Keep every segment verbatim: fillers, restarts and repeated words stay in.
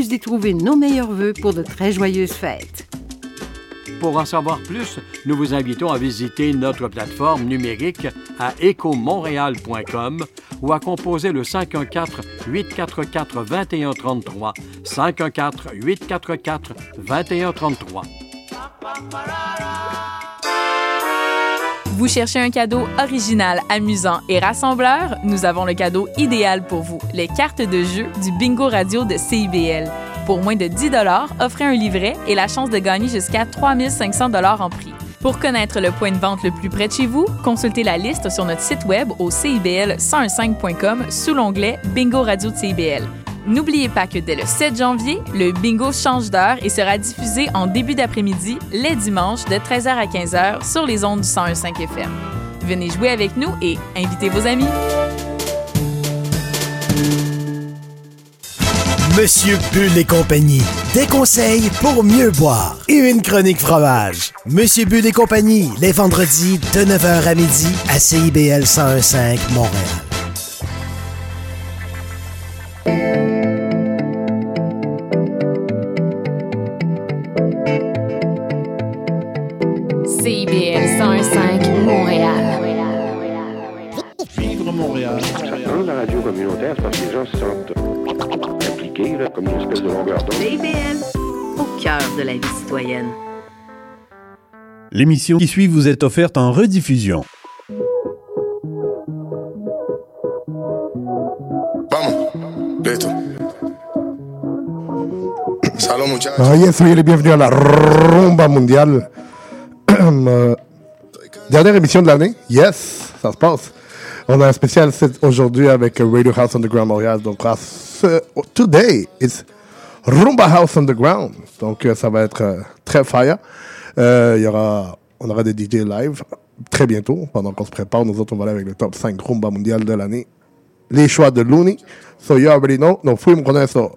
plus d'y trouver nos meilleurs vœux pour de très joyeuses fêtes. Pour en savoir plus, nous vous invitons à visiter notre plateforme numérique à éco montréal point com ou à composer le cinq un quatre, huit quatre quatre, deux un trois trois, cinq un quatre, huit quatre quatre, deux un trois trois. Vous cherchez un cadeau original, amusant et rassembleur? Nous avons le cadeau idéal pour vous, les cartes de jeu du Bingo Radio de C I B L. Pour moins de dix dollars, offrez un livret et la chance de gagner jusqu'à trois mille cinq cents dollars en prix. Pour connaître le point de vente le plus près de chez vous, consultez la liste sur notre site web au c i b l cent quinze point com sous l'onglet Bingo Radio de C I B L. N'oubliez pas que dès le sept janvier, le bingo change d'heure et sera diffusé en début d'après-midi, les dimanches, de treize heures à quinze heures sur les ondes du cent un virgule cinq F M. Venez jouer avec nous et invitez vos amis. Monsieur Bull et compagnie, des conseils pour mieux boire et une chronique fromage. Monsieur Bull et compagnie, les vendredis de neuf heures à midi à C I B L cent un virgule cinq Montréal. C I B L cent un virgule cinq Montréal. Vivre Montréal. Dans la radio communautaire, c'est parce que les gens se sentent impliqués, là, comme une espèce de longueur d'onde. C I B L, au cœur de la vie citoyenne. L'émission qui suit vous est offerte en rediffusion. Ah yes, soyez les bienvenus à la Rumba Mondiale. euh, dernière émission de l'année. Yes, ça se passe. On a un spécial aujourd'hui avec Radio House Underground Montréal. Donc, today, it's Rumba House Underground. Donc, ça va être euh, très fire. Euh, y aura, on aura des D J live très bientôt. Pendant qu'on se prépare, nous autres, on va aller avec le top cinq Rumba Mondial de l'année. Les choix de Looney. So, you already know. No fuimos con eso.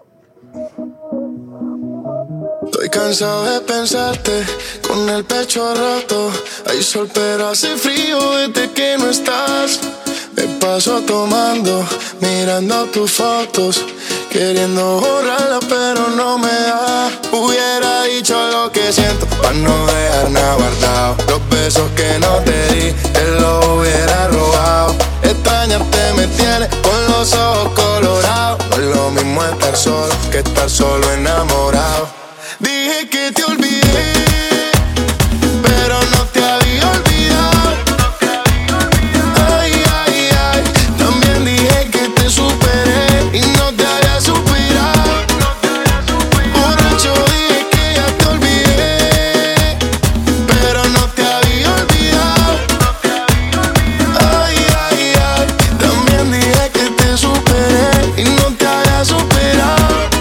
Estoy cansado de pensarte con el pecho roto. Hay sol pero hace frío desde que no estás. Me paso tomando, mirando tus fotos, queriendo borrarla pero no me da. Hubiera dicho lo que siento pa' no dejar nada guardado. Los besos que no te di, te los hubiera robado. Extrañarte me tiene con los ojos colorados. No es lo mismo estar solo que estar solo enamorado. Dije que te olvidé, pero no te había olvidado. Ay, ay, ay, también dije que te superé y no te había superado. Borracho dije que ya te olvidé, pero no te había olvidado. Ay, ay, ay, también dije que te superé y no te había superado.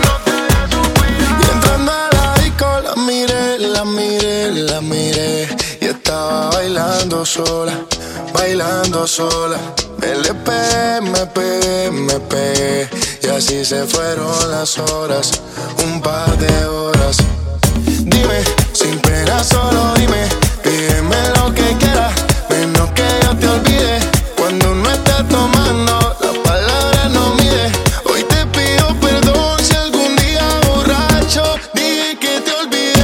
La miré, la miré y estaba bailando sola, bailando sola. Me le pegué, me pegué, me pegué y así se fueron las horas, un par de horas. Dime, sin pena solo dime, pídeme lo que quieras, menos que yo te olvide. Cuando uno está tomando, las palabras no mide. Hoy te pido perdón si algún día borracho dije que te olvidé.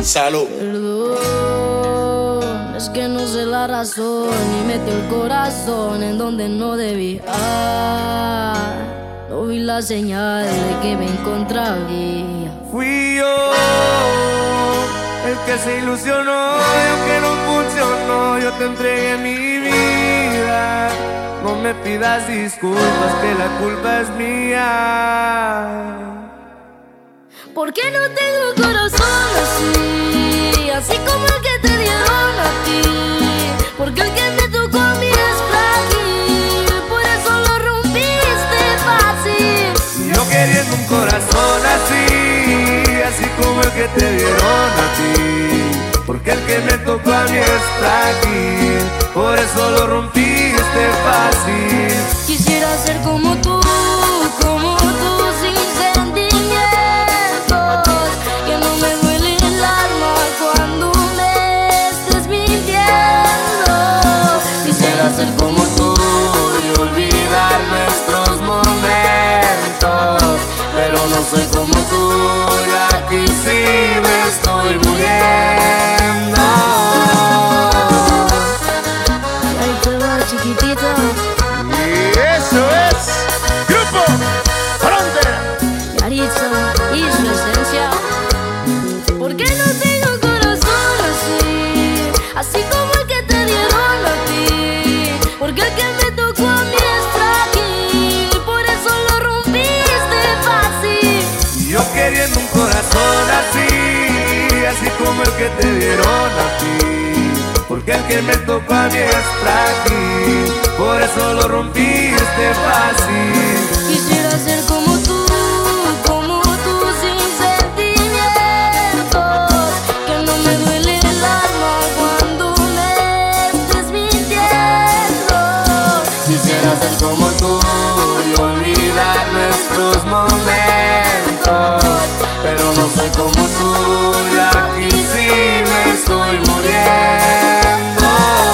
Salud. Perdón, es que no sé la razón y metí el corazón en donde no debía. No vi la señal de que me encontraría. Fui yo el que se ilusionó y aunque no funcionó, yo te entregué mi vida. No me pidas disculpas, que la culpa es mía. ¿Por qué no tengo corazón así? Así como el que te dieron a ti. Porque el que me tocó a mí es frágil, por eso lo rompiste fácil. Yo queriendo un corazón así, así como el que te dieron a ti. Porque el que me tocó a mí es frágil, por eso lo rompiste fácil. Quisiera ser como tú, como tú, sin sentimientos. Que no me duele el alma cuando me estés mintiendo. Quisiera ser como tú y olvidar nuestros momentos. Pero no soy como tú y aquí sí me estoy muriendo. Ahí te va, chiquitita. Eso es Grupo Frontera. Yaritza y su esencia. ¿Por qué no tengo corazón así? Así como el que te dieron a ti. Porque el que me tocó a mí es frágil, por eso lo rompiste fácil. Yo queriendo un corazón así, así como el que te dieron a ti. Porque el que me tocó a mí es frágil, por eso lo rompiste fácil. Quisiera ser como tú, como tú, sin sentimientos. Que no me duele el alma cuando me estés mintiendo. Quisiera ser como tú y olvidar nuestros momentos. Pero no soy como tú y aquí sí me estoy muriendo.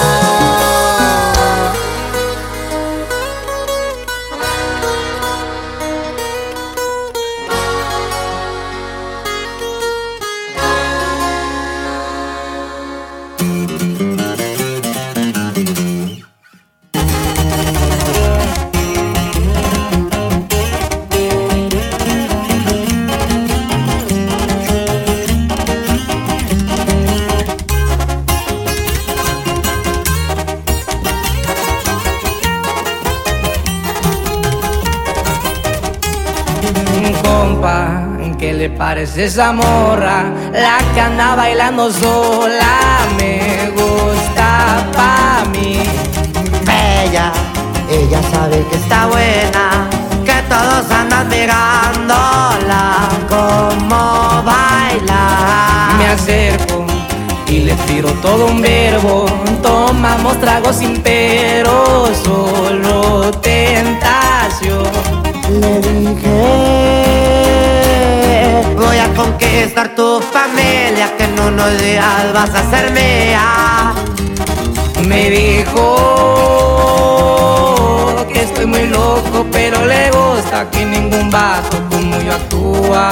¿Qué le parece esa morra? La que anda bailando sola me gusta pa' mí. Bella, ella sabe que está buena, que todos andan mirándola como baila. Me acerco y le tiro todo un verbo. Tomamos tragos sin pero, solo tentación. Le dije, voy a conquistar tu familia, que en unos días vas a ser mía. Me dijo que estoy muy loco, pero le gusta que ningún vato como yo actúa.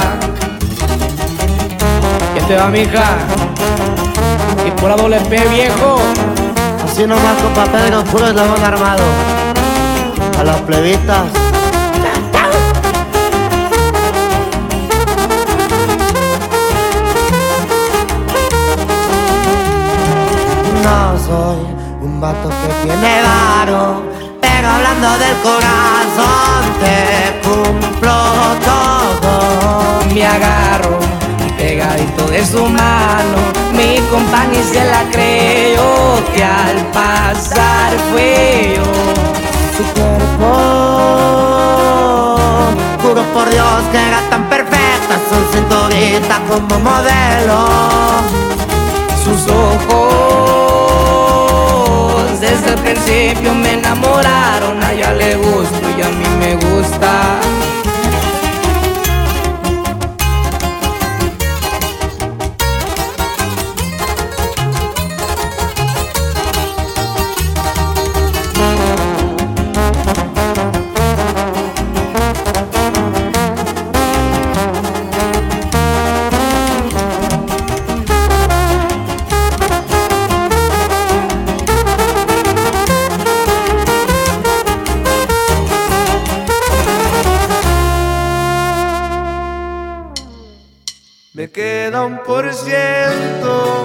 ¿Qué te va, mija? Y por la doble P, viejo. Así nomás, compa Pedro, puro eslabón armado. A las plebitas. No soy un vato que tiene varo, pero hablando del corazón te cumplo todo. Me agarro pegadito de su mano, mi compañía se la creyó, que al pasar fue yo. Su cuerpo, juro por Dios que era tan perfecta, su cinturita como modelo. Sus ojos desde el principio me enamoraron, a ella le gusto y a mí me gusta. me queda un por ciento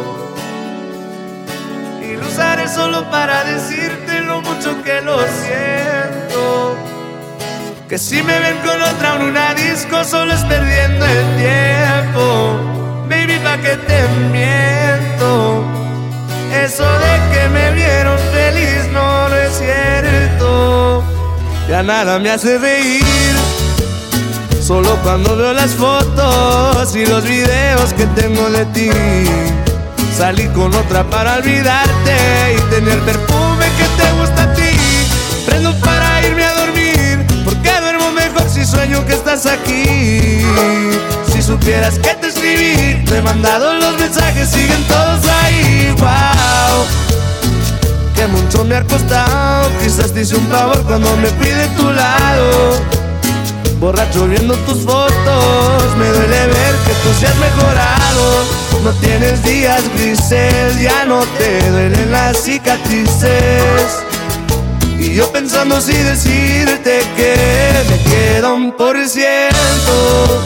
y lo usaré solo para decirte lo mucho que lo siento. Que si me ven con otra en una disco solo es perdiendo el tiempo. Baby, pa' que te miento. Eso de que me vieron feliz no, no es cierto. Ya nada me hace reír, solo cuando veo las fotos y los videos que tengo de ti. Salí con otra para olvidarte y tener perfume que te gusta a ti. Prendo para irme a dormir, porque duermo mejor si sueño que estás aquí. Si supieras que te escribí, te he mandado los mensajes, siguen todos ahí. Wow, que mucho me ha costado, quizás te hice un favor cuando me fui de tu lado. Borracho viendo tus fotos, me duele ver que tú seas mejorado. No tienes días grises, ya no te duelen las cicatrices. Y yo pensando si decirte que me queda un por ciento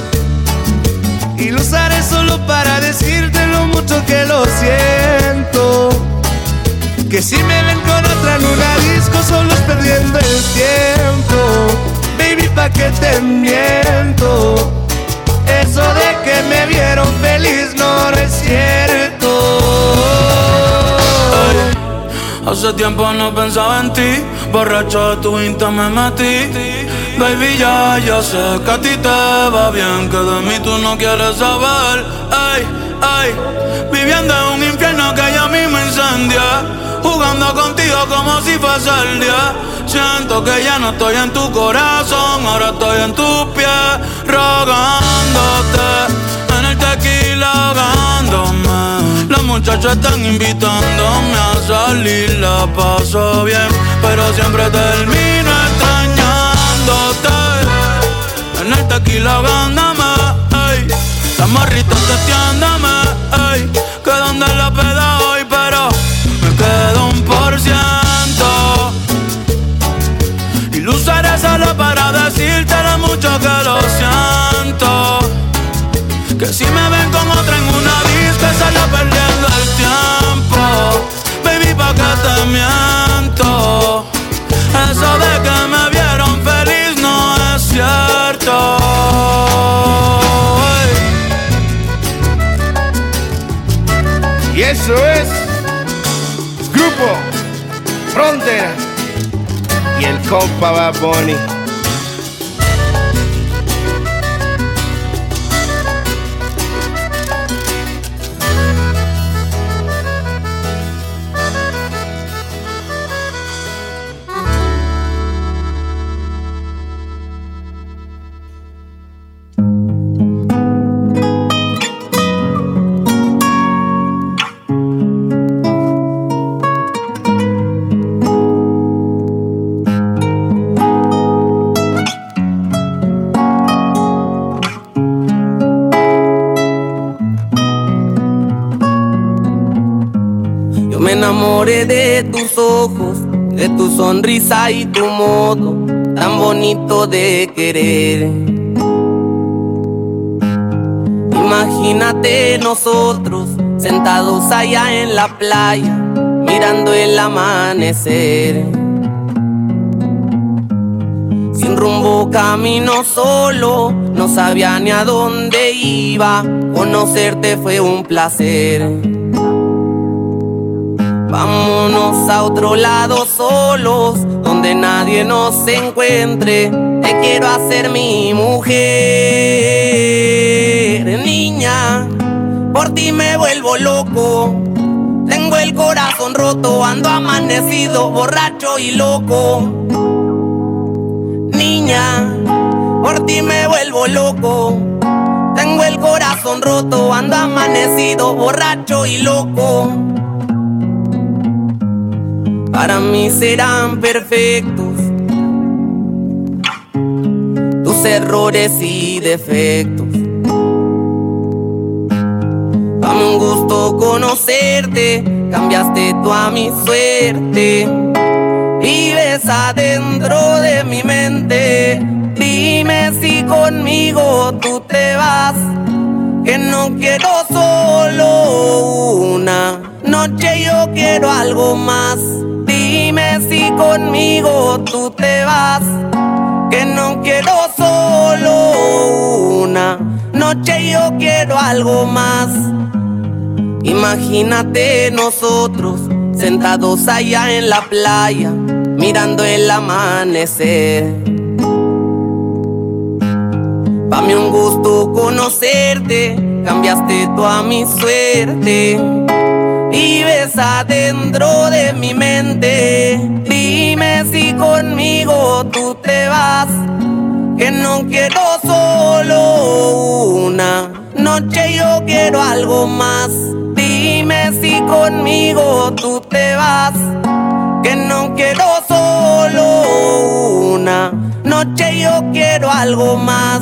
y lo usaré solo para decirte lo mucho que lo siento. Que si me ven con otra en una disco solo es perdiendo el tiempo. Baby, pa' que te miento. Eso de que me vieron feliz no, no es cierto. Hace tiempo no pensaba en ti, borracho de tu Insta me metí. Baby, ya, ya sé que a ti te va bien, que de mí tú no quieres saber. Ay, ay, viviendo en un infierno que ya a mí me incendia, jugando contigo como si fuese el día. Siento que ya no estoy en tu corazón, ahora estoy en tus pies, rogándote, en el tequila ahogándome. Las muchachas están invitándome a salir, la paso bien, pero siempre termino extrañándote. En el tequila ahogándome, ey. Las morritas testeándome, ey. Que donde la peda hoy, pero me quedo un por ciento y lo usaré solo para decirte lo mucho que lo siento. Que si me ven con otra en una disco solo perdiendo el tiempo. Baby, pa' que te miento. Eso de que me vieron feliz no es cierto. Y eso es Grupo Frontera y el compa Bad Bunny. Me enamoré de tus ojos, de tu sonrisa y tu modo tan bonito de querer. Imagínate nosotros sentados allá en la playa, mirando el amanecer. Sin rumbo camino solo, no sabía ni a dónde iba. Conocerte fue un placer. Vámonos a otro lado solos, donde nadie nos encuentre. Te quiero hacer mi mujer. Niña, por ti me vuelvo loco. Tengo el corazón roto, ando amanecido, borracho y loco. Niña, por ti me vuelvo loco. Tengo el corazón roto, ando amanecido, borracho y loco. Para mí serán perfectos tus errores y defectos. Dame un gusto conocerte, cambiaste tú a mi suerte. Vives adentro de mi mente. Dime si conmigo tú te vas que no quiero solo una noche, yo quiero algo más. Dime si conmigo tú te vas, que no quiero solo una noche, yo quiero algo más. Imagínate nosotros sentados allá en la playa, mirando el amanecer. Pa' mí un gusto conocerte, cambiaste toda mi suerte. Vives adentro de mi mente. Dime si conmigo tú te vas, que no quiero solo una noche, yo quiero algo más. Dime si conmigo tú te vas, que no quiero solo una noche, yo quiero algo más.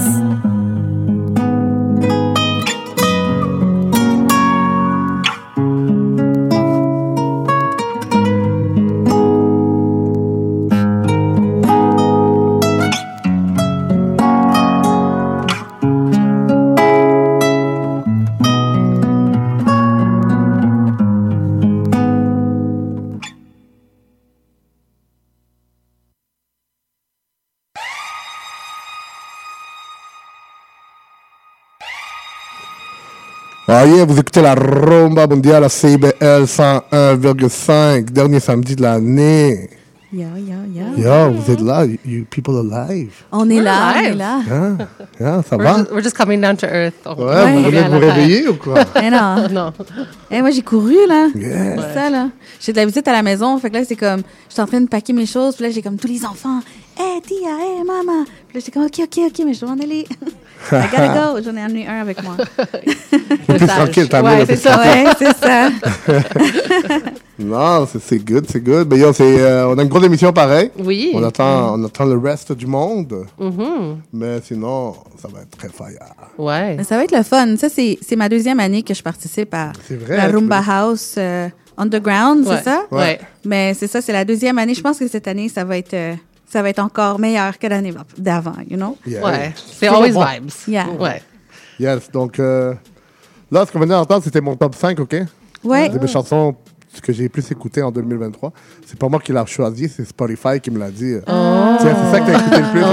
Ah yeah, vous écoutez la Rumba Mondiale à C I B L cent un virgule cinq, dernier samedi de l'année. Yeah, yeah, yeah. Yo, vous êtes là, you, you people are live. On est We're là, live. on est là. Yeah, yeah, ça We're va? just, we're just coming down to earth. Ouais, vous venez de vous réveiller ou quoi? Eh non. Non. Eh, moi, j'ai couru, là. Yeah. C'est ça, là. J'ai de la visite à la maison. Fait que là, c'est comme, j'étais en train de paquer mes choses. Puis là, j'ai comme tous les enfants. Hey, tia, hey, maman. Puis là, j'étais comme, OK, OK, OK, mais je dois en aller. I gotta go. J'en ai amené un avec moi. Plus tranquille, t'as ouais, amené c'est ça. Ouais, c'est ça. Non, c'est, c'est good, c'est good. Mais yo, c'est, euh, on a une grosse émission pareil. Oui. On attend, on attend le reste du monde. Mm-hmm. Mais sinon, ça va être très fire. Ouais. Mais ça va être le fun. Ça, c'est, c'est ma deuxième année que je participe à C'est vrai, la tu Rumba veux- House euh, Underground, Ouais. c'est ça? Ouais. Mais c'est ça, c'est la deuxième année. Je pense que cette année, ça va être, euh, ça va être encore meilleur que l'année d'avant, you know? Yeah. Ouais. C'est always bon. vibes. Yeah. Ouais. Yes, donc euh, là, ce qu'on venait d'entendre, c'était mon top cinq, OK? Ouais. C'est mes chansons que j'ai plus écoutées en deux mille vingt-trois. C'est pas moi qui l'ai choisi, c'est Spotify qui me l'a dit. Tiens, c'est ça que t'as écouté le plus,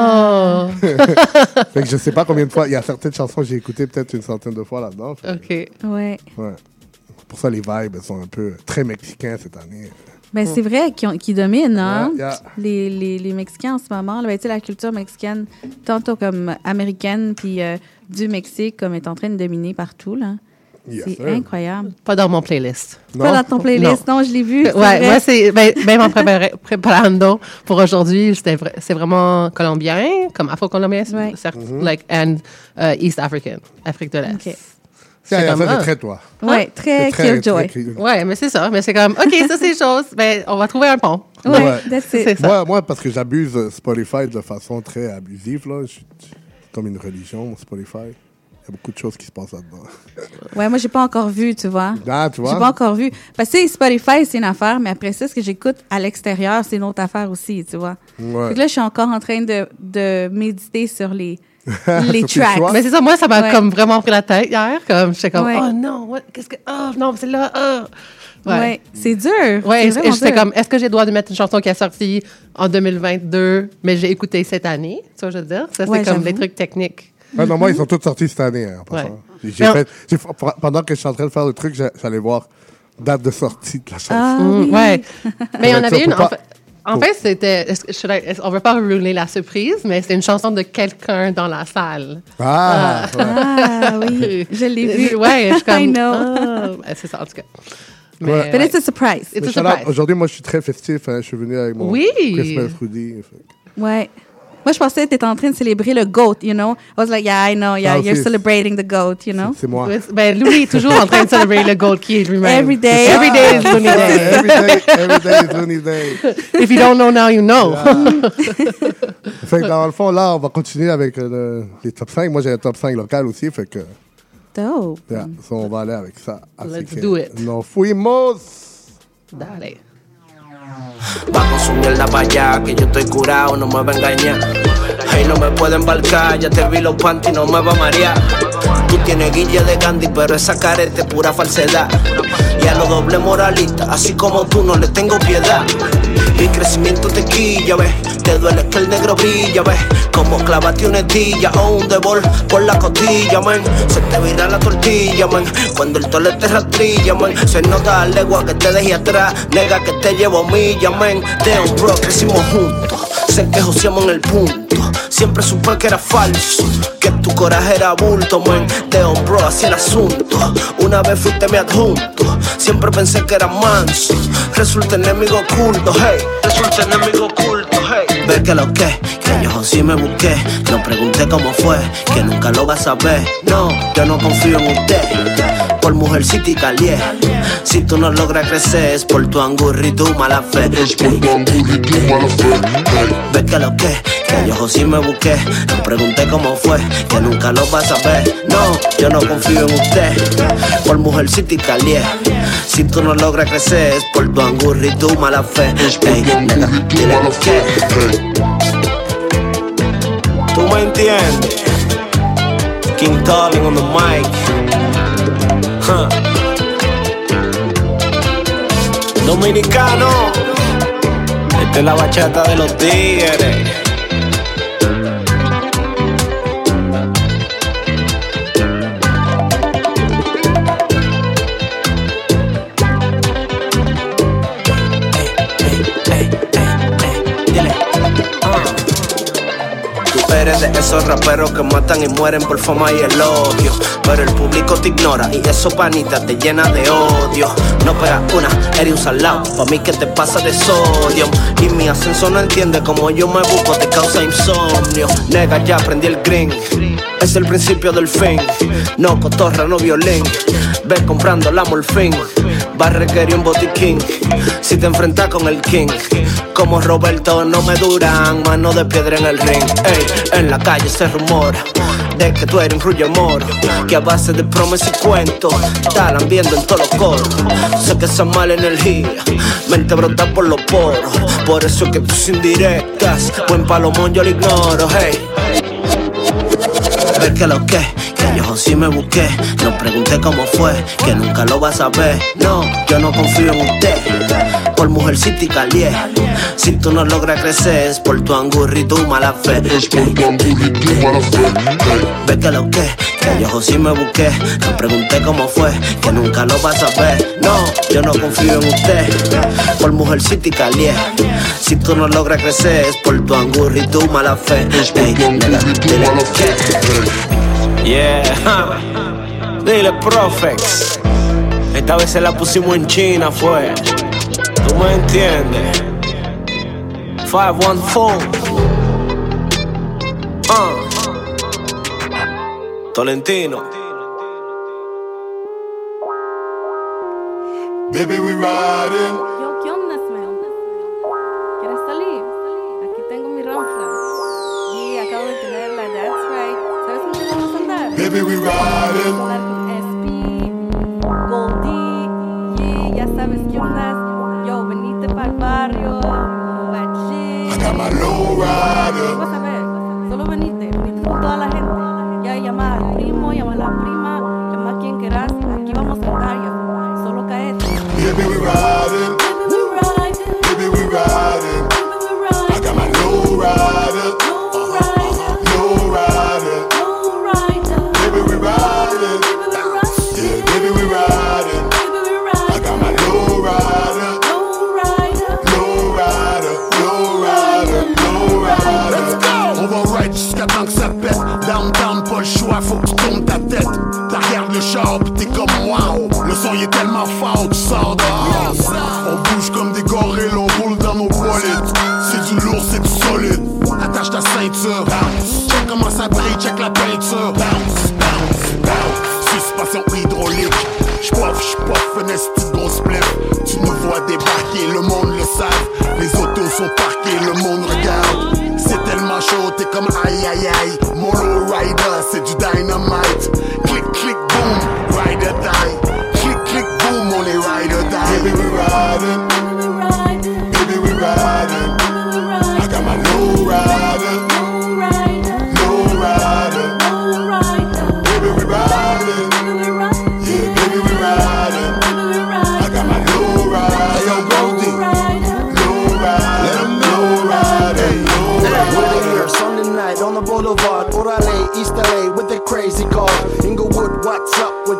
OK? Fait que je sais pas combien de fois. Il y a certaines chansons que j'ai écoutées peut-être une centaine de fois là-dedans. Fait OK. Ouais. que, ouais. Pour ça, les vibes elles sont un peu très mexicains cette année. Ben, c'est vrai qu'ils ont- qu'ils dominent, hein? Yeah, yeah. Les, les, les Mexicains en ce moment. Là, ben, tu sais, la culture mexicaine, tantôt comme américaine, puis euh, du Mexique, comme est en train de dominer partout, là. Yes, c'est sir. incroyable. Pas dans mon playlist. Pas dans ton playlist. Non, je l'ai vu. c'est Ouais, vrai. moi, c'est, ben, même en préparé- préparando pour aujourd'hui, c'était vra- c'est vraiment colombien, comme afro-colombien, Ouais. certes, like, and uh, East African, Afrique de l'Est. OK. Ça, C'est ça, comme, c'est ah. très toi. Ouais, très, C'est très- Killjoy. très- Ouais, mais c'est ça. Mais c'est comme, OK, ça, c'est chose. Ben, on va trouver un pont. Ouais, Ouais. that's C'est it. ça. Moi, moi, parce que j'abuse euh, Spotify de façon très abusive, là. Je suis comme une religion, Spotify. Il y a beaucoup de choses qui se passent là-dedans. Ouais, moi, j'ai pas encore vu, tu vois. Ah, tu vois? J'ai pas encore vu. Parce que tu sais, Spotify, c'est une affaire, mais après ça, ce que j'écoute à l'extérieur, c'est une autre affaire aussi, tu vois. Ouais. Fait que là, je suis encore en train de, de méditer sur les, Sur les tes tracks. choix. Mais c'est ça, moi, ça m'a Ouais. comme vraiment pris la tête hier. Comme, j'étais comme, Ouais. oh non, what, qu'est-ce que, oh non, c'est là, oh. Ouais. C'est dur. Ouais, c'est et vraiment j'étais dur. comme, est-ce que j'ai le droit de mettre une chanson qui est sortie en deux mille vingt-deux, mais j'ai écouté cette année? Tu vois, je veux dire? Ça, c'est Ouais, comme j'avoue. les trucs techniques. Ouais, non, moi, ils sont tous sortis cette année. Hein, en passant. Ouais. J'ai Mais fait, j'ai- pendant que je suis en train de faire le truc, j'ai- j'allais voir date de sortie de la chanson. Ah, Mm, oui. ouais. Mais il y en Pour avait être une, sûr, pour en pas- fait, en fait c'était, est-ce que- should I- est-ce- on veut pas ruiner la surprise, mais c'est une chanson de quelqu'un dans la salle. Ah, ouais. Ah oui, je l'ai vu. Ouais, je suis comme, I know. ah, ben, c'est ça, en tout cas. Mais, Ouais. But ouais. it's a surprise. It's Mais a shout out, surprise. aujourd'hui, moi, je suis très festif. Hein, je suis venu avec mon Oui. Christmas hoodie. Fait. Ouais. Moi, je pensais que tu étais en train de célébrer le GOAT, you know? I was like, yeah, I know, yeah, Ah, you're aussi. celebrating the GOAT, you know? C'est moi. Ouais, Ben, Louis est toujours en train de célébrer le gold qui est lui-même. Every day. Every day is Looney Day. every day, every day is Looney Day. If you don't know now, you know. Fait que dans le fond, là, on va continuer avec euh, le- les top cinq. Moi, j'ai un top cinq local aussi. Fait que, Dope. yeah, so on va aller avec ça. Así Let's que do it. Nos fuimos. Dale. Va con su mierda pa' allá, que yo estoy curado, no me va a engañar. Hey, no me puede embarcar, ya te vi los panties, no me va a marear. Tú tienes guille de Gandhi, pero esa careta es pura falsedad. Y a los doble moralistas, así como tú, no le tengo piedad. Mi crecimiento te quilla, ves. Te duele que el negro brilla, ves. Como clavate una estilla o un debol por la costilla, man. Se te vira la tortilla, man. Cuando el tole te rastrilla, man. Se nota la legua que te dejé atrás. Nega que te llevo milla, man. Damn, bro, crecimos juntos. Sé que joseamos en el punto. Siempre supe que era falso, que tu coraje era bulto, man. Damn, bro, así el asunto. Una vez fuiste mi adjunto. Siempre pensé que era manso. Resulta enemigo oculto, hey. Resulta enemigo oculto, hey. Ve que lo que, que yo sí me busqué. No pregunté cómo fue, que nunca lo vas a saber. No, yo no confío en usted. Por mujercita y calié. Si tú no logras crecer es por tu angurri y tu mala fe. Es por tu angurri y tu mala fe. Ve que lo que, que yo sí me busqué. No pregunté cómo fue, que nunca lo vas a saber. No, yo no confío en usted. Por mujercita y calié. Si tú no logras crecer es por tu angurri y tu mala fe. Ey, nena, dile que tú me entiendes. King Calling on the mic. Huh. Dominicano, esta es la bachata de los tigres. Eres de esos raperos que matan y mueren por fama y elogio. Pero el público te ignora y eso panita te llena de odio. No pegas una, eres un salado, pa' mí que te pasa de sodio. Y mi ascenso no entiende como yo me busco, te causa insomnio. Nega, ya aprendí el green, es el principio del fin. No cotorra, no violín, ve comprando la morfín. Va a requerir un botiquín si te enfrentas con el king. Como Roberto no me duran, mano de piedra en el ring. Ey, en la calle se rumora de que tú eres un rullo moro, que a base de promesas y cuentos estarán viendo en todos los coros. Sé que esa mala energía mente brota por los poros. Por eso es que tus indirectas, buen palomón yo lo ignoro. Hey, ver que lo que, que yo sí me busqué. No pregunté cómo fue, que nunca lo vas a ver. No, yo no confío en usted. Por mujercita y calié. Si tú no logras crecer es por tu angurri y tu mala fe. Es por tu angurri y tu mala fe. Ve que lo que, que yo sí me busqué. No pregunté cómo fue, que nunca lo vas a ver. No, yo no confío en usted. Por mujercita y calié. Si tú no logras crecer es por tu angurri y tu mala fe. Ey, nena, dile que yeah, dile Profex. Esta vez se la pusimos en China, fue. ¿Tú me entiendes? five one four uh. Tolentino. Baby, we riding. Yo, ¿qué onda, Smell? ¿Quieres salir? Aquí tengo mi ronfla. Y acabo de tenerla, that's right. ¿Sabes con quién vamos a andar? Baby, we riding. Vamos a andar con S P, Goldie, y ya sabes qué onda. Yo, venite pa'l barrio. I got my low rider. Vas a ver, solo venite, venite con toda la gente. Ya llama al primo, llama a la prima, llama a quien quieras. Aquí vamos a andar ya, solo caete. Baby, we riding. Baby, we riding. Baby, we riding. Baby, we riding. I got my low rider. Low rider. Low rider. Low rider. Baby, we riding. Baby, we riding. Yeah, baby, we riding. Baby, we riding. I got my low rider. Low rider. Low rider. Low rider. Low rider. Let's go. On va ride jusqu'à temps que ça pète. Downtown, pas le choix, faut que tu tournes ta tête. T'arrières le char pis t'es comme wow. Le son il est tellement fort, tu sors dehors. On bouge comme des gorilles, on roule dans nos bolides. C'est du lourd, c'est du solide. Attache ta ceinture. Bounce. Check comment ça brille, check la peinture. Bounce, bounce, bounce. Suspension hydraulique. J'poif, j'poif, un esti de gros spliff. Tu nous vois débarquer, le monde le sait. Les autos sont parquées, le monde regarde. C'est tellement chaud, t'es comme aïe aïe aïe. Mon low rider, c'est du dynamite. Click, click, boom, ride or die. Click, click, boom, on est ride or die. Baby, we riding. Baby, we riding. I got my low rider. Low rider. Baby, we riding.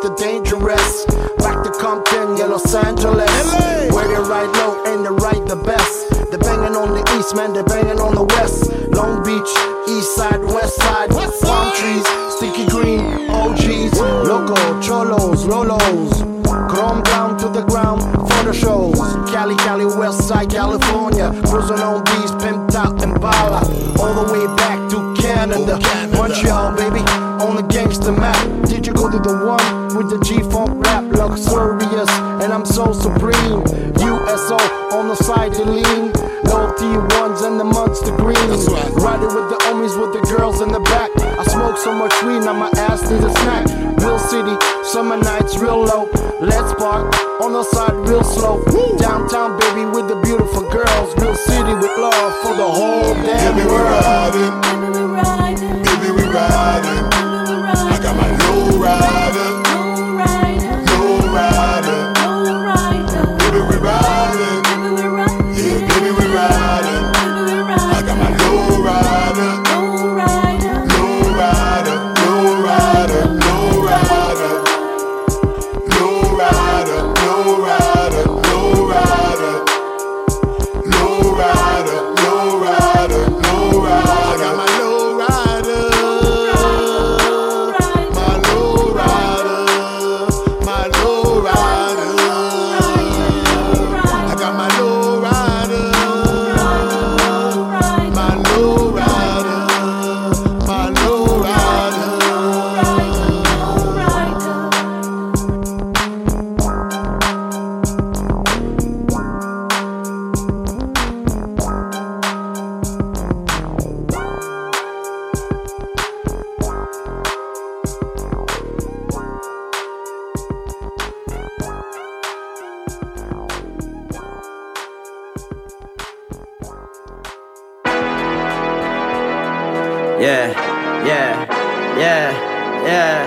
the dangerous. Back to Compton, yeah, Los Angeles. Where they ride low and they ride the best. They're banging on the east, man, they're banging on the west. Long Beach, east side, west side. Palm trees, sticky green, O Gs. Loco, cholos, lolos. Chrome down to the ground for the shows. Cali, Cali, west side, California. Cruising on beats, pimped out and bala. All the way back to Canada. Montreal, baby, on the gangster map. Did you go to the one with the G-Funk rap? Luxurious, and I'm so supreme. U S O on the side to lean. No T ones and the monster green. Riding with the homies with the girls in the back. I smoke so much weed, now my ass needs a snack. Real city, summer nights real low. Let's park on the side real slow. Downtown, baby, with the beautiful girls. Real city with love for the whole damn Baby, we world. riding. Baby, we riding. I got my low rider. Low rider. Baby, we riding. Yeah, baby, we riding. I got my low rider. Low rider. Low rider. Low rider. Low rider. Low rider. Low rider. Low rider. Low rider. Low rider. Low rider. I got my low rider. My low rider. My low rider. I got my low rider. My low rider. My low rider. Yeah, yeah, yeah, yeah.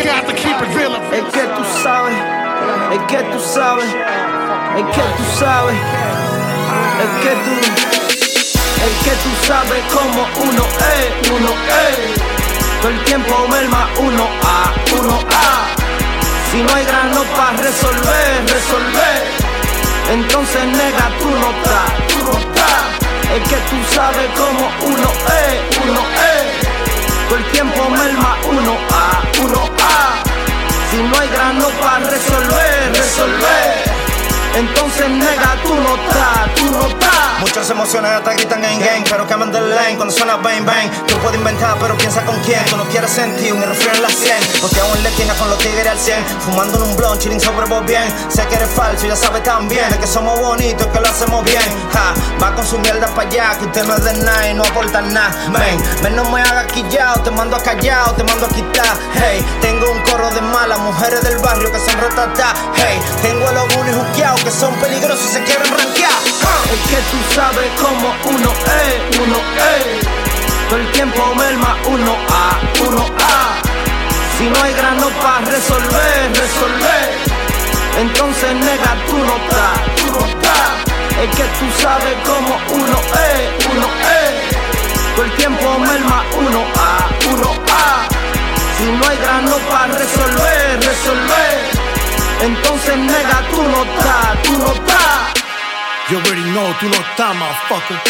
Es que tú sabes, es que tú sabes, es que tú sabes, es que tú, es que tú sabes como uno es, uno es. Todo el tiempo merma uno a, uno a. Si no hay grano para resolver, resolver, entonces nega tú no estás, tú no estás. Es que tú sabes como uno es, uno es. Todo el tiempo merma uno a, uno a. Si no hay grano para resolver, resolver, entonces nega tú no estás, tú no estás. Muchas emociones hasta gritan gang gang, pero queman del lane cuando suena bang bang. Tú puedes inventar, pero piensa con quién. Tú no quieres sentir un refrán en la cien, porque aún le tienes con los tigres al cien. Fumando en un blunt, chilling sobre vos bien. Sé que eres falso, ya sabes también de que somos bonitos, que lo hacemos bien. Ja, va con su mierda para allá, que usted no es de nada y no aporta nada. Ven, ven, no me hagas quillao, te mando a callao, te mando a quitar. Hey, tengo un coro de malas mujeres del barrio que son rotatas. Hey, tengo a los bunis juqueados que son peligrosos y se quieren rankear. Es que tú sabes como uno es, uno es. Todo el tiempo merma uno a, uno a. Si no hay grano para resolver, resolver, entonces nega tú no estás, tú no estás. Es que tú sabes como uno es, uno es. Todo el tiempo merma uno a, uno a. Si no hay grano para resolver, resolver, entonces nega tú no estás, tú no estás. You already know, tú no estás, motherfucker.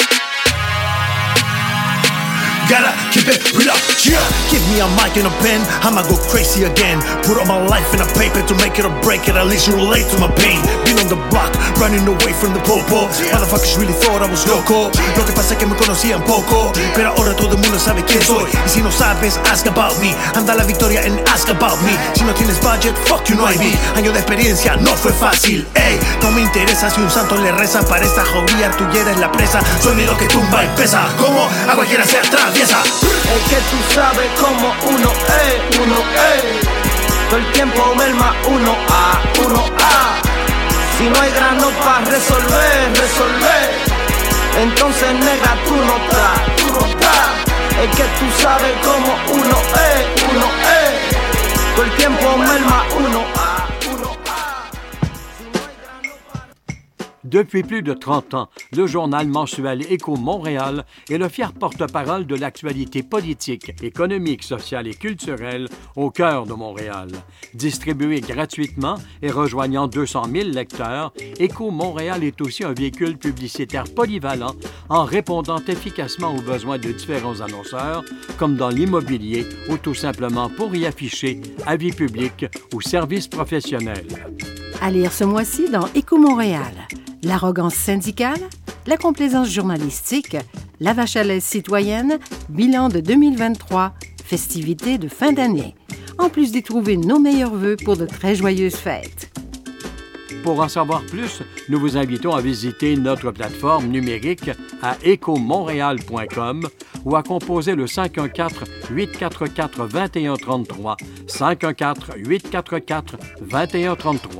Gotta keep it real up, yeah. Give me a mic and a pen, I'ma go crazy again. Put all my life in a paper to make it or break it. At least you relate to my pain. Been on the block, running away from the popo. Motherfuckers really thought I was loco. Lo que pasa es que me conocían poco, pero ahora todo el mundo sabe quién soy. Y si no sabes, ask about me. Anda la victoria en ask about me. Si no tienes budget, fuck you, no I be. Año de experiencia, no fue fácil. Ey, no me interesa si un santo le reza. Para esta jauría tuya eres la presa. Soy mi lo que tumba y pesa. Como a cualquiera se atraviesa. Es que tú sabes como uno es, uno es. Todo el tiempo merma uno a, uno a. Si no hay grano para resolver, resolver, entonces nega tú no estás, tú no estás. Es que tú sabes como uno es, uno es. Todo el tiempo merma uno a, uno a. Depuis plus de trente ans, le journal mensuel Écho Montréal est le fier porte-parole de l'actualité politique, économique, sociale et culturelle au cœur de Montréal. Distribué gratuitement et rejoignant deux cent mille lecteurs, Écho Montréal est aussi un véhicule publicitaire polyvalent en répondant efficacement aux besoins de différents annonceurs, comme dans l'immobilier ou tout simplement pour y afficher avis publics ou services professionnels. À lire ce mois-ci dans Écho Montréal. L'arrogance syndicale, la complaisance journalistique, la vache à lait citoyenne, bilan de deux mille vingt-trois, festivités de fin d'année. En plus d'y trouver nos meilleurs vœux pour de très joyeuses fêtes. Pour en savoir plus, nous vous invitons à visiter notre plateforme numérique à éco montréal point com ou à composer le cinq un quatre, huit quatre quatre, deux un trois trois, cinq un quatre, huit quatre quatre, deux un trois trois.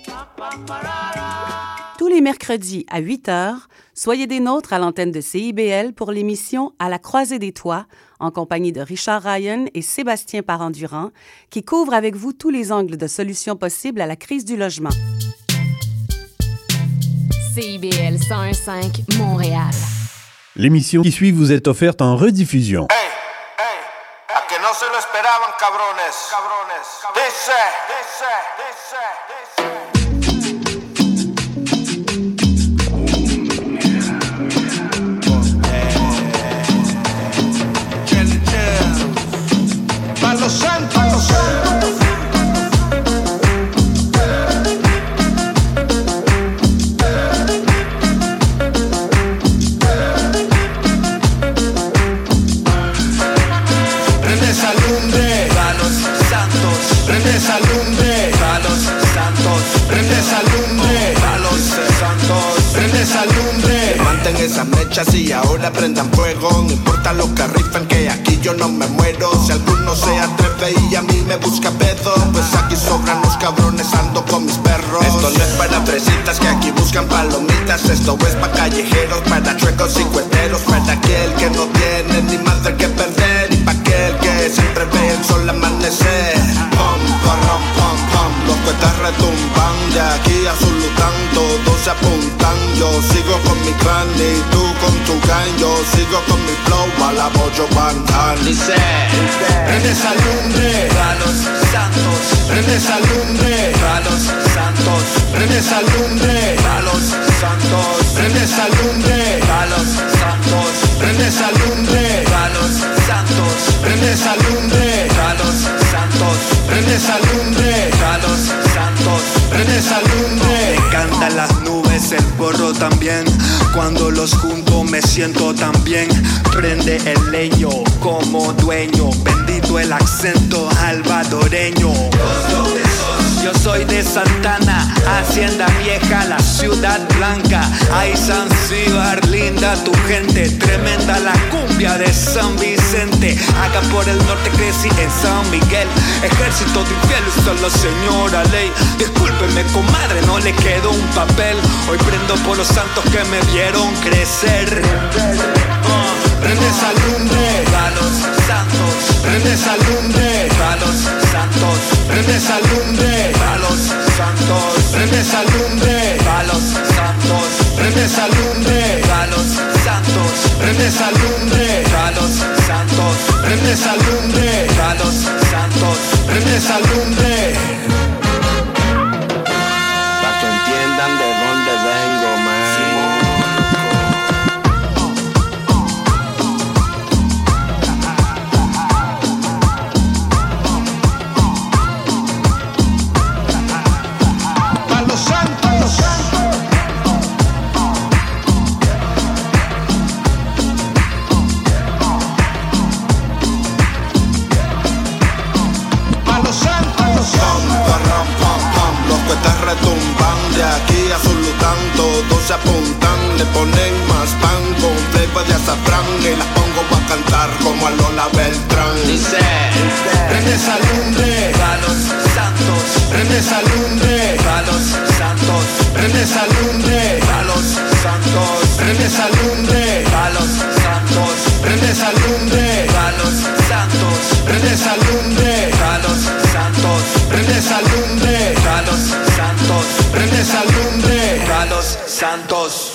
Tous les mercredis à huit heures, soyez des nôtres à l'antenne de C I B L pour l'émission À la croisée des toits, en compagnie de Richard Ryan et Sébastien Parent-Durand, qui couvrent avec vous tous les angles de solutions possibles à la crise du logement. C I B L cent un virgule cinq Montréal. L'émission qui suit vous est offerte en rediffusion. A que no se lo esperaban, cabrones. Cabrones. Dice, dice, dice, dice. Palo Santo, Palo Santo. Prende esa lumbre, Palos Santos. Prende esa lumbre, Palos Santos. Prende esa lumbre, Palos Santos. Prende esa lumbre. Levanten esas mechas y ahora prendan fuego. No importa lo que rifen, que aquí yo no me muero. Si alguno se atreve y a mí me busca pedo, pues aquí sobran los cabrones, ando con mis perros. Esto no es para fresitas que aquí buscan palomitas. Esto es para callejeros, para chuecos y cueteros, para aquel que no tiene ni madre que perder y para aquel que siempre ve el sol amanecer. Pom, pom, pom, pom, los cuetas retumban, de aquí a Zulután todos se apuntan. Yo sigo con mi clan y tú con tu gang. Yo sigo con mi flow a la Bojo Bantan. Dice, prende esa lumbre, Palos Santos. Prende esa lumbre, Palos Santos. Prende esa lumbre, Palos Santos. Prende esa lumbre, Palos Santos. Prende esa lumbre, Palos Santos. Prende esa lumbre, Palos Santos. Prende esa lumbre, Palos Santos. Prende esa lumbre. Me encantan las nubes, el porro también. Cuando los junto me siento tan bien. Prende el leño como dueño. Bendito el acento alvadoreño. Yo soy de Santana, Hacienda Vieja, la Ciudad Blanca. Ay, Zanzíbar, linda tu gente. Tremenda la cumbia de San Vicente. Acá por el norte crecí en San Miguel. Ejército de infieles, solo señora ley. Discúlpeme, comadre, no le quedó un papel. Hoy prendo por los santos que me vieron crecer. uh. Prende esa lumbre, Palos Santos. prende esa lumbre, Palos Santos. prende esa lumbre, Palos Santos. prende esa lumbre, Palos Santos. prende esa lumbre, Palos Santos. prende esa lumbre, Palos Santos. prende esa lumbre, Palos Santos. prende esa lumbre. Pa' que entiendan de dónde vengo, man. Palo Santos. Palo Santos. Pom, parram, pom, pom, los cuetas retumban, de aquí a Zulután todos se apuntan, le ponen más pan con flavor de azafrán y las pongo a cantar como a Lola Beltrán. Dice, Prende esa lumbre, Palos Santos. prende esa lumbre, Palos Santos. prende esa lumbre, Palos Santos. prende esa lumbre, Palos Santos. prende esa lumbre, Palos Santos. prende esa lumbre, Palos Santos. prende esa lumbre, Palos Santos. prende esa lumbre, Palos Santos.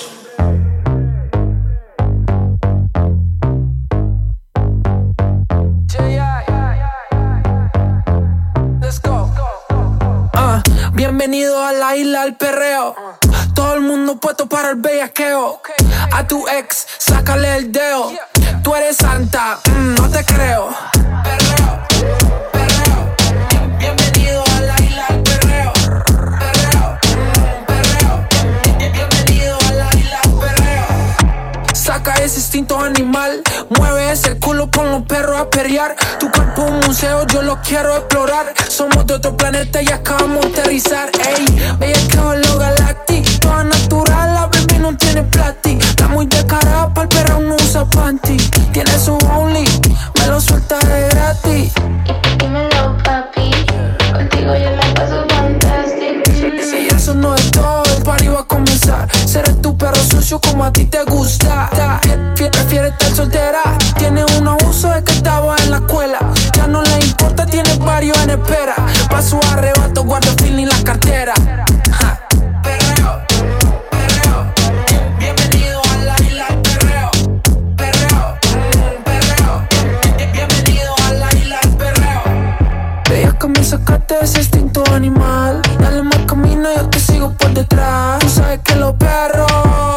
Uh, bienvenido a la isla del perreo. Todo el mundo puesto para el bellaqueo. A tu ex, sácale el dedo. Tú eres santa, mm, no te creo. Perreo, perreo. Bienvenido a la isla del perreo. Perreo, perreo. Bienvenido a la isla del perreo. Saca ese instinto animal. Mueve ese culo, pon los perros a perrear. Tu cuerpo es un museo, yo lo quiero explorar. Somos de otro planeta y acabamos de aterrizar. Ey, bellaqueo en lo galáctico. Toda natural, la baby no tiene plástico. Está muy descarada, pa'l perro no usa panty. Tiene su only, me lo suelta de gratis. Dímelo, papi, contigo yo la paso fantástico. Si eso no es todo, el party va a comenzar. Seré tu perro sucio como a ti te gusta. Prefiere estar soltera, tiene un abuso de que estaba en la escuela. Ya no le importa, tiene varios en espera. Pa' su arrebato, guarda el feeling la cartera. Ja. Perreo, perreo. Bienvenido a la isla del perreo. Perreo, perreo. Bienvenido a la isla del perreo. Ella comienza a sacarte ese instinto animal. Dale más camino, yo te sigo por detrás. Tú sabes que los perros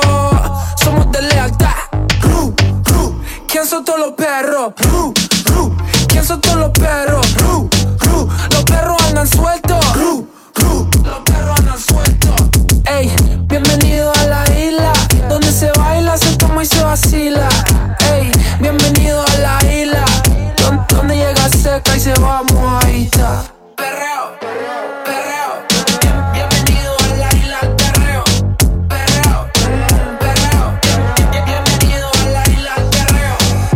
somos de lealtad. Ru, ru. ¿Quién son todos los perros? Ru, ru. ¿Quién son todos los perros? Ru, ru. Los perros andan sueltos. Ru, ru. Los perros andan sueltos. Ey, bienvenido a la isla donde se baila, se toma y se vacila. Ey, bienvenido a la isla donde, donde llega seca y se va mojadita. Perreo, perreo. Bien- bienvenido a la isla del perreo. Perreo, perreo. Bien- bienvenido a la isla del perreo.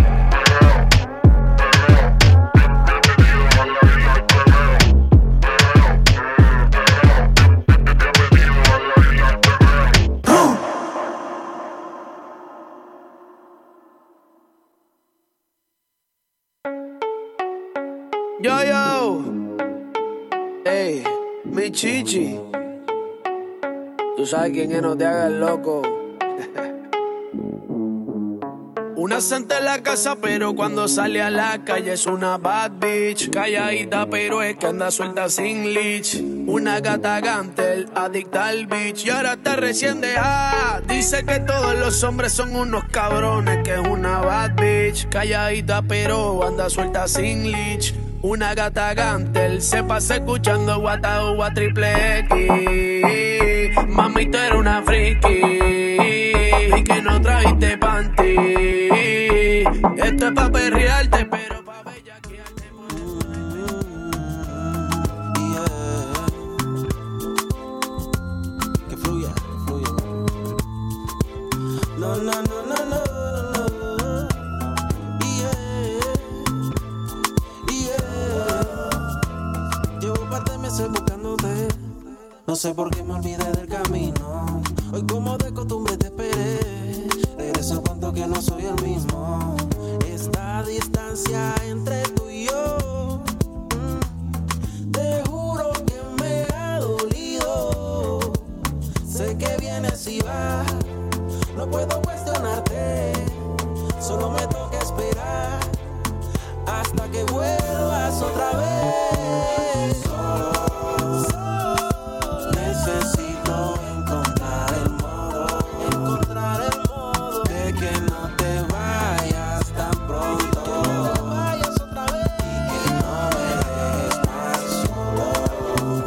Yo, yo. Ey, mi chichi. Tú sabes quién es, no te hagas loco. Una santa en la casa, pero cuando sale a la calle es una bad bitch. Calladita, pero es que anda suelta sin leash. Una gata gantel, adicta al bitch. Y ahora está recién dejada. Dice que todos los hombres son unos cabrones, que es una bad bitch. Calladita, pero anda suelta sin leash. Una gata gantel, se pasa escuchando Guata Uva Triple X. Mami, tú eres una friki y que no trajiste panty. Esto es pa' perrearte, pero pa' bellaquearte. Que fluya, que fluya. No, no, no, no, no. Meses buscándote, no sé por qué me olvidé del camino. Hoy como de costumbre te esperé. Regreso cuando que no soy el mismo. Esta distancia entre tú y yo, mm, te juro que me ha dolido. Sé que vienes y vas, no puedo cuestionarte. Solo me toca esperar hasta que vuelvas otra vez. Necesito encontrar el modo, encontrar el modo de que no te vayas tan pronto, que no te vayas otra vez y que no me dejes más solo.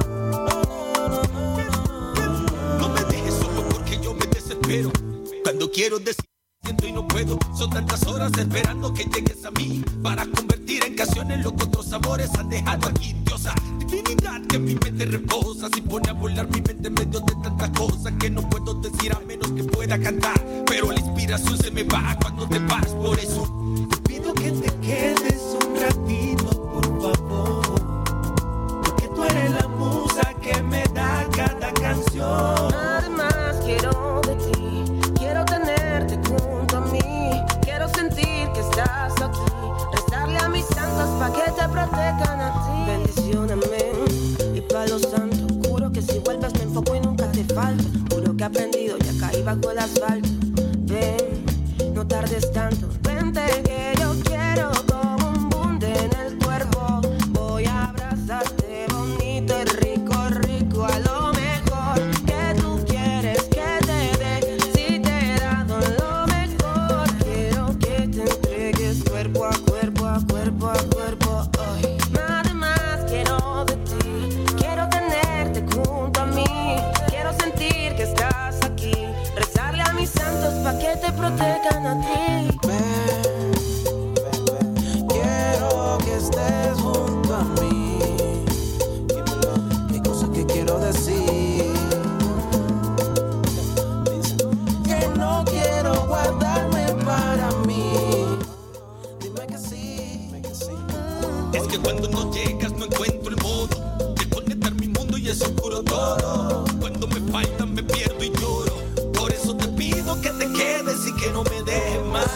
No me dejes solo porque yo me desespero. Cuando quiero decir siento y no puedo. Son tantas horas esperando que llegues a mí para convertir en canciones lo que otros sabores han dejado aquí. Diosa, divinidad que mi mente reposa. Si pone a volar mi mente en medio de tantas cosas que no puedo decir a menos que pueda cantar. Pero la inspiración se me va cuando te vas. Por eso te pido que te quedes un ratito, por favor. Porque tú eres la musa que me da cada canción. Además quiero de ti, quiero tenerte junto a mí. Quiero sentir que estás aquí, rezarle a mis santos pa' que te protejan a ti. Bendición, amén. Y pa' los santos, juro que si vuelves me enfoco y nunca te falto. Juro que he aprendido y he caído desauscuro todo. Cuando me faltan me pierdo y lloro. Por eso te pido que te quedes y que no me dejes más.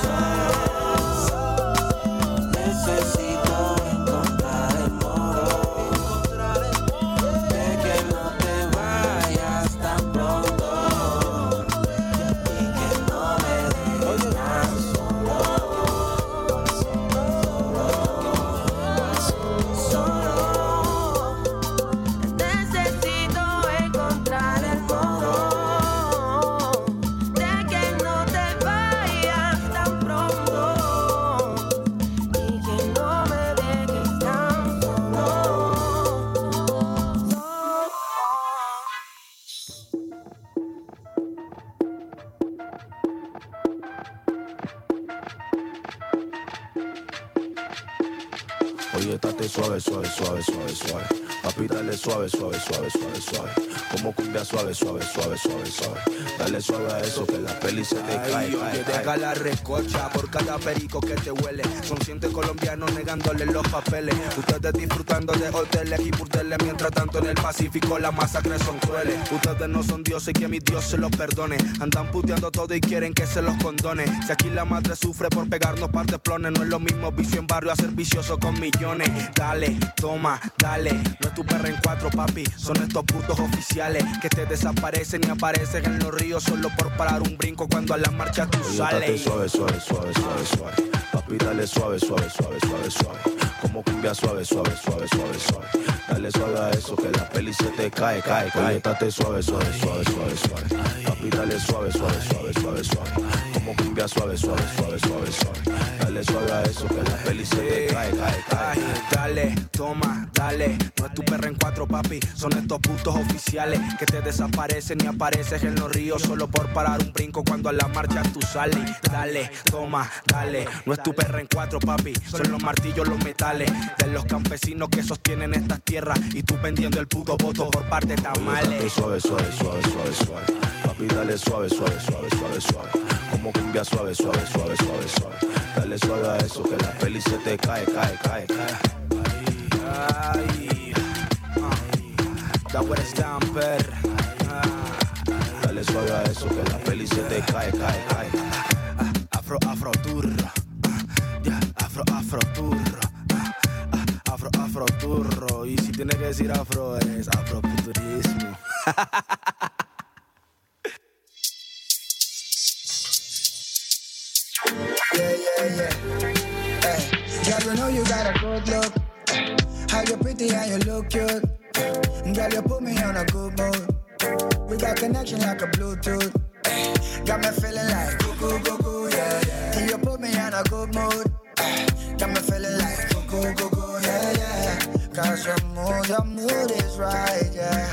Necesito encontrar el modo de que no te vayas tan pronto y que no me dejes tan solo, solo, Necesito encontrar el modo de que no te vayas tan pronto y que no me dejes tan solo. Oye, estate suave, suave, suave, suave, suave. Papi, dale suave, suave, suave, suave, suave. Como cumbia suave, suave, suave, suave, suave. Dale suave a eso que la peli se te cae, Ay, cae, oye, cae. deja la recocha por cada perico que te huele. Son cientos colombianos negándole los papeles. Ustedes disfrutando de hoteles y burdeles. Mientras tanto en el Pacífico las masacres son crueles. Ustedes no son dioses y que mi Dios se los perdone. Andan puteando todo y quieren que se los condone. Si aquí la madre sufre por pegarnos par de plones, no es lo mismo vicio en barrio a ser vicioso con millones. Dale, toma, dale. No es tu perra en cuatro, papi. Son estos putos oficiales que te desaparecen y aparecen en los ríos solo por parar un brinco cuando a la marcha tú Oye, estate sales. suave, suave, suave, suave, suave. Papi, dale suave, suave, suave, suave, suave. Como cumbia suave, suave, suave, suave, suave. Dale suave a eso que la peli se te cae, cae, cae. Oye, estate suave, suave, suave, suave, suave. Papi, dale suave, suave, suave, suave, suave. Como cumbia suave, suave, suave, suave, suave. Dale suave a eso que la peli se te cae, cae, cae. Ay, dale, toma, dale. No es tu perra en cuatro, papi. Son estos putos oficiales que te desaparecen y apareces en los ríos solo por parar un brinco cuando a la marcha tú sales. Dale, toma, dale. No es tu perra en cuatro, papi. Son los martillos, los metales de los campesinos que sostienen estas tierras y tú vendiendo el puto voto por parte de tamales. Dale suave, suave, suave, suave, suave. Papi, dale suave, suave, suave, suave, suave. Como cumbia suave, suave, suave, suave, suave. Dale suave a eso que la peli se te cae, cae, cae, cae. Ay, da buen stamper. Dale suave a eso que la peli se te cae, cae, cae. Afro, afro turro. Afro, afro turro. Afro, afro turro. Y si tiene que decir afro es afrofuturismo. Yeah, yeah, yeah. Hey, girl, you know you got a good look. How you pretty and you look cute. Girl, you put me on a good mood. We got connection like a Bluetooth. Hey, got me feeling like cuckoo, cuckoo, yeah, yeah. You put me on a good mood. Hey, got me feeling like cuckoo, cuckoo, yeah, yeah. Cause your mood, your mood is right, yeah.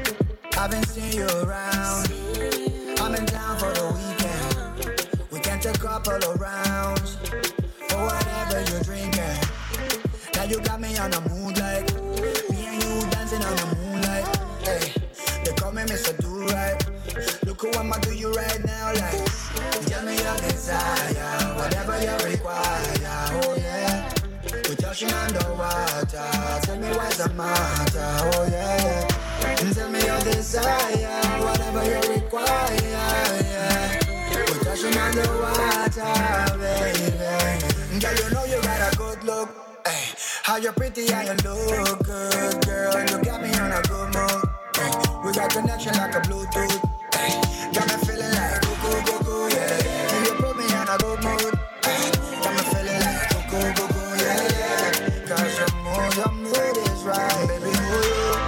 I've been seeing you around. I'm in town for the weekend. We can take a couple of rounds for whatever you're drinking. Now you got me on the mood like me and you dancing on the moonlight. Hey, they call me Mister Do-Right. Look who I'ma do you right now like. Tell me your desire, whatever you require. Oh yeah, we're touching underwater. Tell me what's the matter. Oh yeah, and tell me your desire, whatever you require. Yeah. We're touching underwater, baby. Girl, you know you got a good look. Ay, how you pretty and you look good, girl. You got me on a good mood. Ay, we got connection like a Bluetooth. Ay, got me feeling like cuckoo, cuckoo, yeah, yeah. And you put me on a good mood. Ay, got me feeling like cuckoo, cuckoo, yeah, yeah. Cause your mood, your mood is right, baby. Ooh,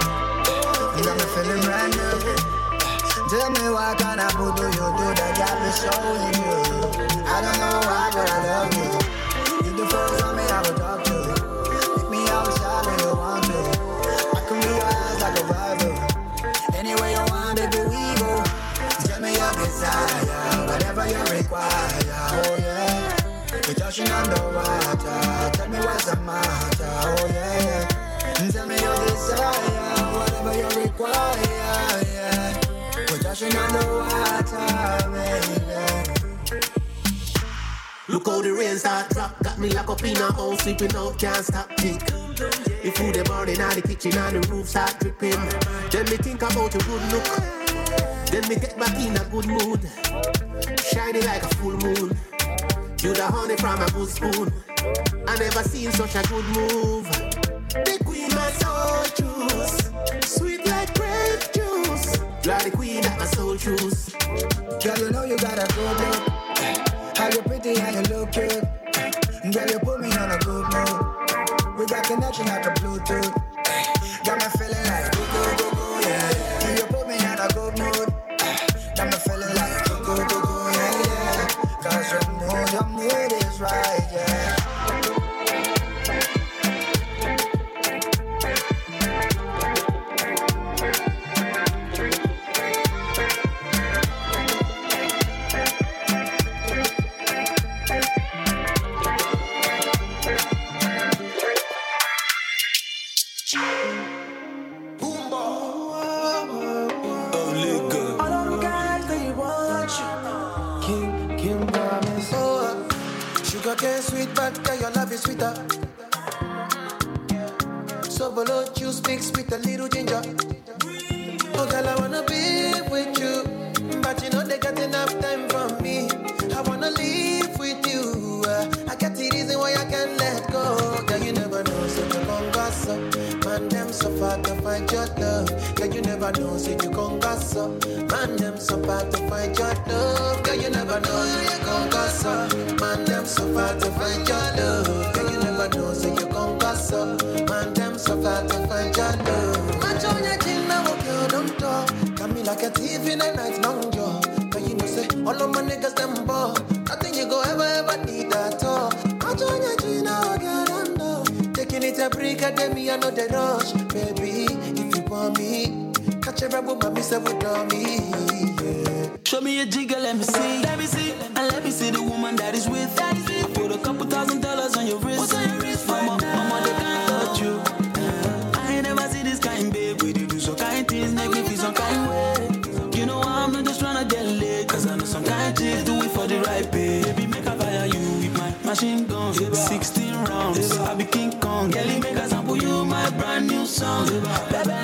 you got me feeling brand new. Tell me what kind of food do you do that got me so in you? I don't know why, but I love you. You the first time me I would talk to. Pick me outside when you want to. I can be your eyes like a rival. Anywhere you want, baby, we go. Tell me your desire, whatever you require. Oh yeah, we're touching underwater. Tell me what's the matter. Oh yeah, tell me your desire, whatever you require. Yeah. We're touching on the water, baby. Look how the rain start drop. Got me locked up in a house, sleeping out, can't stop kick. The food they burning out the kitchen and the roof start dripping. Then me think about your good look. Then me get back in a good mood. Shining like a full moon. You the honey from a good spoon. I never seen such a good move. The queen my soul juice. Sweet like grape juice. You are the queen that my soul choose. Girl, you know you got a good look. How you pretty and you look good. Girl, you put me on a good mood. We got connection like a Bluetooth. Got me feeling like go go go go yeah. And you put me on a good mood. Got me feeling like go go go go yeah yeah. Cause your mood, your mood is right yeah. Sugar sweet, but girl, your love is sweeter. So below juice mixed with a little ginger. Oh girl, I wanna be with you, but you know they got enough time for me. I wanna live with you. Uh, I got the reason why I can't let go. Girl, you never know, so you gon' gossip. Man, them so far to find your love. Girl, you never know, so you gon' gossip. Man, them so far to find your love. Girl, you never know, so you gon' gossip. Man, them so far to find your love. Girl, you never know, so you gon' gossip. Man, them so far to find your love. Match on your chin, now walk your don't talk. Got me like a thief in a night long jaw. But you know, say, all of my niggas, them ball. Nothing you go ever, ever need at all. Match on your chin, now walk your don't talk. Taking it a break, I tell me I know the rush. Baby, if you want me, catch a rebel, mommy, say, what on me, yeah. Show me a jigger, let me see. Let me see. And let me see the woman that is with. That is with. I put a couple thousand dollars on your wrist. What's on your wrist? Mama, mama, they can't touch you. I ain't never see this kind, babe. We do some kind things, make me feel some kind way. You know I'm not just tryna get laid. Cause I know some kind chicks do it for the right pay. Baby, make I fire you with my machine gun. sixteen rounds, I be King Kong. Kelly, make I sample you my brand new song. Baby,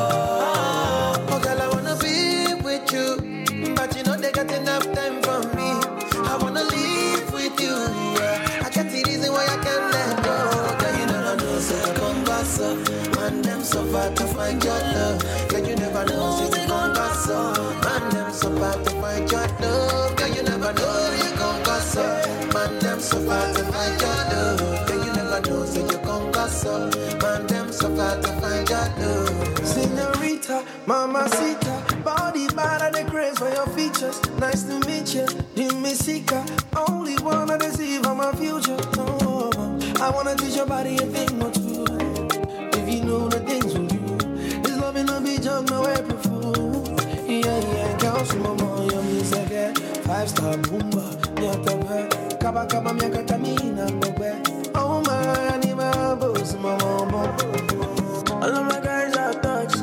love. Oh, girl, I wanna be with you. But you know they got enough time for me. I wanna live with you, yeah. I got the reason why I can't let go. Girl, you never know, so you gon' gossip. Man, them so far to find your love. Girl, you never know, so you gon' gossip. Man, them so far to find your love. Girl, you never know, so you gon' gossip. Man, them so far to find your love. Girl, you never know, so you gon' gossip. Man, them so far to find your love. Señorita, mamacita, body bad and the grace for your features. Nice to meet you, Jimmy Sika. Only wanna deceive on my future. Oh, I wanna teach your body a thing or two. If you know the things we do, this loving will be just no April Fool. Yeah, yeah, girl, so mama, you're music, five star boomba, nyatabe, kaba kaba miaka kamina, bobe. Oh my, I need my boss, mama. All of my guys are thugs,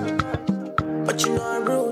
but you know I'm rude.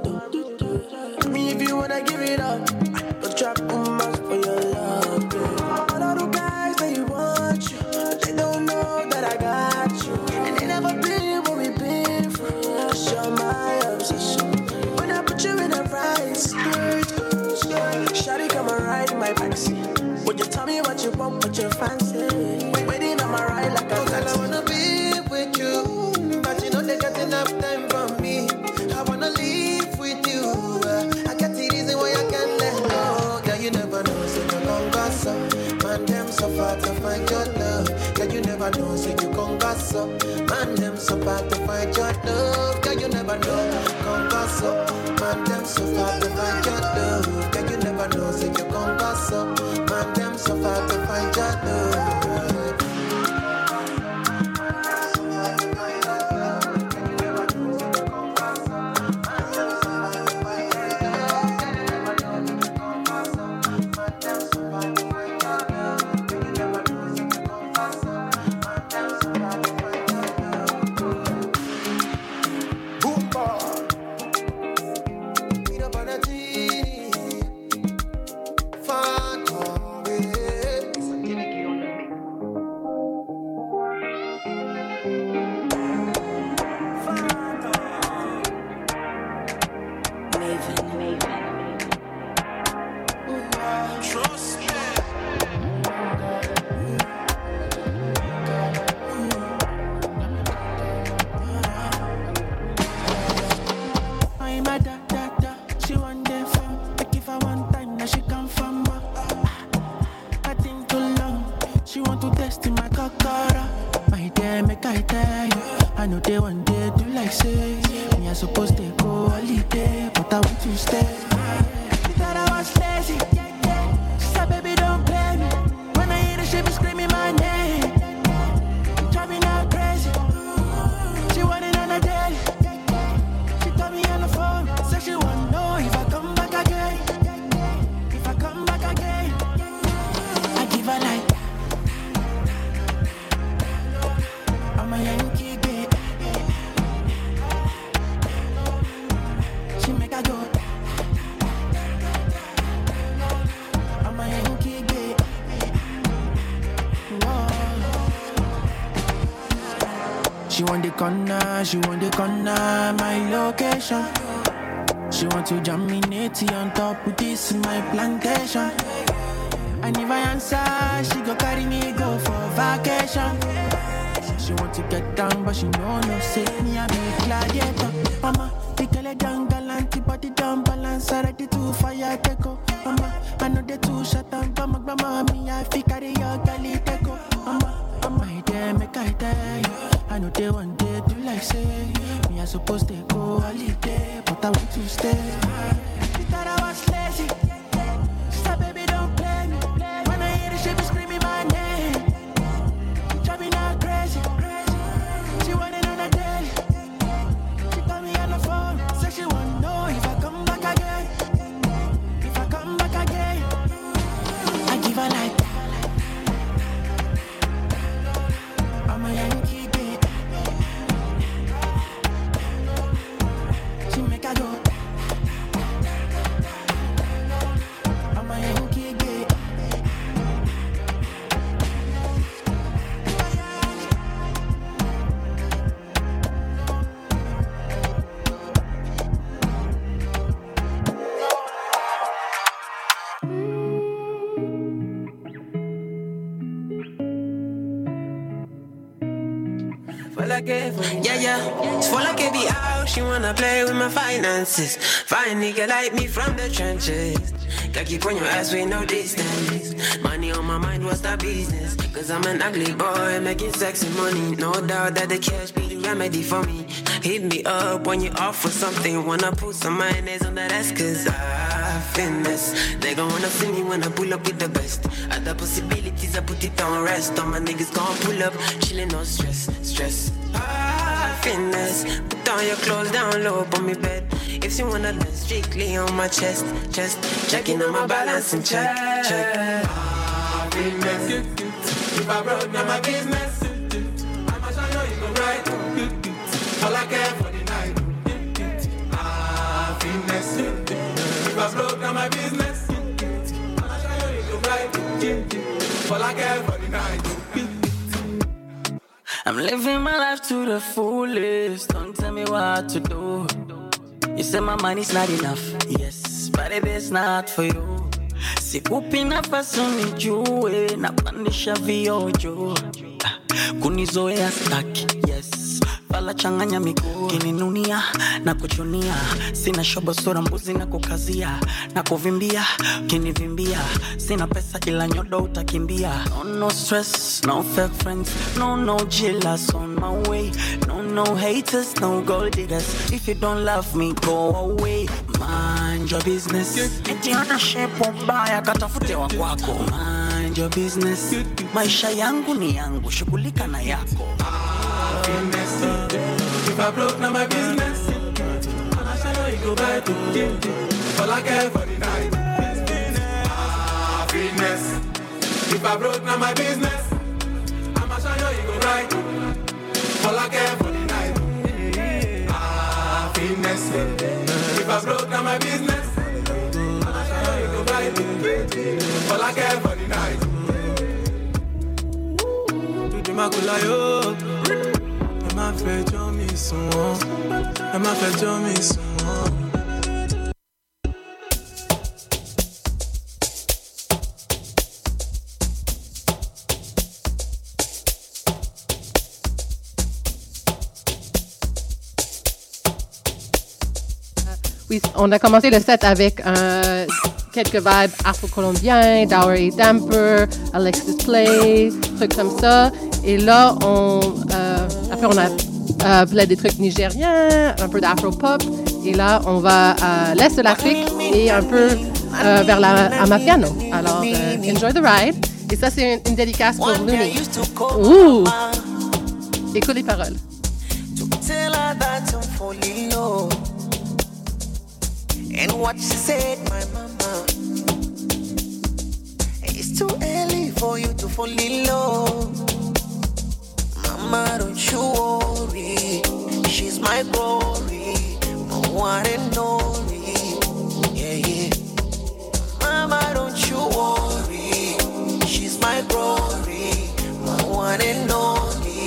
Me if you wanna give it up, but trap boomers for your love. All of the guys that you want you, they don't know that I got you, and they never been what we been through. Show my obsession when I put you in a right skirt, skirt. Shawty come and ride in my backseat. Would you tell me what you want, what you fancy? Waiting on my ride like a taxi. I wanna be with you, but you know they got enough time for me. I wanna live with you. I got the reason why I can't let go. Girl, you never know, so you gon' gossip. Man, them so far to find your love. Girl, you never know, so you gon' gossip. Man, them so far to find your love. Girl, you never know, gon' gossip. Man, them so far to find your love. Girl, you never know, so you gon' gossip. Man, them so far to find your love. go holiday, but I want to stay. She thought I was lazy. She said, baby, don't play me. When I hear the shit be screaming my name, it drive me now crazy. She want it on a daily. She told me on the phone, said she wanna know if I come back again. If I come back again, I give her like I'm a Yankee bitch. She make I go. I'm a Yankee bitch. Whoa. She want the corner, she want the corner, my location. She want to jam me natty on top with this in my plantation. And if I answer, she go carry me go for vacation. She want to get down, but she know no say me a big gladiator. Mama, the girl a young galanty, body down balance, ready to fire teko. Mama, I know the two shot and come mama, me I fi carry your galley teko. Mama, mama, I dare make I tell you. I know they one day do like say me I supposed to go holiday, but I want to stay. She thought I was lazy. She said, baby, don't play me. When I hear the shit be screaming my name, it drive me now crazy. She want it on a daily. She call me on the phone, say she wanna know if I come back again. If I come back again, I give her like I'm a Yankee bitch. She make I go. I'm a Yankee bitch. Yeah, yeah, it's for like it be out. She wanna play with my finances. Fine nigga like me from the trenches. Got keep on your ass with no distance. Money on my mind, what's that business? Cause I'm an ugly boy making sexy money. No doubt that the cash be the remedy for me. Hit me up when you offer something. Wanna put some mayonnaise on that ass cause I finesse. They gon' wanna see me when I pull up with the best. Other possibilities I put it on rest. All my niggas gon' pull up, chillin' no stress, stress. Ah, finesse. Put on your clothes down low on me bed. If you wanna dance strictly on my chest, chest. Checking on my balance and check, check. Ah, finesse. If I broke down my business, I'ma show you you go right. All I care for the night. Ah, finesse. If I broke down my business, I'ma show you you go right. All I care for the night. I'm living my life to the fullest. Don't tell me what to do. You say my money's not enough. Yes, but it is not for you. Sikupi nafasi unijue, napandisha viojo. Kunizoea staki, yes. Fala changanya miguu, kininunia na kuchunia. Sina shobo sura mbuzi na kukazia. Na kuvimbia, kinivimbia. Sina pesa ila nyodo utakimbia. No, no stress, no fake friends. No, no jealous on my way. No, no haters, no gold diggers. If you don't love me, go away. Mind your business. Eti ana shepo mbaya katafute wa kwako. Mind your business. Maisha yangu ni yangu, shughulika na yako. Finesse. If I broke now my business, I'ma show you go back to all I care for the night. Ah, finesse. If I broke now my business, I'ma show you go right. All I care for the night. Ah, finesse. If I broke now my business, I'ma show you go right. All I care for the night. Tu dis ma coulayo. Elle m'a fait dormir souvent. Elle m'a fait dormir souvent. Oui, on a commencé le set avec euh, quelques vibes afro-colombiens, Dowry Damper, Alexis Play, trucs comme ça. Et là, on, euh, après, on a euh, des trucs nigériens, un peu d'afro-pop. Et là, on va à l'est de l'Afrique et un peu euh, vers la Amapiano. Alors, euh, enjoy the ride. Et ça, c'est une, une dédicace pour Looney. Ouh! Écoute les paroles. Tell her that I'm falling low. And what she said, my mama, it's too early for you to fall in love. Mama, don't you worry, she's my glory, my one and only. Yeah, yeah. Mama, don't you worry, she's my glory, my one and only.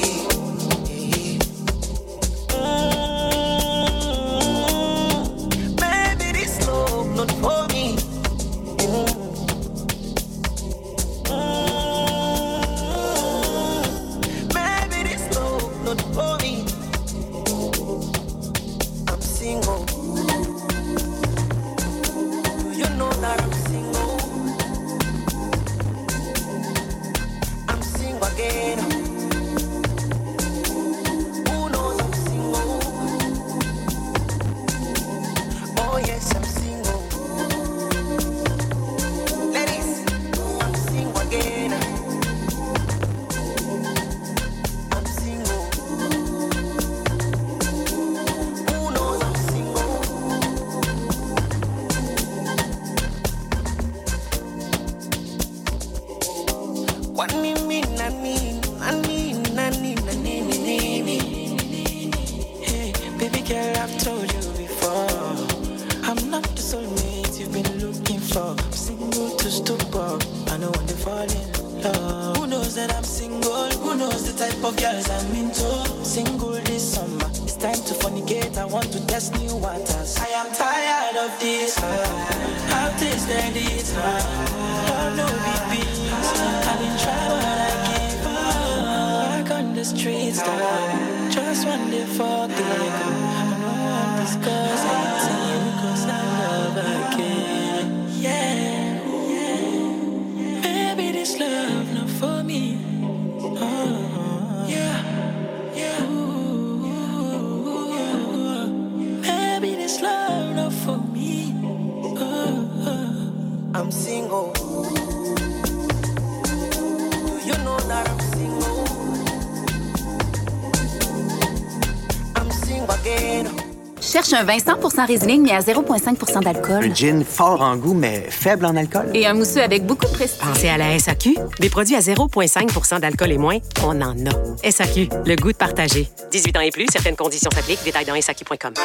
Cherche un vin cent pour cent Riesling, mais à zéro virgule cinq pour cent d'alcool. Un gin fort en goût, mais faible en alcool. Et un mousseux avec beaucoup de prestige. Pensez à la S A Q. Des produits à zéro virgule cinq pour cent d'alcool et moins, on en a. S A Q, le goût de partager. dix-huit ans et plus, certaines conditions s'appliquent. Détails dans S A Q point com.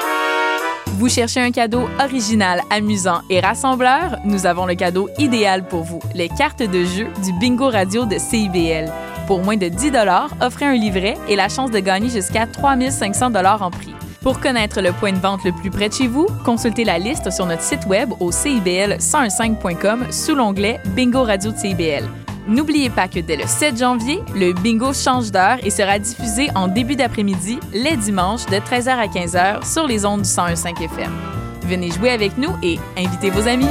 Vous cherchez un cadeau original, amusant et rassembleur? Nous avons le cadeau idéal pour vous, les cartes de jeu du Bingo Radio de C I B L. Pour moins de dix dollars, offrez un livret et la chance de gagner jusqu'à trois mille cinq cents dollars en prix. Pour connaître le point de vente le plus près de chez vous, consultez la liste sur notre site web au c i b l cent quinze point com sous l'onglet Bingo Radio de C I B L. N'oubliez pas que dès le sept janvier, le bingo change d'heure et sera diffusé en début d'après-midi, les dimanches, de treize heures à quinze heures sur les ondes du cent un virgule cinq F M. Venez jouer avec nous et invitez vos amis.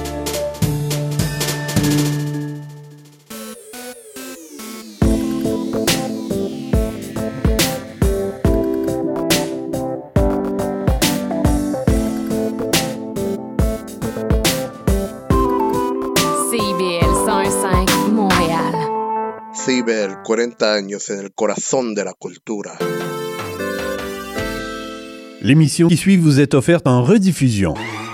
C I B L, cuarenta años en el corazón de la cultura. L'émission qui suit vous est offerte en rediffusion.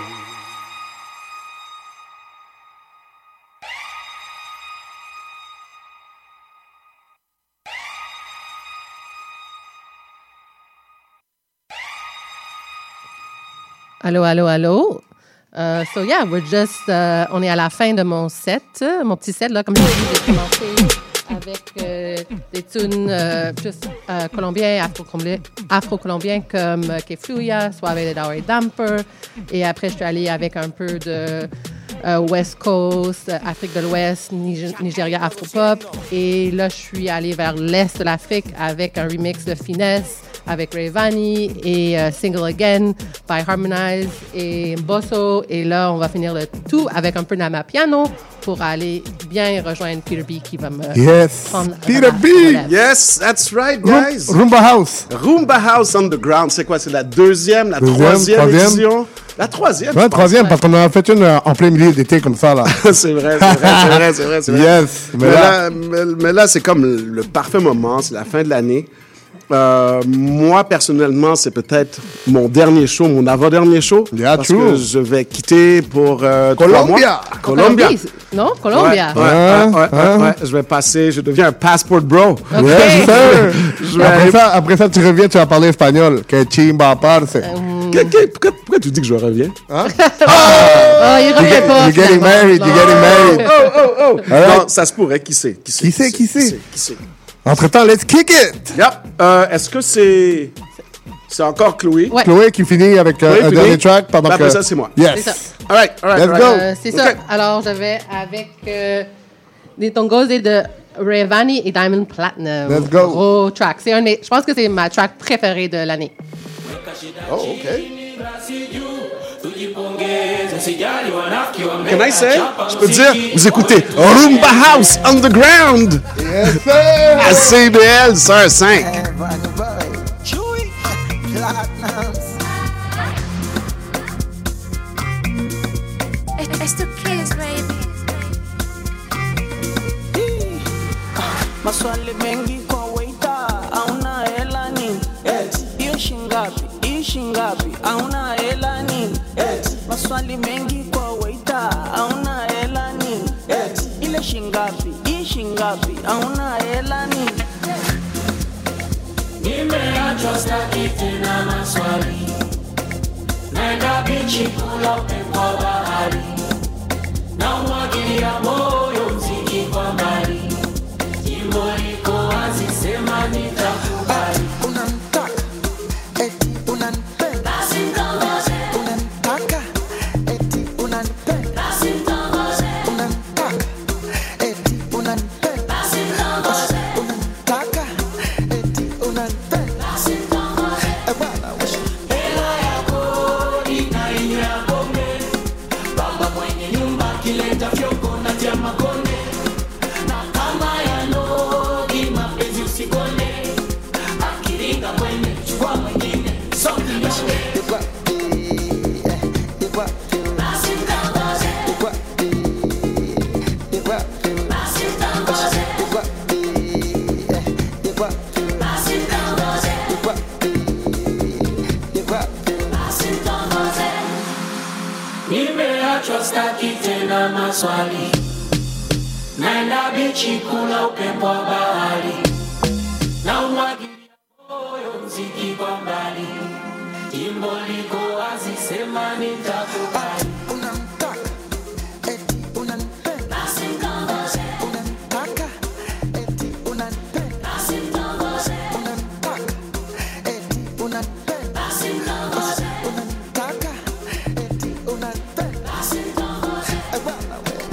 Allô, allô, allô. Uh, so yeah, we're just, uh, on est à la fin de mon set, mon petit set là, comme je dis, j'ai commencé avec euh, des tunes euh, plus euh, colombiens, afro-colombiens, afro-colombiens comme euh, Kefluya, Suave de Daure Damper, et après je suis allée avec un peu de euh, West Coast, Afrique de l'Ouest, Nig- Nigeria Afro-Pop, et là je suis allée vers l'Est de l'Afrique avec un remix de Finesse avec Rayvani et uh, Single Again by Harmonize et Bosso. Et là, on va finir le tout avec un peu d'Amapiano pour aller bien rejoindre Peter B qui va me Yes. prendre Peter à B. la- Yes, that's right, guys. Roomba House. Roomba House Underground, c'est quoi? C'est la deuxième, la Deuxième, troisième, troisième. édition? La troisième. Ouais, je pense. troisième, parce qu'on en a fait une euh, en plein milieu d'été comme ça, là. c'est vrai, c'est vrai, c'est vrai, c'est vrai, c'est vrai. Yes. Mais, Mais là, là- mais, mais là, c'est comme le, le parfait moment, c'est la fin de l'année. Euh, moi, personnellement, c'est peut-être mon dernier show, mon avant-dernier show. Yeah, parce true. que je vais quitter pour euh, trois Colombia. mois. Colombia. Colombie, non? Colombia. Ouais, ouais, Hein? ouais, ouais, Hein? ouais. Je vais passer, je deviens un passport bro. Yes, sir. Je vais après, aller- ça, après ça, tu reviens, tu vas parler espagnol. Que chimba parce. Que- que- pourquoi, pourquoi tu dis que je reviens? Hein? Oh, il You revient get- pas. you're getting finalement. married, you're getting married. Oh, oh, oh. All right. Non, ça se pourrait. Qui sait? Qui sait? Qui sait, qui sait? Qui sait? Entre-temps, let's kick it! Yep. Euh, Est-ce que c'est... C'est encore Chloé? Ouais. Chloé qui finit avec euh, Chloé un finit. dernier track pendant Ben, que... après ça, c'est moi. Yes. C'est ça. All right, all right, Let's all go. right. Euh, c'est Ok. ça. Alors, j'avais avec euh, des tongos et de Rayvani et Diamond Platinum. Let's go. Gros track. C'est un de mes- je pense que c'est ma track préférée de l'année. Oh, OK. Can I say? Je peux dire, vous écoutez Roomba House Underground Yes, sir! à C B L cent cinq. It's the kids, baby. Maswali mengi kwa waiter, hauna hela nini? Hiyo shingapi? Hii shingapi? Hauna hela nini? Maswali mengi kwa waiter, hauna hela nini? Ile shingapi? Hii shingapi? Hauna hela nini? Nimeachwa staki tena maswali, naenda bichi kula upepo wa bahari, na umwagilia moyo mziki kwa mbali, jimbo liko wazi, sema nitakubali. Unanitaka, eti unanipenda. Basi mtongoze, Unanitaka, eti unanipenda. basi mtongoze, Unanitaka, eti unanipenda. basi mtongoze, Unanitaka, eti unanipenda. basi mtongoze. Eh, bwana, wewe. Hela ya kodi na inyo ya pombe, baba mwenye nyumba kileta fyoko na tia makonde, na kama ya nogi mapenzi usikone, akiringa kwenye chukua mwingine songi nyonge. You got the, eh, you got the, Basi mtongoze, you got the, you got the, basi mtongoze, you got the, eh, you got the, basi mtongoze, you got the, you got the. basi mtongoze. Nimeachwa staki tena maswali, naenda bichi kula upepo wa bahari, na umwagilia moyo mziki kwa mbali, jimbo liko wazi, sema nitakubali. Unanitaka, eti unanipenda. Basi mtongoze, Unanitaka, eti unanipenda. basi mtongoze, Unanitaka, eti unanipenda. basi mtongoze, Unanitaka, eti unanipenda. basi mtongoze. Eh, bwana, wewe.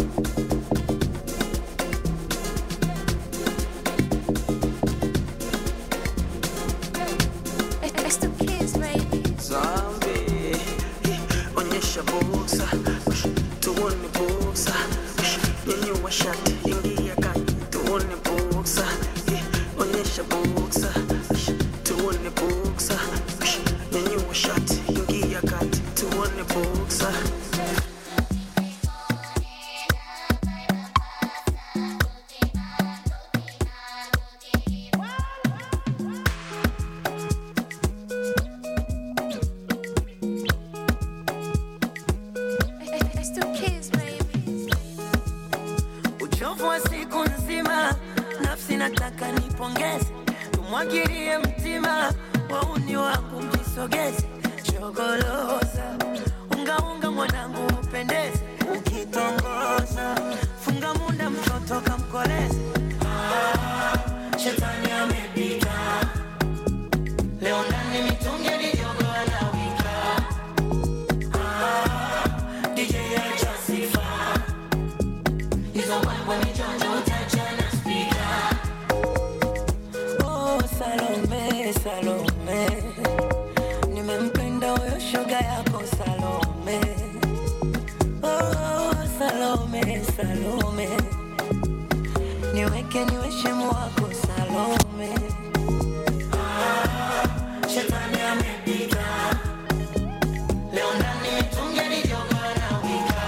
It's the kids, baby. Zombie, onyesha buksa, tuone buksa, nyanyua shati, ingia kati, tuone buksa, onyesha buksa, tuone buksa, nyanyua shati, ingia kati, tuone buksa. It's the kids, baby. Uchovu wa siku nzima, nafsi nataka nipongeze, tumwagilie mtima, wauni wangu mjisogeze, chogoloza, unga unga mwanangu upendeze, ukitongoza, funga munda mtoto kamkoleze. Ah, shetani amepita, leo ndani mitungi midogo anawika. Ah, D J acha sifa, hizo mambo ni jonjo utachana speaker. Oh, Salome, Salome, nimempenda huyo shoga yako Salome. Salome, niweke niwe shemu wako Salome. Ah, shetani amepita leo ndani mitungi nijoka na wika.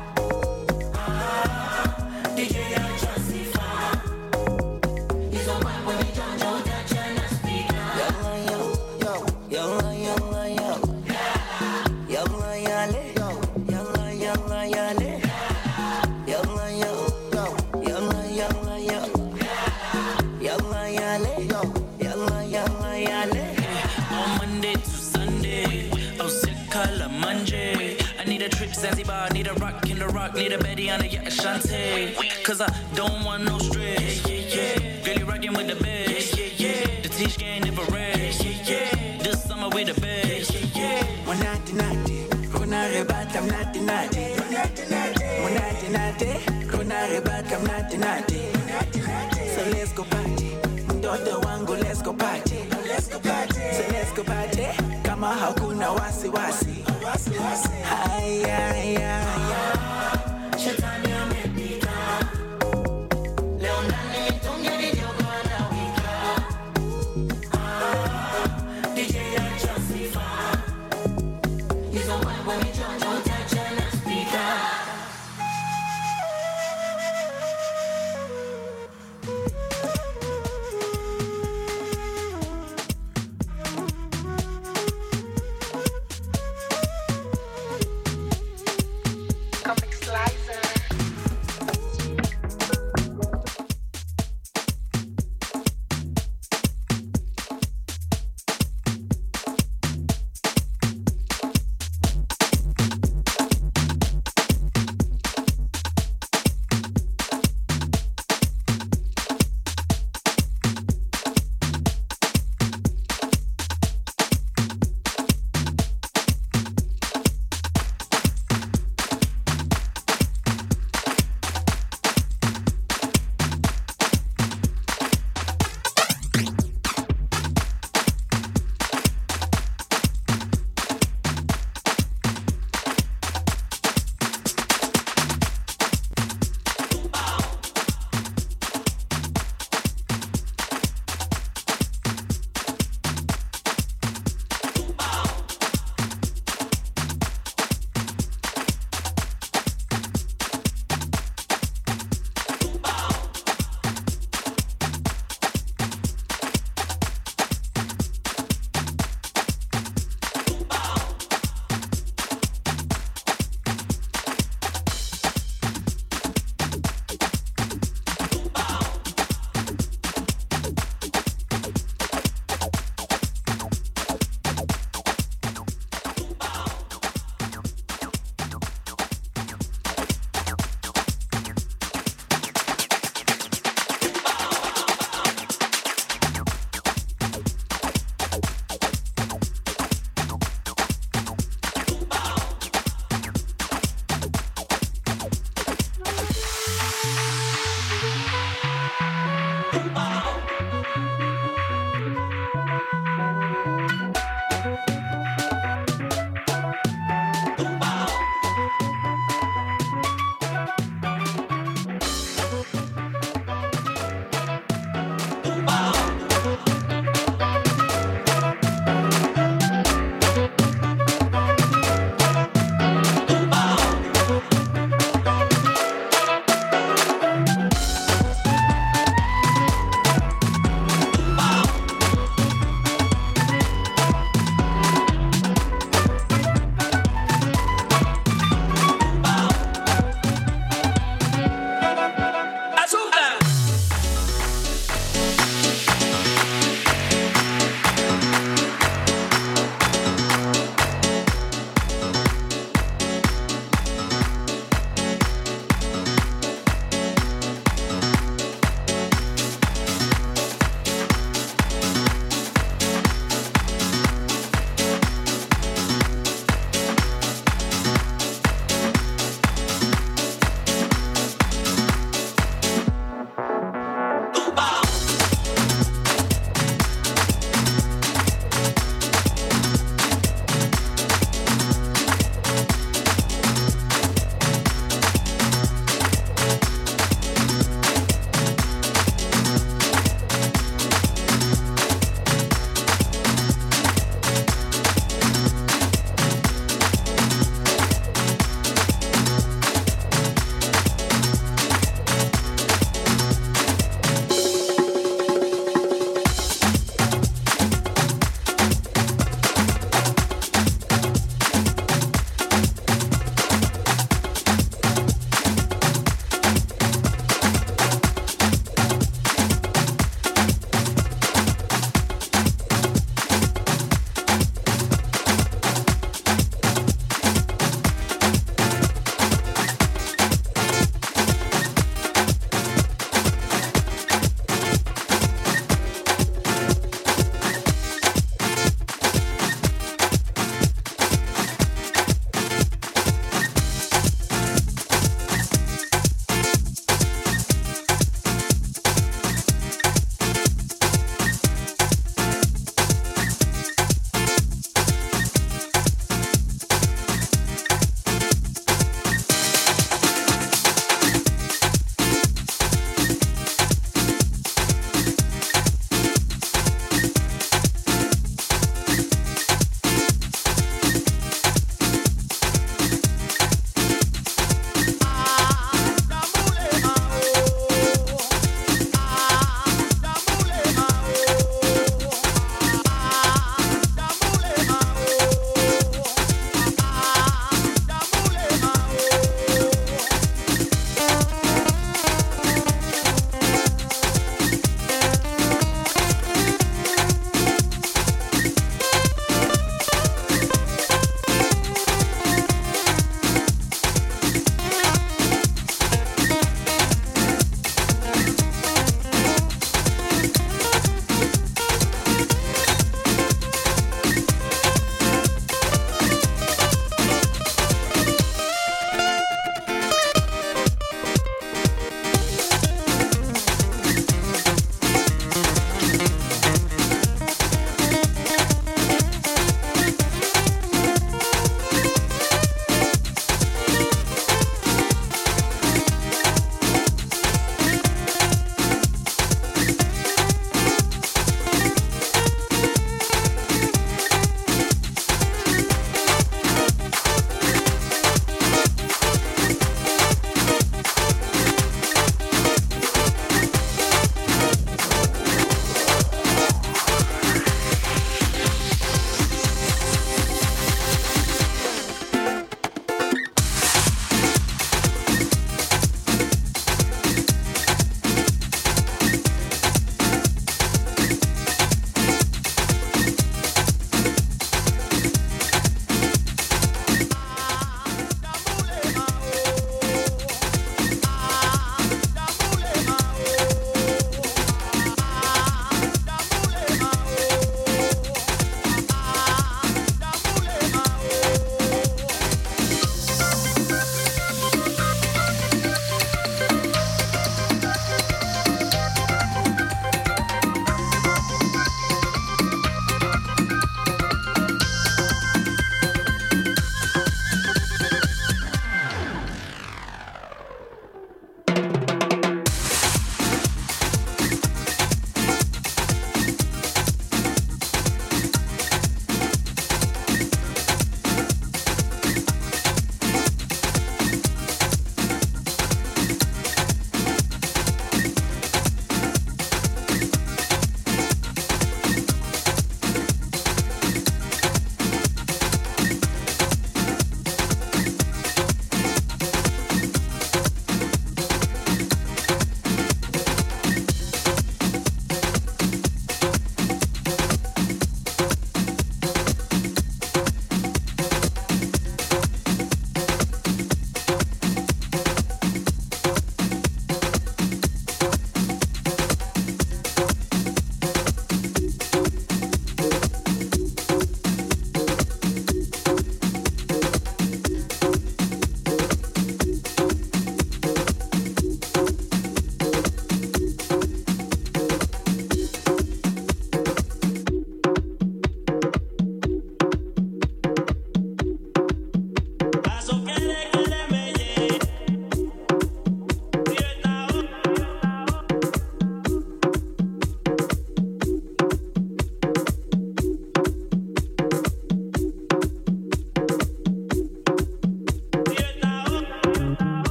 Ah, D J acha sifa hizo mambo ni jonjo utachana speaker. Yalla yo yo yalla yalla yo yalla yale yalla yalla yale yalla yo yalla yalla yo yalla yale yalla yalla yale. On Monday to Sunday, oh sick color Monday. I need a trip Zanzibar, need a rock in the rock, need a Betty on a yacht Ashante. Cause I don't want no stress. Yeah, yeah, yeah. Girl, you rockin' with the best. Yeah, yeah, yeah. The teach game never rest. Yeah, yeah. This summer we the best. Yeah, yeah. One nighty nighty, Rona rebat I'm naughty naughty. One nighty nighty, Rona rebat I'm naughty naughty. So let's go party, mtoto wangu let's go party. Let's go party, so let's go party. Kama hakuna wasi wasi. Haya haya haya. Shetani amepita leo ndani mitungi nijoka na wika. Ah, D J acha sifa hizo mambo ni jonjo utachana speaker.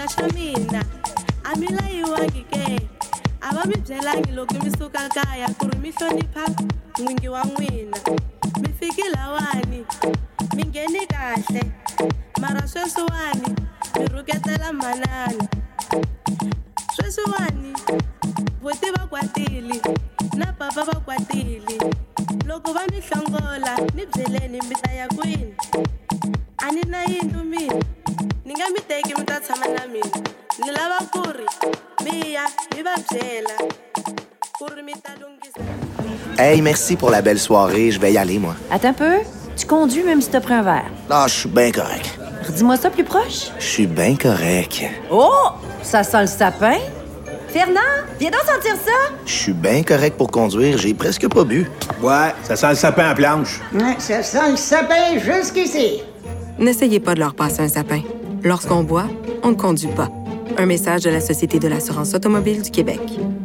xa mina a mi layiwangi ke a va mi byelangi loko mi suka kaya ku ri mi hlonipha n'wingi wa n'wina mi fiki lawani mi ngheni kahle mara sweswiwani mi rhuketela manana sweswiwani voti va kwatile na papa va kwatile loko va mi hlongola ni byeleni mi ta ya kwini a ni na yindlu mina ni nga mi teki mi ta tshama na mina ni lava ku ri mi ya mi va byela ku ri mi ta lunghisa. Hey, merci pour la belle soirée. Je vais y aller, moi. Attends un peu. Tu conduis même si t'as pris un verre. Ah, je suis bien correct. Redis-moi ça plus proche. Je suis bien correct. Oh! Ça sent le sapin. Fernand, viens donc sentir ça. Je suis bien correct pour conduire. J'ai presque pas bu. Ouais, ça sent le sapin à planche. Ouais, ça sent le sapin jusqu'ici. N'essayez pas de leur passer un sapin. Lorsqu'on boit, on ne conduit pas. Un message de la Société de l'assurance automobile du Québec.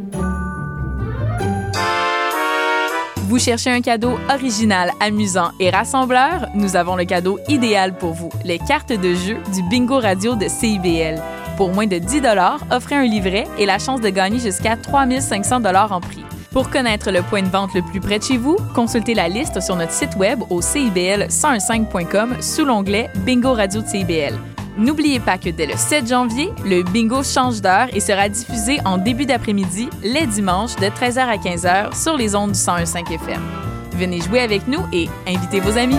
Vous cherchez un cadeau original, amusant et rassembleur? Nous avons le cadeau idéal pour vous, les cartes de jeu du Bingo Radio de C I B L. Pour moins de dix dollars, offrez un livret et la chance de gagner jusqu'à trois mille cinq cents dollars en prix. Pour connaître le point de vente le plus près de chez vous, consultez la liste sur notre site web au c i b l cent quinze point com sous l'onglet Bingo Radio de C I B L. N'oubliez pas que dès le sept janvier, le bingo change d'heure et sera diffusé en début d'après-midi, les dimanches, de treize heures à quinze heures sur les ondes du cent un virgule cinq F M. Venez jouer avec nous et invitez vos amis.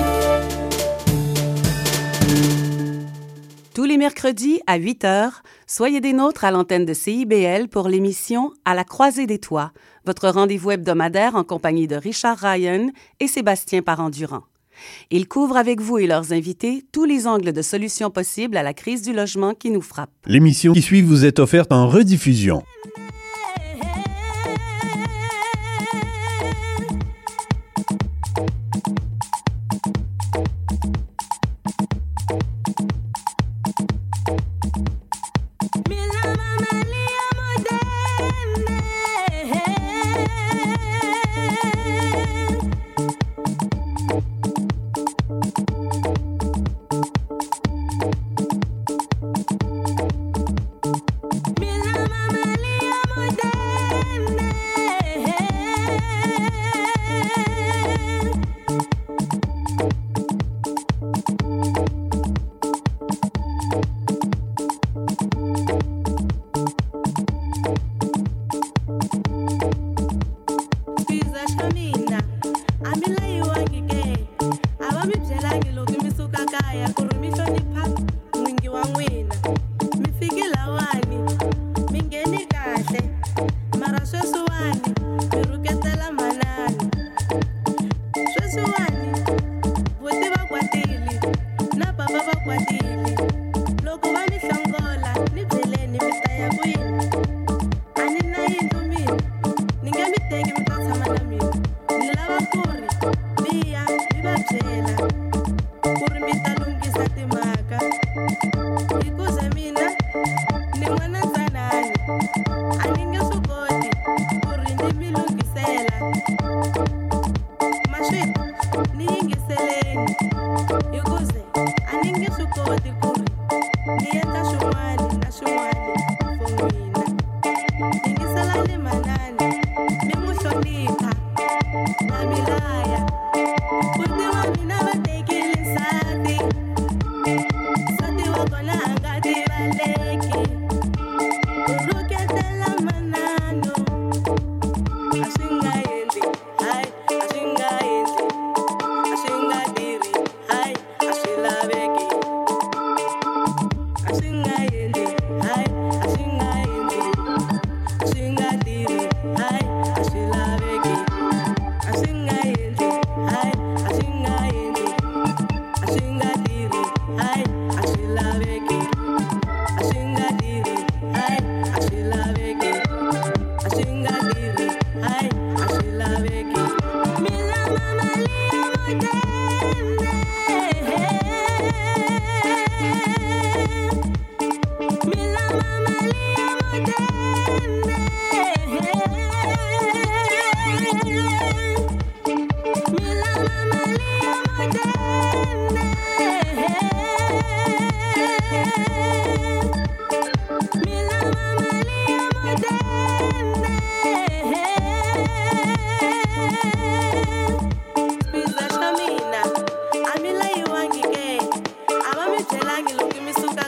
Tous les mercredis à huit heures, soyez des nôtres à l'antenne de C I B L pour l'émission À la croisée des toits, votre rendez-vous hebdomadaire en compagnie de Richard Ryan et Sébastien Parent-Durand. Ils couvrent avec vous et leurs invités tous les angles de solutions possibles à la crise du logement qui nous frappe. L'émission qui suit vous est offerte en rediffusion.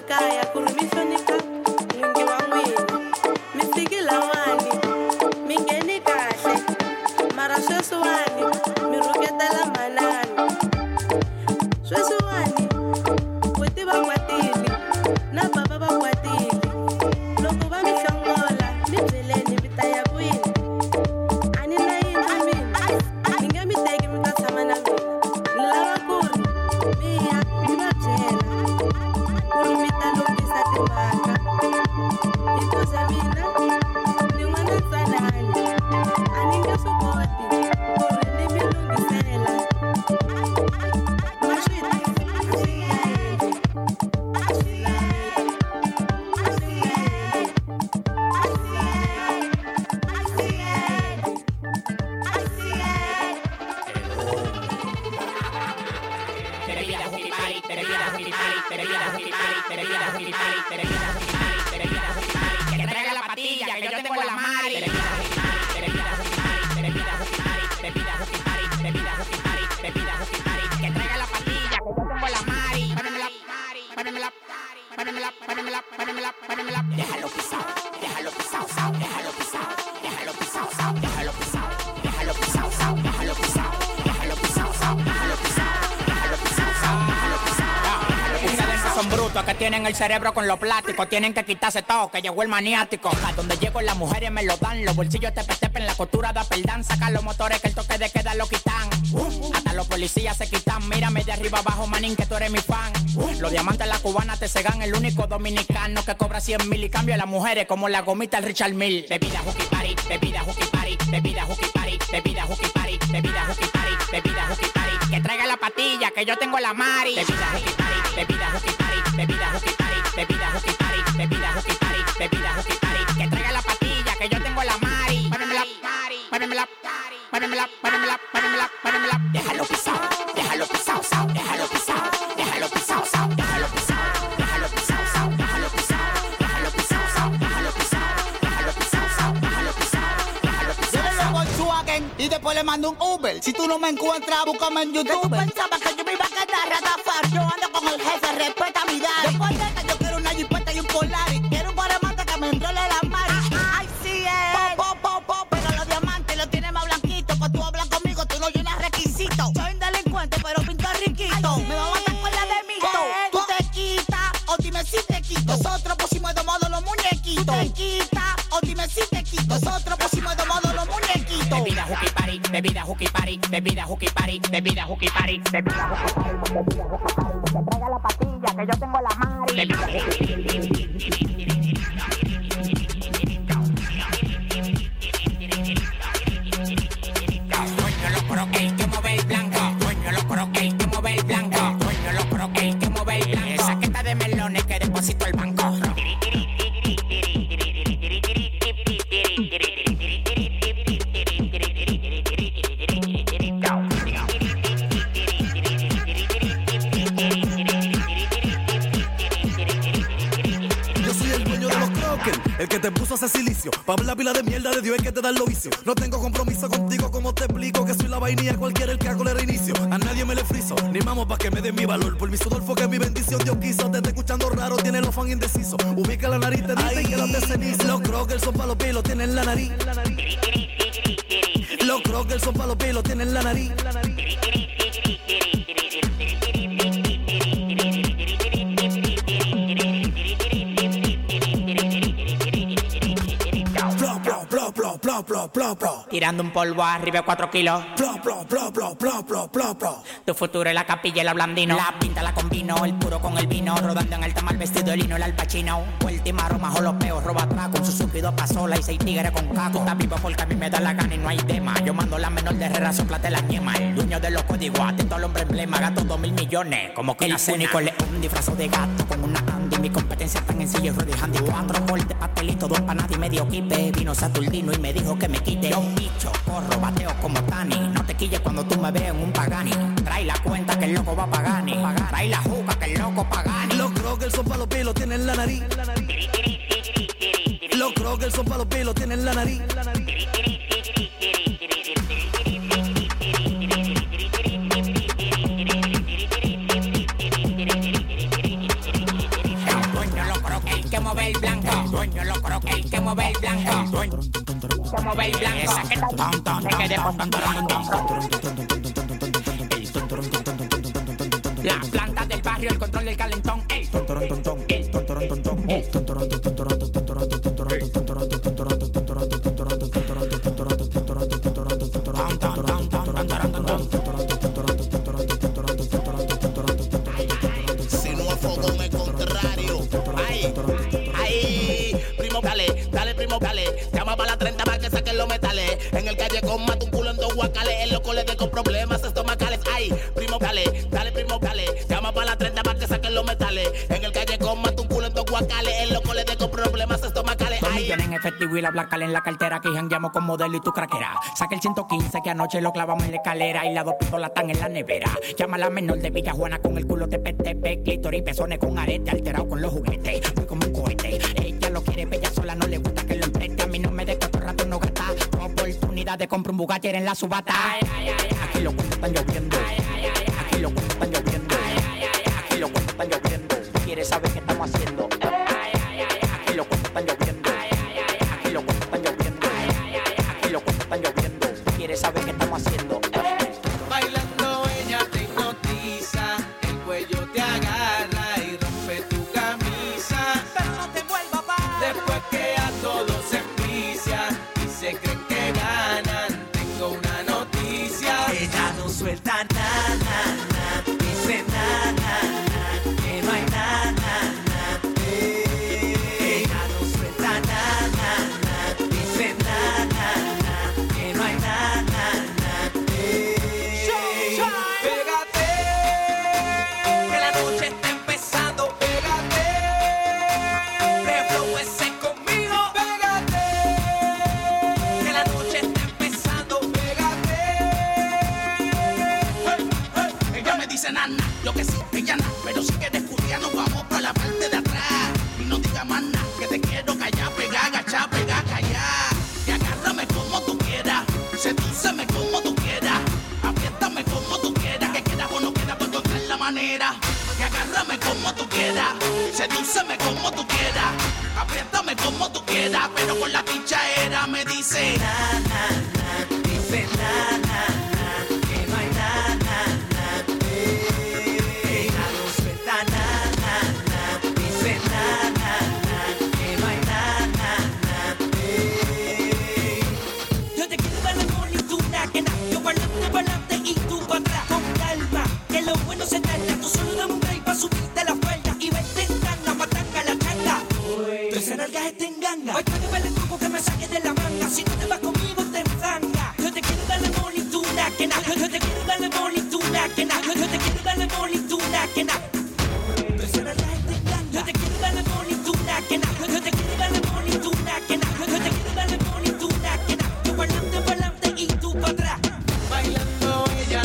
kaya ku ri mi hlonipha n'wingi wa n'wina mi fikile wani mi ngheni kahle mara sweswiwani mi rhuketela manani sweswiwani weti va kwatile na baba va kwatile loko va mi hlongola mi byeleni mi ta ya kwini a ni na yini mina mi nge mi teki mi ta tshama na mina ni lava ku ri mi ya mi va byela ku ri mi ta lunghisa timhaka hikuze mina ni n'wana ntsanani a ni nge swi koti ku ri ni mi lunghisela ma swi a swi endli a swi lavi a swi endli a swi endli a swi endli Que traiga la patilla, que yo tengo la mari. Que traiga la patilla, que yo tengo la mari. Párenmela, párenmela, párenmela, párenmela, párenmela. Déjalo pisado, déjalo pisado, déjalo pisado, déjalo pisado, déjalo pisado, déjalo pisado, déjalo pisado, déjalo pisado, déjalo pisado, déjalo pisado, déjalo pisado. Ustedes son brutos que tienen el cerebro con los plásticos. Tienen que quitarse todo, que llegó el maniático. A donde llego las mujeres me lo dan. Los bolsillos te tepen, la costura da perdán. Sacan los motores que el toque de queda lo quitan. Hasta los policías se quitan. Mírame de arriba abajo, manín, que tú eres mi fan. Los diamantes la cubana te cegan. El único dominicano que cobra cien mil y cambio a las mujeres como la gomita el Richard Mille. Bebida hooky party, bebida hooky party, bebida hooky party, bebida hooky party, bebida hooky party, bebida hooky party. Que traiga la patilla, que yo tengo la mari. Bebida hooky party, bebida hooky party, bebida hooky party, bebida hooky party, bebida hooky party, bebida hooky party. Que traiga la patilla, que yo tengo la mari. Párenmela, párenmela, párenmela, párenmela, párenmela, párenmela. Déjalo pisado, déjalo pisado, déjalo pisado, déjalo pisado, déjalo pisado, déjalo pisado, déjalo pisado, déjalo pisado, déjalo pisado, déjalo pisado, déjalo pisado, déjalo pisado. Yo le Volkswagen y después le mando un Uber. Si tú no me encuentras, búscame en YouTube. Tú pensabas que yo me iba a quedar ratafar. Yo ando con el jefe, respeta mi daddy. Después de que yo quiero una jipeta y un Polaris. Quiero un guaremate que me enrole la mari. Ay, sí es. Pop, pop, pop, pop. Pero los diamantes los tiene más blanquitos. Cuando tú hablas conmigo, tú no llenas requisitos. Soy un delincuente, pero pinto riquito. Me va a matar con la de mito. Tú te quitas, o dime si te quito. Nosotros pusimos de modo los muñequitos. Tú te quitas, o dime si te quito. Nosotros pusimos de modo los muñequitos. Bebida hooky party, bebida hooky party, bebida hooky party, bebida hooky party, bebida hooky party, bebida hooky party. Que traiga la patilla, que yo tengo la mari. Bebida hooky party. Coño los croquetes, que mueve el blanco. Coño los croquetes, que mueve el blanco. Coño los croquetes, que mueve el blanco. Esa queta de melones que deposito el banco. El que te puso a hacer silicio, pa' hablar pila de mierda de Dios es que te da el vicio. No tengo compromiso contigo, como te explico que soy la vainilla, cualquiera el que hago le reinicio. A nadie me le friso, ni mamo pa' que me dé mi valor. Por mi sudor fue que mi bendición Dios quiso. Te está escuchando raro, tiene los fans indecisos. Ubica la nariz, te dicen que los de ceniza. Los crockers son pa' los pies, los tienen en la nariz. Los crockers son pa' los pies, los tienen en la nariz. Plop, plop, plop, plop. Tirando un polvo arriba cuatro kilos. Plop, plop, plop, plop, plop, plop, plop, plop. Tu futuro es la capilla, el blandino. La pinta la combino, el puro con el vino. Rodando en alta mal vestido, el lino, el alpachino. Vuelta y marro, majo los peos, roba atrás. Con Suzuki, dos pasolas y seis tigres con caco. Está vivo porque a mí me da la gana y no hay tema. Yo mando la menor de Herrera, soplate la ñema. El dueño de los códigos, atento al hombre emblema. Gato dos mil millones, como que el único león disfrazado de gato con una Andy. Mi competencia tan en silla y ruedas handy. Cuatro bol de pastelito, dos empanadas y medio kipe. Vino Saturnino y me dijo que me quite. Yo bicho, corro, bateo como Tani. No te quilles cuando tú me veas en un Pagani. Trae la cuenta que el loco va a Pagani. Trae la juca que el loco Pagani. Los crockers son pa' los pies, los tienen en la nariz. Los crockers son pa' los pies, los tienen en la nariz. mueve el blanco. El dueño lo croque, el que mueve el blanco. El dueño que mueve el blanco. Esa que ton, ton, se quede con ton, ton, ton. La planta del barrio, el control del calentón. El ton, ton, ton, ton. El ton, ton, ton, ton. El ton, ton, ton, ton. En el callejón mata un culo en dos guacales. El loco le dejo problemas estomacales. Ay, primo, dale, dale, primo, dale. Llama para la treinta para que saquen los metales. En el callejón mata un culo en dos guacales. El loco le dejo problemas estomacales. Dos millones en efectivo y la blanca en la cartera. Que jangueamos con modelo y tu craquera. Saca el ciento quince que anoche lo clavamos en la escalera. Y las dos pistolas están en la nevera. Llama a la menor de Villajuana con el culo de P T P. Clítoris y pezones con arete alterado con los juguetes. Fui como un cohete. Ella lo quiere bella sola, no le gusta que lo empreste. A mí no me deja todo rato no gasta. Oportunidad de comprar un Bugatti en la subata. Ay, ay, ay, aquí los cuentos están lloviendo. Ay, ay, ay, aquí los cuentos están lloviendo. Ay, ay, ay, aquí los cuentos están lloviendo. ¿Quieres saber qué estamos haciendo? Ay, ay, ay, aquí los cuentos están lloviendo. Ay, ay, ay, aquí los cuentos están lloviendo. Ay, ay, ay, aquí los cuentos están lloviendo. ¿Quieres saber qué estamos haciendo? Bailando ella te hipnotiza, el cuello te agarra y rompe tu camisa. Pero no te vuelvas pa. Después que a todos se envicia y se creen que ganan, tengo una noticia. Ella no suelta nada, nada, dice nada, nada, que no hay nada, nada. Ella no suelta nada, nada, dice nada, nada, que no hay nada, nada. Pégate, que la noche está empezando. Pégate, reflóese conmigo. Pégate, que la noche está empezando. Pégate. Hey, hey. Ella me dice nana, yo que sí, ella nada. Pero si quieres estudiar nos vamos para la parte de atrás. Y no digas más nada, que te quiero callar, pegar, agachar, pegar, callar. Y agárrame como tú quieras, sedúceme como tú quieras. Apriétame como tú quieras, que quieras o no quieras, pues encontrar la manera. Y agárrame como tú quieras, sedúceme como tú quieras. Apriétame como tú quieras, pero con la pichadera me dice na, na, na, dice na, na, na, que no hay na, na, na. Ella no suelta na, na, na, dice na, na, na, que no hay na, na, na. Yo te quiero dar la mano y tú na, que na. Yo bailando, bailando y tú pa' atrás. Con calma, que lo bueno se tarda. Tú solo dame un break pa' subirte la falda. Y vete en tanga, matanga la changa. Tú esa nalga está en ganga. Hoy para que vale el truco que me saque de la manga. Si no te vas conmigo te enfanga. Yo te quiero darle moli, tú na, que na. Yo te quiero darle moli, tú na, que na. Yo te quiero darle moli, tú na, que na. Tú esa nalga está en ganga. Yo te quiero darle moli, tú na, que na. Yo te quiero darle moli, tú na, que na. Yo te quiero darle moli, tú na, que na. Yo bailando, bailando y tú pa' atrás. Bailando ella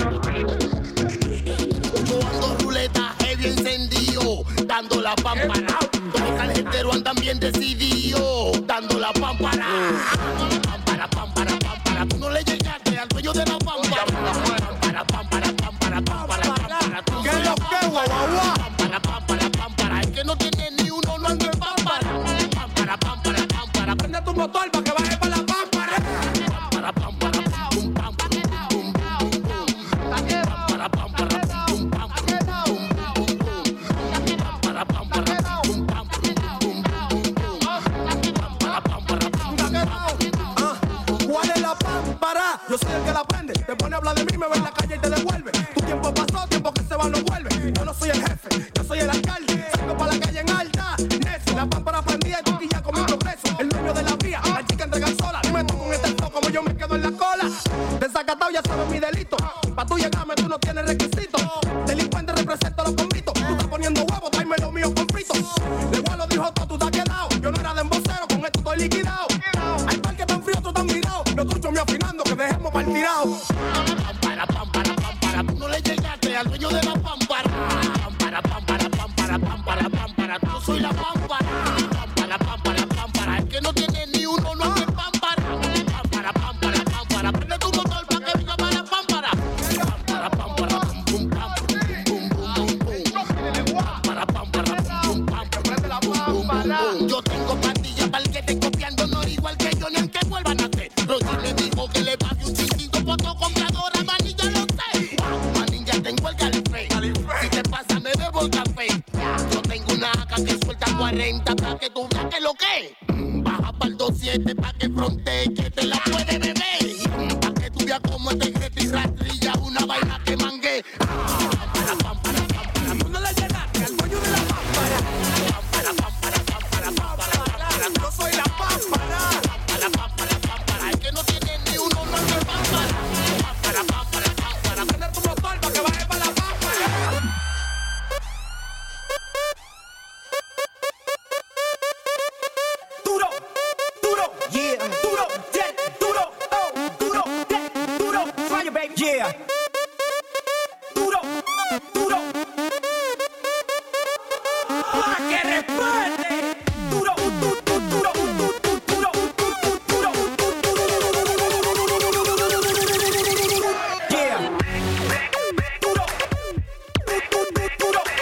Yo ando ruleta, heavy encendido, dando la pámpara. Los caljeteros andan bien decididos, dando la pámpara. Pámpara, pámpara, pámpara. Tú no le llegaste al dueño de la pámpara. Pámpara, pámpara, pámpara, pámpara, pámpara. ¿Qué es lo que, guau, guau? Pámpara, pámpara, pámpara. El que no tiene ni uno no anda en pámpara. Pámpara, pámpara, pámpara. Prende tu motor pa' que baje pa' la pámpara. Pámpara, pámpara, pum, pam, pum, pum, pum, pum, pum. Pámpara, pámpara, pum, pam, pum, pum, pum, pum, pum. Pámpara, pámpara, pum, pam, pum, pum, pum, pum, pum. Pámpara, pámpara, pum, pam, pum. ¿Cuál es la pámpara? Yo soy el que la prende. Te pone a hablar de mí, me ve en la calle y te devuelve. Tu tiempo pasó, tiempo que se va no vuelve. Yo no soy el jefe, yo soy el alcalde. Salgo para la calle en alta, necio. La pámpara prendida y tú ya con mi progreso. El dueño de la vía, la chica entrega sola. Dime tú con este flow como yo me quedo en la cola. Desacatado ya sabes mi delito. Pa' tú llegarme tú no tienes requisitos. Delincuente represento los convitos. Tú estás poniendo huevos, tráeme lo mío con fritos. De igual lo dijo todo, tú te has quedado. Yo no era de embocero, con esto estoy liquidado. Hay parque tan frío, tú tan mirado. Los truchos me afinando, que dejemos para el tirado. Pámpara, pámpara, pámpara. Tú no le llegaste al dueño de la pámpara. Pámpara, pámpara, pámpara, pámpara, pámpara. Yo soy la pámpara. Pámpara, pámpara, pámpara. El que no tiene ni uno no anda en pámpara. Pámpara, pámpara, pámpara. Prende tu motor pa' que venga para la pámpara. Pámpara, pámpara, pum, pum, pam, pum, pum, pum, pum, pum. Pámpara, pámpara, pum, pum, pam, pum, pum, pum, pum. treinta, cuarenta, pa' que tú veas que lo que. Baja pa'l dos siete pa' que fronte, que te la puede beber. Pa' que tú veas como este grete y rastrilla, una vaina que mangue. Pámpara, pámpara, pámpara, tú no le llegaste al coño de la pámpara. Pámpara, pámpara, pámpara, pámpara, pámpara, yo soy la pámpara. Pámpara, pámpara, pámpara, es que no tiene ni uno, no es pámpara. Pámpara, pámpara, pámpara, tener tu motor pa' que baje pa' la pámpara. Duro, duro, yeah, duro, yeah, duro, oh, duro, yeah, duro, fire baby, yeah. Duro, duro. ¡Ah, que respete! Duro, duro, duro, duro, duro, duro, yeah. Duro, duro, duro.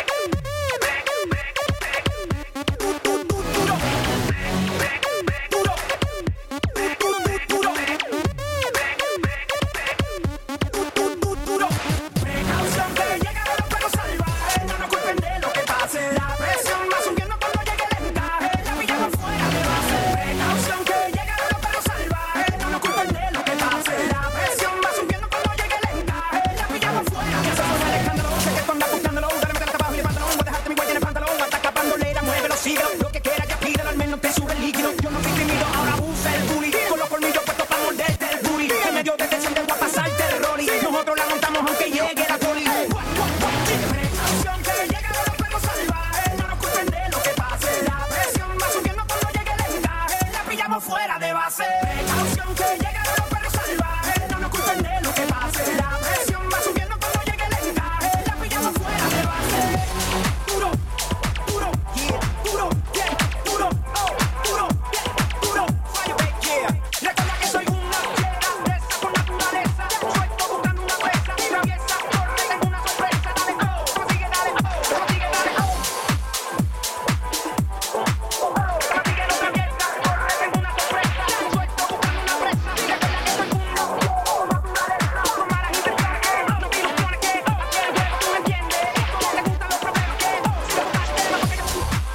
Precaución que llegaron los perros salvajes, no nos culpen de lo que pase. La presión va subiendo cuando llegue el encaje, la pillamos fuera de base. Precaución que llegaron los perros salvajes, no nos culpen de lo que pase. La presión va subiendo cuando llegue el encaje, la pillamos fuera. Que se suena el escándalo, sé que tú andas buscándolo. Dale, métela hasta abajo y el pantalón, voy a dejarte mi huella en el pantalón. Ataca bandolera, muévelo, síguelo. Lo que quiera ya pídelo, al menos te sube el líquido. Yo no soy tímido, ahora usa el bully. Con los colmillos puestos para morderte el booty. En medio de tensión te voy a pasar terror y nosotros la montamos aunque llegue la poli. Precaución que llegaron los perros salvajes, no nos culpen de lo que pase. La presión va subiendo cuando llegue el encaje, la pillamos fuera de base. Precaución que llegaron los perros salvajes, no nos culpen de lo que pase. La presión va subiendo cuando llegue el encaje, la pillamos fuera de base. Duro, duro, yeah, duro, yeah, duro, oh, duro, yeah, duro, fire baby, yeah. Recuerda que soy una fiera, presa por naturaleza. Suelto buscando una presa, traviesa, corre, tengo una sorpresa. Dale, oh, consigue, dale, oh, consigue, dale, oh. Consigue, no traviesa, corre, tengo una sorpresa. Suelto buscando una presa, recuerda que soy una fiera, naturaleza. Con malas intenciones que, no te ilusiones que, oh, que el juego tú me entiendes. Esto no te gustan los problemas que, oh, si lo estás de más porque yo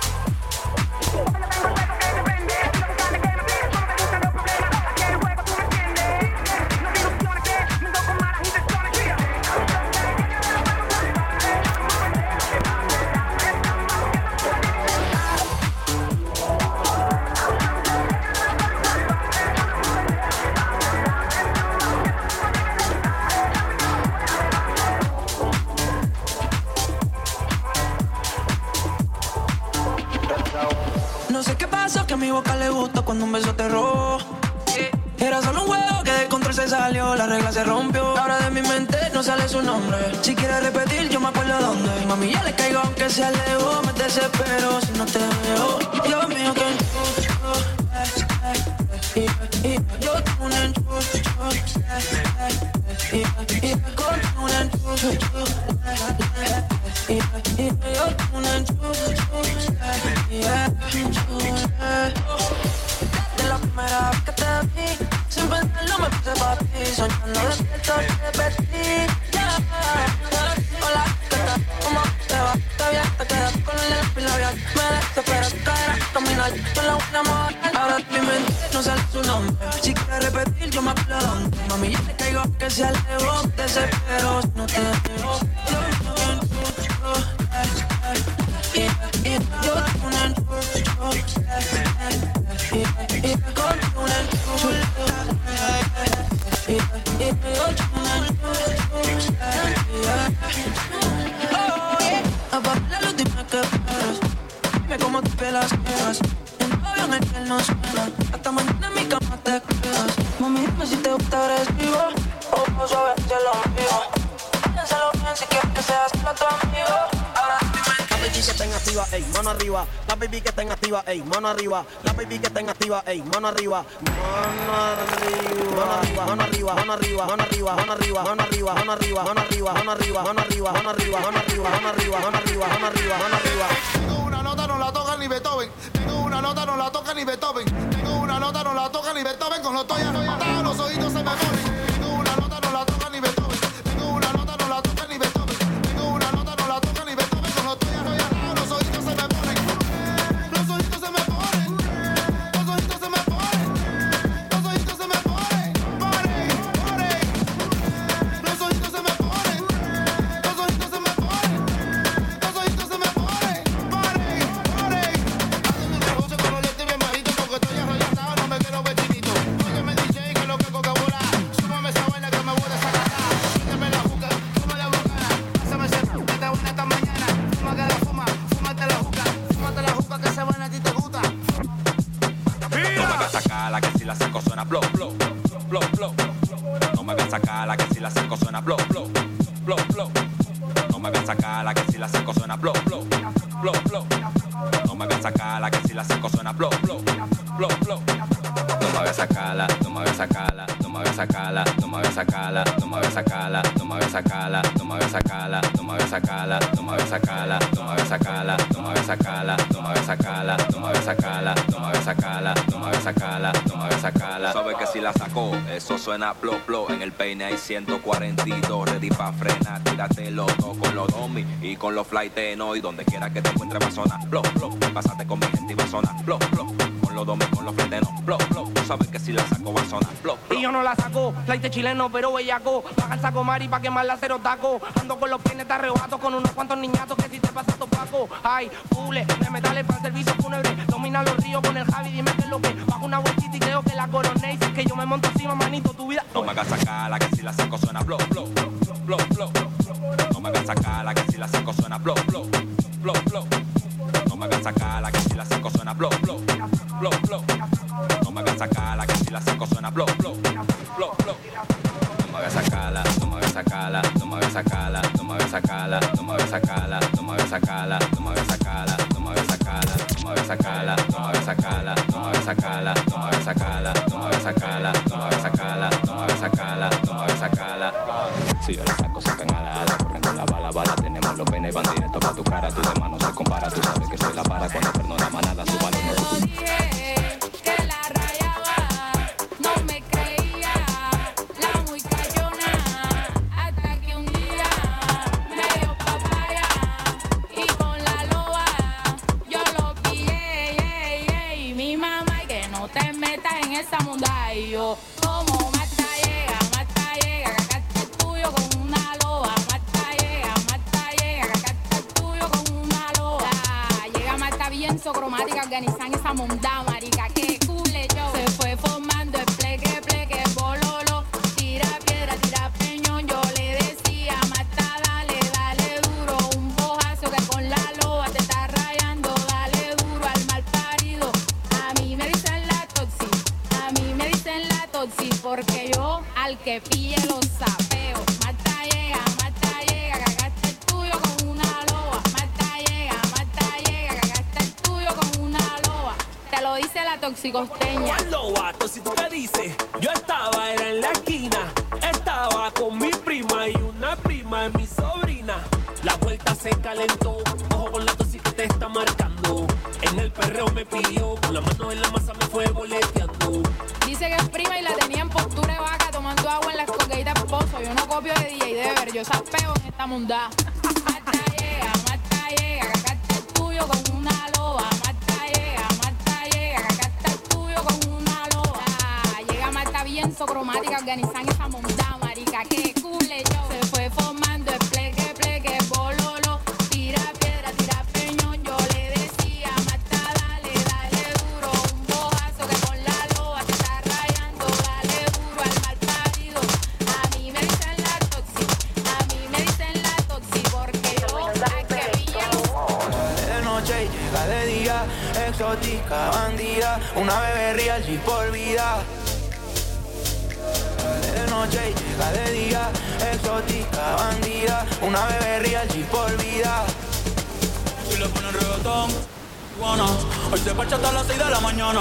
No sé qué pasó, que a mi boca le gustó cuando un beso te robó. Era solo un juego que de control se salió, la regla se rompió. Ahora de mi mente no sale su nombre. Si quieres repetir, yo me acuerdo dónde. Y mami, ya le caigo aunque se alejó. Me desespero si no te veo. Dios mío, que enchucho. Yo tengo un enchucho. Y con un enchucho. Yo tengo un enchucho. De la primera vez que te vi, sin pensarlo me puse pa' ti. Soñando despierto te vestí. Yeah. Hola, ¿qué tal? ¿Cómo te va? Está bien, te quedas con el lápiz labial. Me desespera tu cadera, caminar yo la voy a mover. Ahora en mi mente no sale su nombre. Si quieres repetir, yo me acuerdo dónde. Mami, yo le caigo que se alejó. Desespero, no te veo. Yo me enchucho. Yo tengo un enchucho. Con un enchucho. Yo tengo un enchucho. Oh, yeah. Apaga la luz, dime qué esperas. Dime cómo te pelas quedas. En tu avión el que no suena. Hasta mañana en mi cama te quedas. Mami, dime si te gusta agresivo o suave hacia el ombligo. Piénsalo bien si quieres que seas solo tu amigo. Ahora La baby que estén activa, ey, mano arriba. La baby que estén activa, ey, mano arriba. La baby que estén activa, ey, mano arriba. Mano arriba, mano arriba, mano arriba, mano arriba, mano arriba, mano arriba, mano arriba, mano arriba, mano arriba, mano arriba, mano arriba, mano arriba, mano arriba, mano arriba, mano arriba, mano arriba. Tengo una nota, no la toca ni Beethoven. Tengo una nota, no la toca ni Beethoven. Tengo una nota, no la toca ni Beethoven. Con los toyas anotados, los oídos se me ponen. Tengo una nota, no la toca ni Beethoven. Tengo una nota, no la toca ni Beethoven. Tengo una nota, no la toca ni Beethoven. Con los toyas anotados, los oídos se me ponen. gusta. No me hagas sacarla que si la saco suena blow, blow, blow, blow. No me hagas sacarla que si la saco suena blow, blow, blow, blow. No me hagas sacarla que si la saco suena blow, blow, blow, blow. No me hagas sacarla que si la saco suena blow, blow, blow, blow. No me hagas sacarla, no me hagas sacarla, no me hagas sacarla, no me hagas sacarla, no me hagas sacarla, no me hagas sacarla, no me hagas sacarla, no me hagas sacarla, no me hagas sacarla, no me hagas sacarla, no me hagas sacarla, no me hagas sacarla, no me hagas sacarla, no me hagas sacarla, no me hagas sacarla, no me hagas sacarla. Sabes que si la sacó, eso suena blow, blow. En el peine hay ciento cuarenta y dos, ready pa' frenar, tírate loco con los domis y con los flighteno y donde quiera que te encuentres va a sonar blow, blow. Pásate con mi gente y va a sonar blow, blow. Con los domis, con los flighteno, blow, blow. Tú sabes que si la saco va a sonar blow, blow. Y yo no la saco, flight chileno pero bellaco. Baja el saco mari pa' quemarla cero taco. Ando con los pienes de arrebato con unos cuantos niñatos que si te pasa topaco. Ay, pule, de metales para servicio fúnebre. Domina los ríos con el Javi, dime qué es lo que. Bajo una vueltita y creo que la coroné. Y si es que yo me monto encima, manito, tu vida. No me hagas sacarla que si la saco suena blow, blow, blow, blow. No me hagas sacarla que si la saco suena blow, blow, blow, blow. No me hagas sacarla que si la saco suena blow, blow, blow, blow. No me hagas sacarla que si la saco suena blow, blow, blow, blow. No me hagas sacarla, no me hagas sacarla, no me hagas sacarla, no me hagas sacarla, no me hagas sacarla, no me hagas sacarla, no me hagas sacarla, no me hagas sacarla, no me hagas sacarla, no me hagas sacarla, no me hagas sacarla, no me hagas sacarla, no me hagas sacarla, no me hagas sacarla, no me hagas sacarla, no me hagas sacarla. Si yo la saco, sacan a la ala, corren con la bala, bala, tenemos los penes, van directo pa' tu cara, tu demás no se compara, tú sabes que soy la para cuando perno la manada, su balón no. Esa munda y yo como mata llega, mata llega, acá está el tuyo con una loba. Mata llega, mata llega, acá está el tuyo con una loba. Llega mata bien socromática, organizan esa munda, marica, que cule yo. Se fue formando el pleque, pleque, bololo. Tira piedra, tira peñón, yo le decía, mata, dale, dale duro. Un bojazo que con la loba te está rayando, dale duro al mal parido. A mí me dicen la toxi. A mí me dicen la toxi porque yo al que pille los sapeo. Mata llega, mata llega, cagaste el tuyo con una loba. Mata llega, mata llega, cagaste el tuyo con una loba. Te lo dice la toxicosteña. ¿Cuál loba? Si tú te dices, yo estaba, era en la esquina. Estaba con mi prima y una prima de mi sobrina. La vuelta se calentó, ojo con la toxi que te está marcando. En el perreo me pidió, con la mano en la masa me fue boleteando. Dice que es prima y la tenía en postura de vaca tomando agua en la escoqueita de esposo. Yo no copio de D J Dever, yo sapeo en esta mundá. Mata llega, mata llega, acá está el tuyo con una loba. Mata llega, mata llega, acá está el tuyo con una loba. Llega mata bien socromática, organizan esa mundá, marica, que cule yo. Se fue formando el pleque, pleque, bololo. Tira piedra, tira peñón, yo le decía, mata, dale, dale duro. Un bojazo que con la loba te está rayando, dale duro al mal parido. A mí me dicen la toxi, a mí me dicen la toxi porque yo hay que pillarlo. De noche y llega de día, exótica, bandida, una bebé real y por vida. De noche y llega de día, exótica, bandida, una bebé real y por vida. Si le ponen reggaetón, bueno, hoy se parcha hasta las seis de la mañana.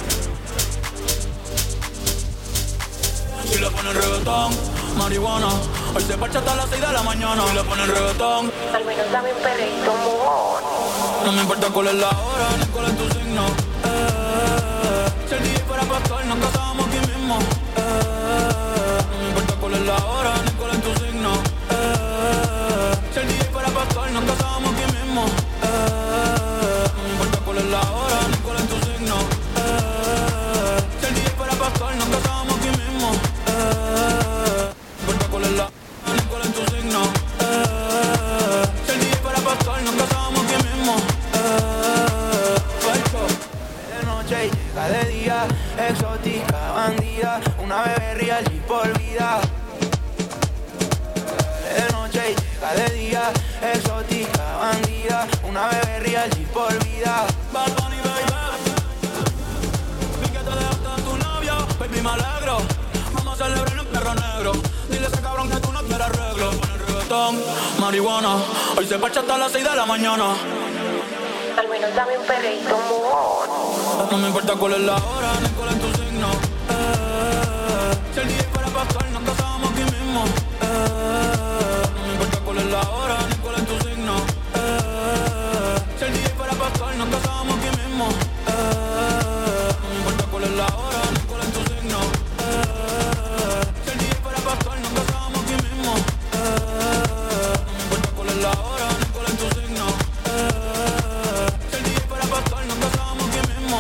Si le ponen reggaetón, marihuana, hoy se parcha hasta las seis de la mañana. Si le ponen reggaetón, al menos dame un perrito, mojón. No me importa cuál es la hora ni cuál es tu signo. Eh, si el D J fuera pastor, nos casábamos aquí mismo. Eh, no me importa cuál es la hora ni cuál es tu signo. Eh, si el D J fuera pastor, nos casábamos aquí mismo. Eh, no me importa cuál es la hora ni cuál es tu signo. Eh, si el D J fuera pastor, nos casábamos aquí mismo. Eh, no me importa cuál es la hora ni cuál es tu signo. Eh, si el D J fuera pastor, nos casábamos aquí mismo. De noche y llega de día, exótica, bandida, una bebé real y por vida. De noche y llega de día, exótica, bandida, una bebé real y por vida. Bad Bunny, baby. marihuana. Hoy se parcha hasta las seis de la mañana. Al menos dame un perreíto, mojón. No me importa cuál es la hora, ni cuál es tu signo. Eh, si el día fuera pascual, nos casábamos aquí mismo. Eh, no me importa cuál es la hora, ni cuál es tu signo. Eh, si el día fuera pascual, nos casábamos aquí mismo. Eh, no me importa cuál es la hora, ni cuál es tu signo. Eh, si el día fuera pascual, nos casábamos aquí mismo. Eh, no me importa cuál es la hora, ni cuál es tu signo. Eh, si el día fuera pascual, nos casábamos aquí mismo.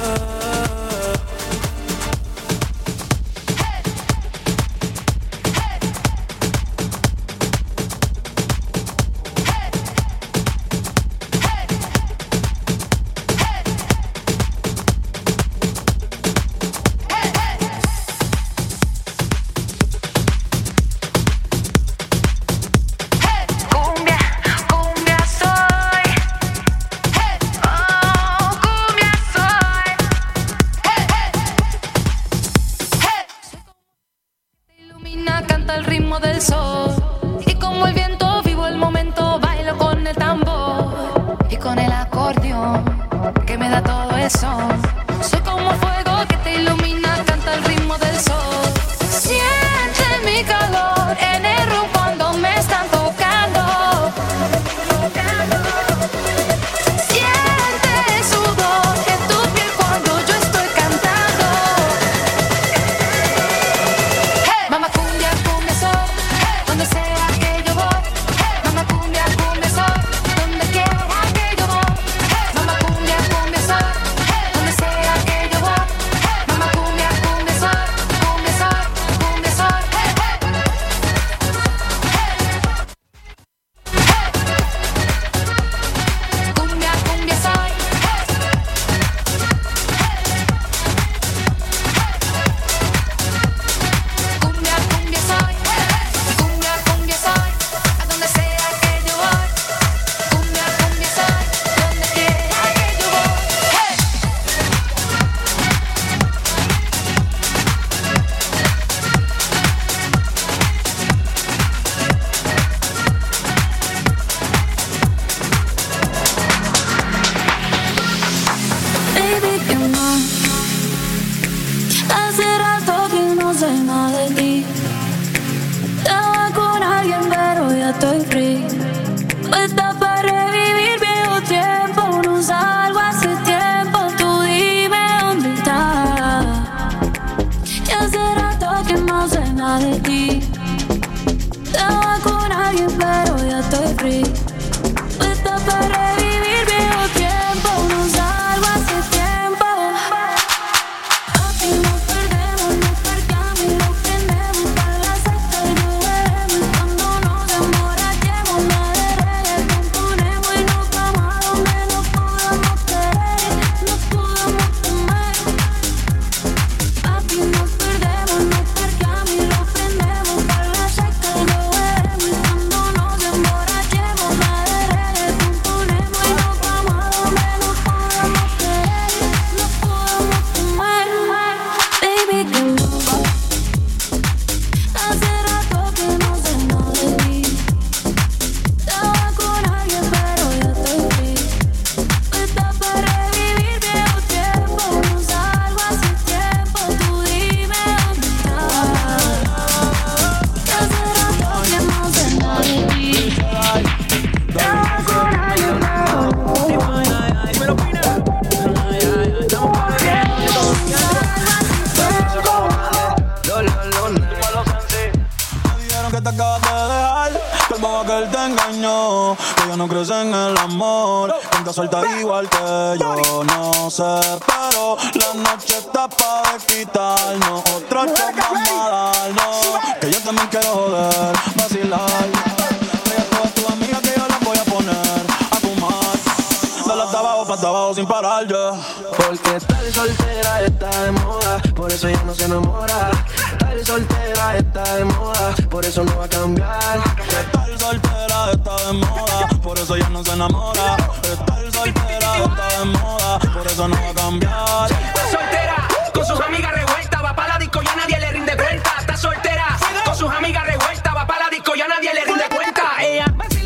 Cumbia, cumbia soy. Oh, cumbia soy. Te ilumina, canta el ritmo del sol. Y como el viento vivo el momento, bailo con el tambor y con el acordeón que me da todo eso. Soy como el fuego que te ilumina, canta el ritmo del sol. Siente mi calor en el room cuando me están tocando. Siente el sudor en tu piel cuando yo estoy cantando. Mamá cumbia, cumbia soy, donde sea que yo voy. Mamá cumbia, cumbia soy, donde quiera que yo voy. Mamá cumbia, cumbia soy, donde sea que yo voy. Mamá cumbia, cumbia soy, cumbia soy, cumbia soy. Cumbia, cumbia soy. Cumbia, cumbia soy. Cumbia, cumbia soy. A donde sea que yo voy. Cumbia, cumbia soy. Donde quiera que yo voy. Baby, que más. Hace rato que no sé nada de ti. Estaba con alguien, pero ya estoy free. Puesta para revivir viejo tiempo. No salgo hace tiempo. Tú dime dónde estás. Y hace rato que no sé nada de ti. Estaba con alguien, pero ya estoy free. Puesta para revivir viejo tiempo. No salgo hace tiempo. Así nos perdemos, nos percamos y nos prendemos. Para la sexta y nos veremos. Cuando nos emborrachemos, nada de reggaetón ponemos y nos vamos a donde nos podamos querer, nos podamos comer. Papi, nos perdemos, nos percamos y nos prendemos. Para la sexta y nos veremos. Cuando nos emborrachemos, nada de reggaetón ponemos y nos vamos a donde nos podamos querer, nos podamos comer. Baby, que no. Hace rato que no sé nada de ti. Estaba con alguien, pero ya estoy free. Puesta para revivir viejo tiempo. No salgo hace tiempo. Tú dime dónde estás. Que hace rato que no sé nada de ti. Estaba con alguien, Me dijeron que te acabas de dejar, que el bobo que él te engañó, que ya no crees en el amor, tanta suelta igual que yo, no sé, pero la noche está pa' quitarnos, otro shot vamos a darnos, que yo también quiero joder, vacilar, trae a todas tus amigas que yo las voy a poner a fumar, dale hasta abajo, pa' hasta abajo sin parar, ya. Porque estar soltera está de moda, por eso ya no se enamora. Estar soltera está de moda, por eso no va a cambiar. Estar soltera está de moda, por eso ya no se enamora. Estar soltera está de moda, por eso no va a cambiar. Está soltera, con sus amigas revueltas, va pa' la disco y a nadie le rinde cuenta. Está soltera, con sus amigas revueltas, va pa' la disco y a nadie le rinde cuenta. Ella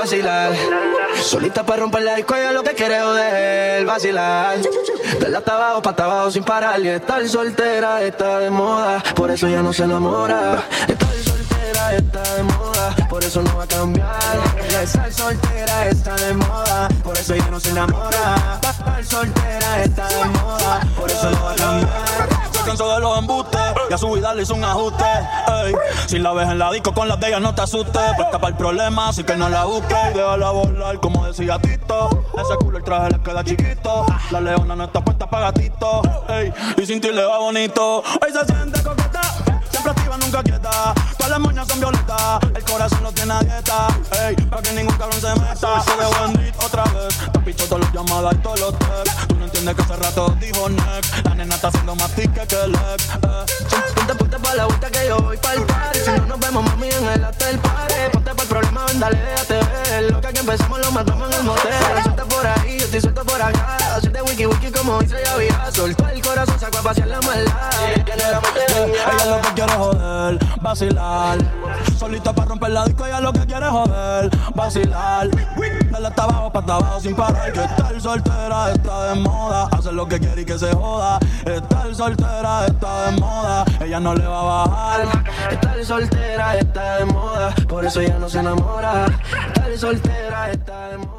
vacilar. Solita para romper la disco, ella lo que quiere es joder, vacilar. De la hasta abajo, pa' hasta abajo sin parar. Y estar soltera está de moda, por eso ya no se enamora. Estar soltera está de moda, por eso no va a cambiar. Estar soltera está de moda, por eso ya no se enamora. Estar soltera está de moda, por eso no va a cambiar. Se cansó de los embustes y a su vida le hizo un ajuste. Ey. Si la ves en la disco con las de ella no te asustes. Puesta para el problema, así que no la busques. Y déjala volar como decía Tito. Ese culo el traje le queda chiquito. La leona no está puesta para gatito. Ey. Y sin ti le va bonito. Hoy se siente coqueta, siempre activa, nunca quieta. Todas las moñas son violetas, el corazón no tiene a dieta. Ey, pa' que ningún cabrón se meta. Se de Wendy otra vez, te picho todas las llamadas y todos los texts. Tú no entiendes que hace rato dijo next. La nena está haciendo más tique que el ex. Eh. Ponte, ponte pa' la vuelta que yo voy pa'l party. Si no nos vemos, mami, en el after party. Ponte pa'l problema, ven, dale, déjate ver. Lo que aquí empezamos lo matamos en el motel. Suelta por ahí, yo estoy suelto por acá. Hacerte wiki wiki como dice ya había. Soltó el corazón, sacó a pasear la maldad. Ella lo que quiere joder, vacilar. Solita para romper la disco, ella lo que quiere joder, vacilar. Dale hasta abajo, pa' hasta abajo sin parar. Que estar soltera está de moda. Hacer lo que quiere y que se joda. Estar soltera está de moda. Ella no le va a bajar. Estar soltera está de moda, por eso ella no se enamora. Estar soltera está de moda.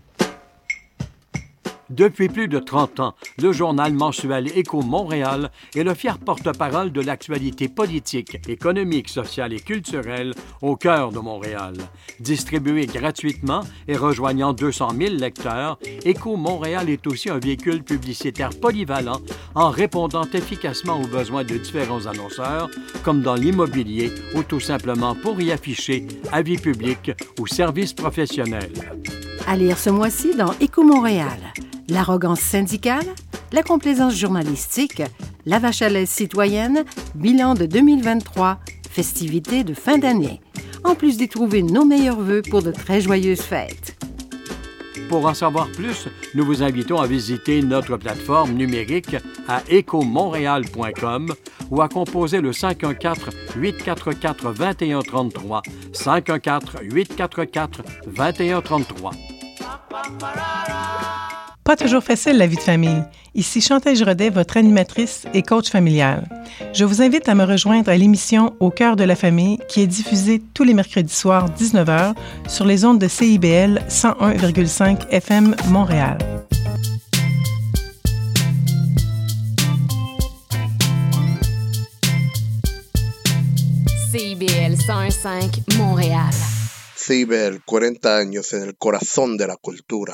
Depuis plus de trente ans, le journal mensuel Écho Montréal est le fier porte-parole de l'actualité politique, économique, sociale et culturelle au cœur de Montréal. Distribué gratuitement et rejoignant deux cent mille lecteurs, Écho Montréal est aussi un véhicule publicitaire polyvalent en répondant efficacement aux besoins de différents annonceurs, comme dans l'immobilier ou tout simplement pour y afficher avis publics ou services professionnels. À lire ce mois-ci dans Écho Montréal. L'arrogance syndicale, la complaisance journalistique, la vache à lait citoyenne, bilan de deux mille vingt-trois, festivités de fin d'année. En plus d'y trouver nos meilleurs vœux pour de très joyeuses fêtes. Pour en savoir plus, nous vous invitons à visiter notre plateforme numérique à écho montréal point com ou à composer le cinq un quatre, huit quatre quatre, deux un trois trois, cinq un quatre, huit quatre quatre, deux un trois trois. Pas toujours facile la vie de famille. Ici Chantal Giraudet, votre animatrice et coach familiale. Je vous invite à me rejoindre à l'émission Au cœur de la famille qui est diffusée tous les mercredis soirs dix-neuf heures sur les ondes de C I B L cent un virgule cinq F M Montréal. C I B L cent un virgule cinq Montréal. C I B L, cuarenta años en el corazón de la cultura.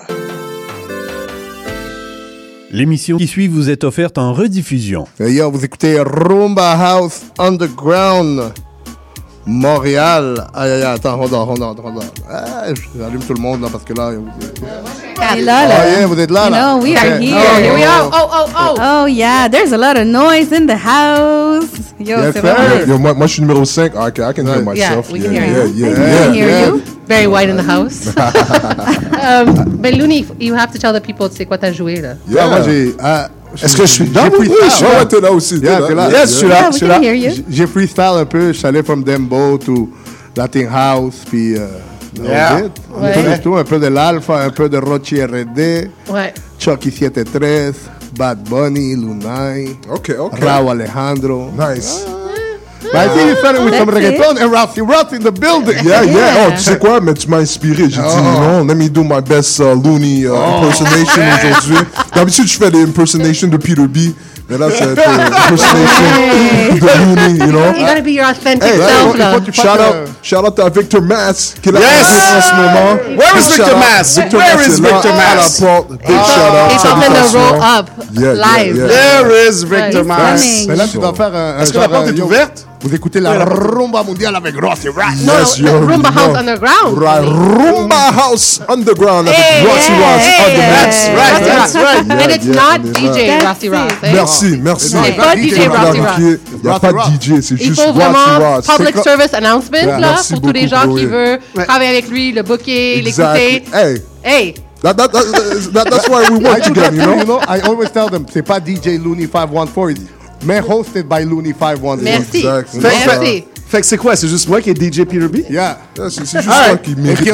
L'émission qui suit vous est offerte en rediffusion. Hey yo, vous écoutez Rumba House Underground Montréal. Aïe aïe aïe, attends, hold on, hold on, hold on. Ah, j'allume tout le monde là parce que là. Ah, là, là. Oh yeah, vous êtes là, là. No, we okay. are here. Oh, Here we are. oh, Oh, oh, oh. Oh, yeah, there's a lot of noise in the house. Yo, yes, c'est sir. vrai. Yo, moi, moi, je suis numéro cinq. Ah, okay, I can hear myself. Yeah, we yeah, can hear yeah, you. yeah, We yeah, can hear yeah. you. Very white in the house. um, but Looney, you have to tell the people c'est quoi t'as joué là. Yeah, moi j'ai. Ah, Est-ce que je suis dedans? Oui, Oui, ouais, t'es là aussi. Yeah, t'es là. Yes, je suis là. Yeah, Je we suis can là. hear you. J'ai- J'ai freestyle un peu. Je suis allé from Dembo to Latin House, puis. Euh, Yeah. un peu Ouais. de tout, un peu de l'Alpha, un peu de Rochi R D, Ouais. Chucky soixante-treize, Bad Bunny, Lunay, Okay, okay. Raúl Alejandro. Nice. But I think you started with some That's it. reggaeton and Ralphie Ruff in the building. Yeah, yeah. Yeah. Oh, tu sais quoi? Mais tu m'as inspiré. J'ai dit, Oh. non, let me do my best uh, Looney uh, impersonation aujourd'hui. D'habitude, je fais des impersonations de Peter B. Mais là, c'est un peu impersonation de Looney, you know? You gotta be your authentic Hey, self hey, là. shout out, shout out à Victor Mass qui est là Yes. en ce moment. Where Big is Victor shout out. Mass? Victor Where Mass is est là, Victor à la Mass? porte. Big shout out. It's up in the Salutations. roll up Yeah, yeah, live. yeah. There is Victor Victor Mass. Mass. Mais là, tu dois faire un. un Est-ce que genre, la porte euh, est yo, ouverte? Vous écoutez la rumba mondiale avec Rossi Rush. No, Yes, no, you already Rumba House know. Underground. Right, Rumba House Underground avec Hey, Rossi hey, Ross hey, on the hey, mix. hey, Right, that's that's right. And it's Yeah, not yeah, D J yeah. Rossi Ross. eh? Merci, merci. C'est pas D J Rossi Ross. Il n'y a pas de D J, c'est Il juste faut Rossi vraiment Ross. public C'est co- service announcement Yeah, là merci pour tous les beaucoup, gens Chloé. qui veulent travailler avec lui, le booker, Exactly. l'écouter. Hey, Hey, that, that, that, that, that's why we I work do together, that you too, know? you know. I always tell them, c'est pas D J Looney five one four, mais hosted by Looney five one four. merci. Exactly. Merci. Fait que c'est quoi? C'est juste moi qui est D J Peter B? Yeah. C'est, c'est juste All moi right. qui mérite.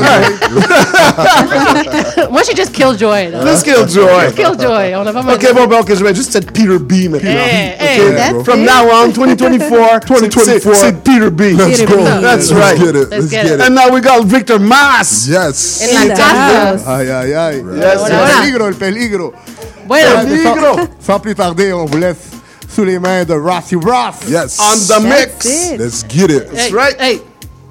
Moi, j'ai juste Killjoy. là. Let's Killjoy. Killjoy. On a pas mal Ok, bon, bon, ok, je vais juste être Peter B maintenant. Hey, Ok, hey, that's From it. now on, twenty twenty-four, twenty twenty-four. c'est, c'est Peter B. Let's go. That's Let's right. get it. Let's Let's get get it. it. And now we got Victor Mas. Yes. En la casa. Aïe, aïe, aïe. Yes, El yes. peligro, el peligro. Bueno, Sans, sans plus tarder, on vous laisse sous les mains de Rossi Ross. Yes. On the mix. it. Let's get it. That's hey, right. Hey.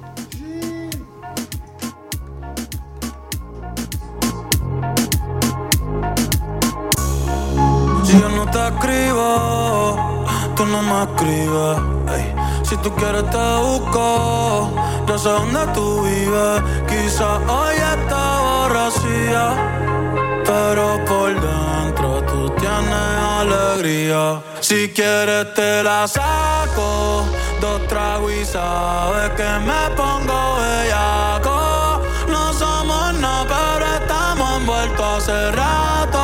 Si yo no te escribo, tú no me escribes. Ey, si tú quieres te busco, yo sé dónde tú vives. Quizás hoy está borracía, pero por dentro tú tienes alegría. Si quieres te la saco, dos tragos y sabes que me pongo bellaco. No somos nada, pero estamos envueltos hace rato.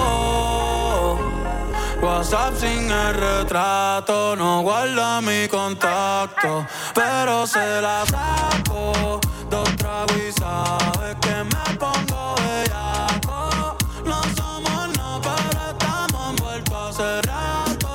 WhatsApp sin el retrato, no guarda mi contacto, pero se la saco. Dos tragos y sabes que me pongo bellaco. No somos nada, pero estamos envueltos hace rato.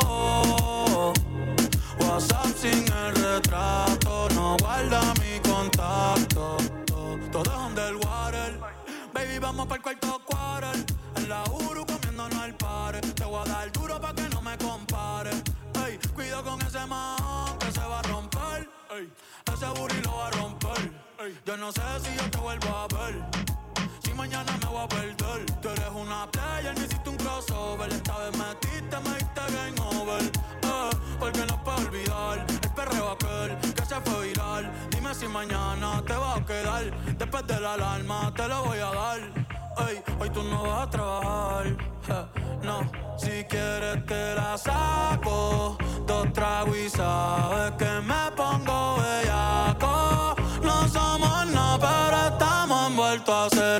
WhatsApp sin el retrato, no guarda mi contacto. Todo es underwater, baby, vamos pa'l cuarto quarter. En la Uru comiéndonos al pare. Te voy a dar duro pa' que no me compare. Ey, cuido con ese man que se va a romper. Ey, ese booty lo va a romper. Ey, yo no sé si yo te vuelvo a ver. Si mañana me voy a perder. Tú eres una player, me hiciste un crossover. Esta vez metiste, me diste game over. Eh, porque no puedo olvidar el perreo aquel que se fue viral. Dime si mañana te va a quedar. Después de la alarma te lo voy a dar. Ey, hoy tú no vas a trabajar, eh, no. Si quieres te la saco, dos tragos y sabes que me pongo bellaco. No somos nada, pero estamos envueltos hace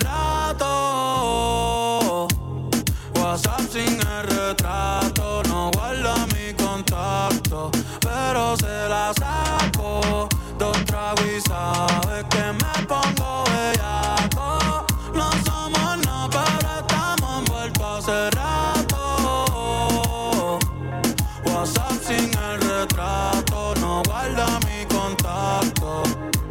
rato. WhatsApp sin el retrato, no guarda mi contacto, pero se la saco. Dos tragos y sabes que me pongo bellaco. No somos nada, pero estamos envueltos hace rato. WhatsApp sin el retrato, no guarda mi contacto.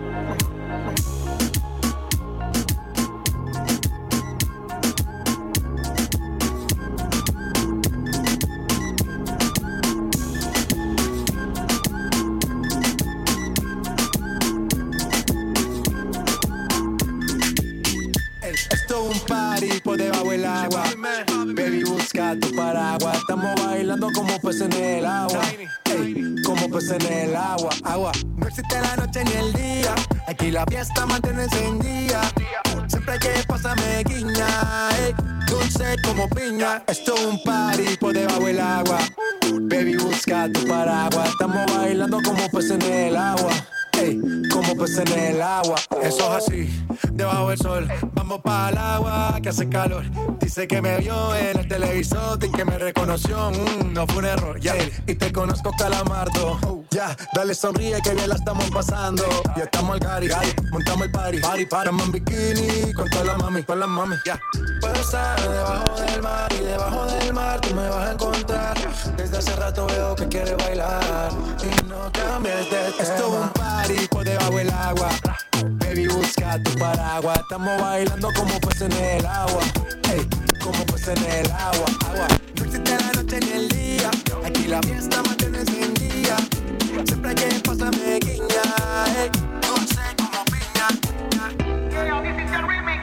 Esto es un party por debajo del agua. Baby, busca tu paraguas. Estamos bailando como peces en el agua. Ey, como peces en el agua. Agua. No existe la noche ni el día. Aquí la fiesta mantiene encendida. Siempre hay que pasarme guiña. Ey, dulce como piña. Esto es un party por debajo del agua. Baby, busca tu paraguas. Estamos bailando como peces en el agua. Ey, como peces en el agua. Eso es así, debajo del sol. Vamos para el agua que hace calor. Dice que me vio en el televisor y que me reconoció. Mm, no fue un error, ya. Yeah. Y te conozco, Calamardo. Oh, ya, yeah. Dale sonríe que bien la estamos pasando. Ya estamos al gari, montamos el party. Party, party, estamos en bikini con todas las mami, con las mami. Ya. Yeah. Puedo estar debajo del mar y debajo del mar tú me vas a encontrar. Desde hace rato veo que quieres bailar y no cambies de tema. Esto es un party por debajo del agua. Baby, busca tu paraguas. Estamos bailando como peces en el agua. Ey, como peces en el agua. Agua. No existe la noche ni el día. Aquí la fiesta mantiene encendida. Siempre hay que pasarme guiña. Ey, dulce como piña. Yeah, this is the remix.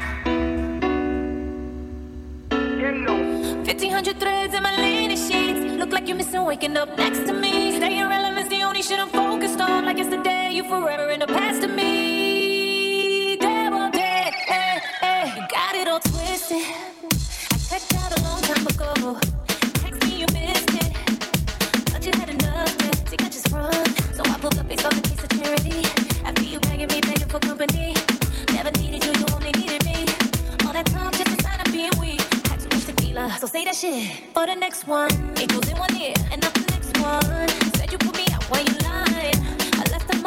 fifteen hundred threads in my linen sheets. Look like you're missing waking up next to me. Staying relevant's the only shit I'm focused on. Like yesterday, you forever in the past to me. Damn, all day, eh, eh. You got it all twisted. I checked out a long time ago. Text me, you missed it. Thought you had enough, but you got just front. So I pulled up, they saw the piece of charity. After you begging me, begging for company. Never needed you, you only needed me. All that time, just a sign of being weak. Had too much tequila, so say that shit. For the next one, it goes in one ear and not the next one. Said you put me out while you lying. I left them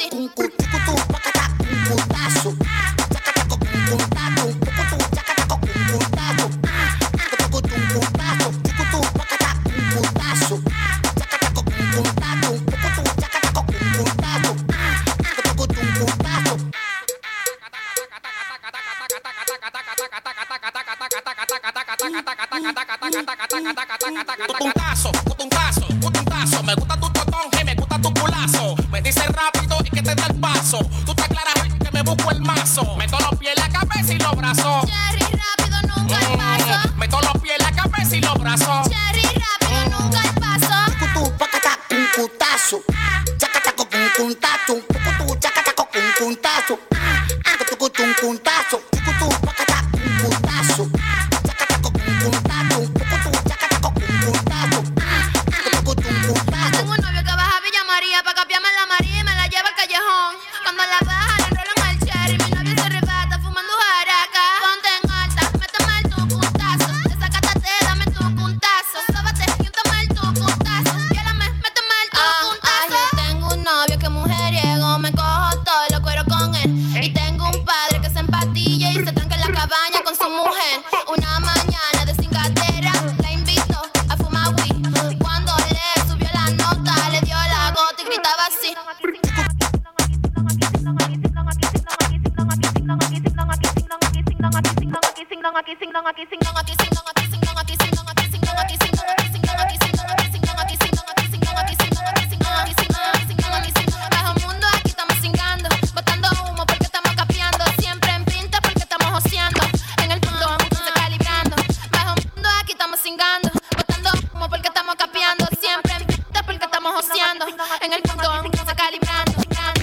así. Putuntazo, putuntazo, putuntazo. Me gusta tu totón y me gusta tu culazo. Me dice rápido y que te dé el paso. Tú te aclaras que me busco el mazo. Meto los pies en la cabeza y los brazos. Cherry, rápido, nunca el paso. Meto los pies en la cabeza y los brazos. Cherry, rápido, nunca el paso. Cucutú, pacata, cuncutazo. Chacataco, cuncuntazo. Cucutú, chacataco, cuncuntazo. Cucutú, cuncuntazo. Cucutú, pacata, cuncutazo. Chacataco, cuncuntazo. Cucutú, chacataco, cuncuntazo. Tengo un novio que baja a Villa María pa' capiarme la María y me la lleva al callejón. Cuando la baja le enrolan al cherry, mi novio se arrebata fumando jaraca. Ponte en alta, méteme el tu puntazo. Desacátate, dame tu puntazo. Sóbate y úntame el tu puntazo. Viólame, méteme el tu puntazo. Yo tengo un novio que mujeriego, me cojo todo, lo cuero con él. Y tengo un padre que se empatilla y se tranca en la cabaña con su mujer. Una mañana de cingatera la invito a fumar weed. Cuando le subió la nota, le dio la gota y gritaba así. Bajo mundo aquí estamos cingando, botando humo porque estamos capeando. Siempre en pinta porque estamos joseando. En el punto se calibrando. Bajo mundo aquí estamos cingando, botando humo porque estamos capeando. Siempre en pinta porque estamos joseando. En el punto se calibrando.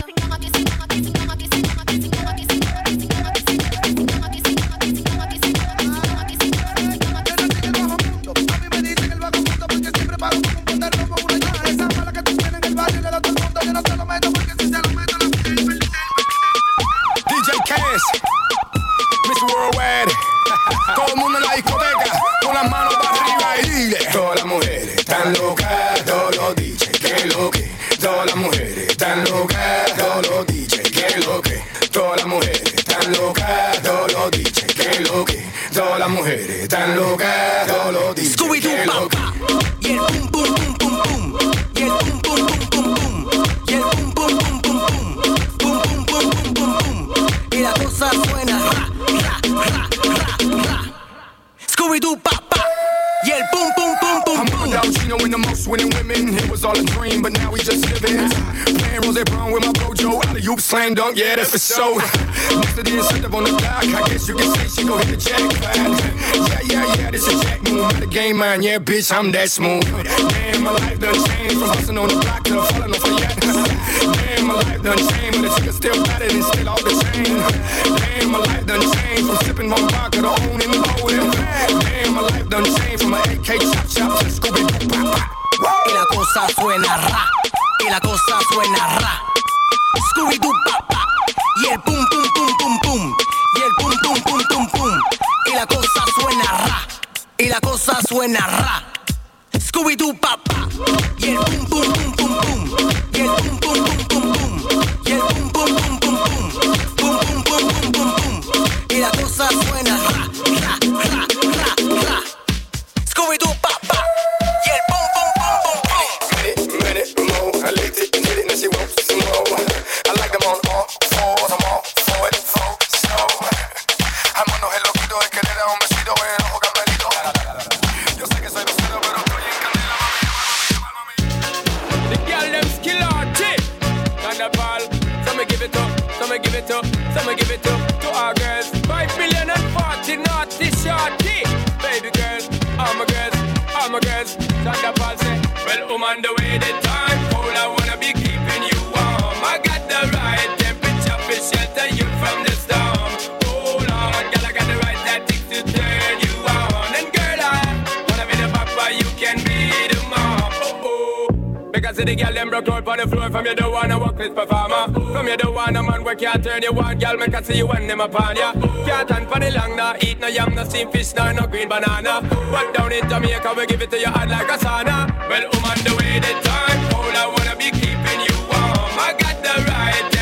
D J Cass, Miss Worldwide. Todo el mundo en la discoteca, con las manos para arriba y dile. Todas las mujeres están locas, todos los D J, que lo que. Todas las mujeres están locas, todos los D J, que lo que. Todas las mujeres están locas, todos los D J, que lo que. Todas las mujeres están locas, todos los D J, que lo que. Y el pum pum pum pum pum. Y el pum pum pum pum pum. Y el pum pum pum pum pum. Pum pum pum pum pum pum. Y la cosa suena ra ra ra ra ra. Scooby-Doo pa pa. Y el pum pum pum pum pum. I'm out, you know, in the most winning women. It was all a dream, but now we just living. Playing Rose Brown with my bro Joe. Alley-oop, slam dunk, yeah, that's for sure. Next to the incentive on the dock, I guess you can say she gon' hit the jackpot. Yeah, yeah, yeah, this a jack move. Not a game man, yeah, bitch, I'm that smooth. Damn, my life done changed from hustling on the block to falling off a yacht. Damn, my life done changed, but the chicken still got it and still off the chain. Damn, my life done changed from sipping on vodka to owning and holding. Damn, my life done changed from my A K chop chop to Scooby-Doo pop pop. Y la cosa suena ra. Y la cosa suena ra. Scooby-Doo pa pa. Y el pum pum pum pum pum. Y el pum pum pum pum pum. Y la cosa suena ra. Y la cosa suena ra. Scooby-Doo pa pa. Y el pum pum pum pum pum. Y el pum pum pum pum pum. Y el pum pum pum pum pum. Pum pum pum pum pum pum. Y la cosa suena ra ra ra ra ra. Scooby-Doo pa pa. Y el pum pum pum pum pum. Ready, ready, more. I licked it, did it, now she wants some more. I like them on all fours, I'm all for it, for so. Vámonos el loquito de querer a un besito en el ojo camelito. Yo sé que soy grosero, pero estoy en candela, mami. The girl them skill arty. Thunderball, so me give it up, so me give it up, so me give it up to our girls. Five million and forty naughty shorty. Baby girls, all my girls, all my girls. Thunderball say, well, I'm on the way the time cold, I wanna be keeping you warm. I got the right temperature for shelter you from the storm. Hold on, girl, I got the right tactics to turn you on. And girl, I wanna be the papa, you can be the mom. Oh, oh. Because the girl them broke out on the floor. From you don't wanna work this performer. From you don't wanna man where can't turn you on. Girl, make I see you when them upon ya. Can't stand for the long, nah. Eat no yam, no steamed fish, nah, no green banana. But down in Jamaica, we give it to you hot like a sauna. Well, I'm on the way the time cold, I wanna be keeping you warm. I got the right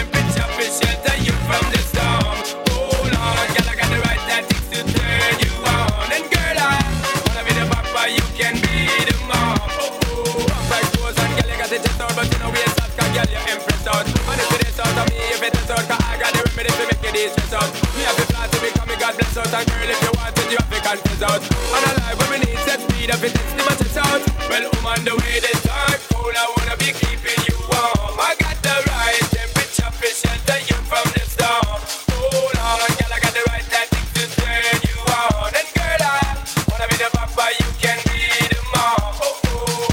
confess out. And a life where we need set speed up, it takes the matches out. Well, I'm on the way this time, cool, I wanna be keeping you warm. I got the right temperature to shelter you from the storm. Hold on, girl, I got the right tactics to turn you on. And girl, I wanna be the papa, you can be the mom. Oh, oh.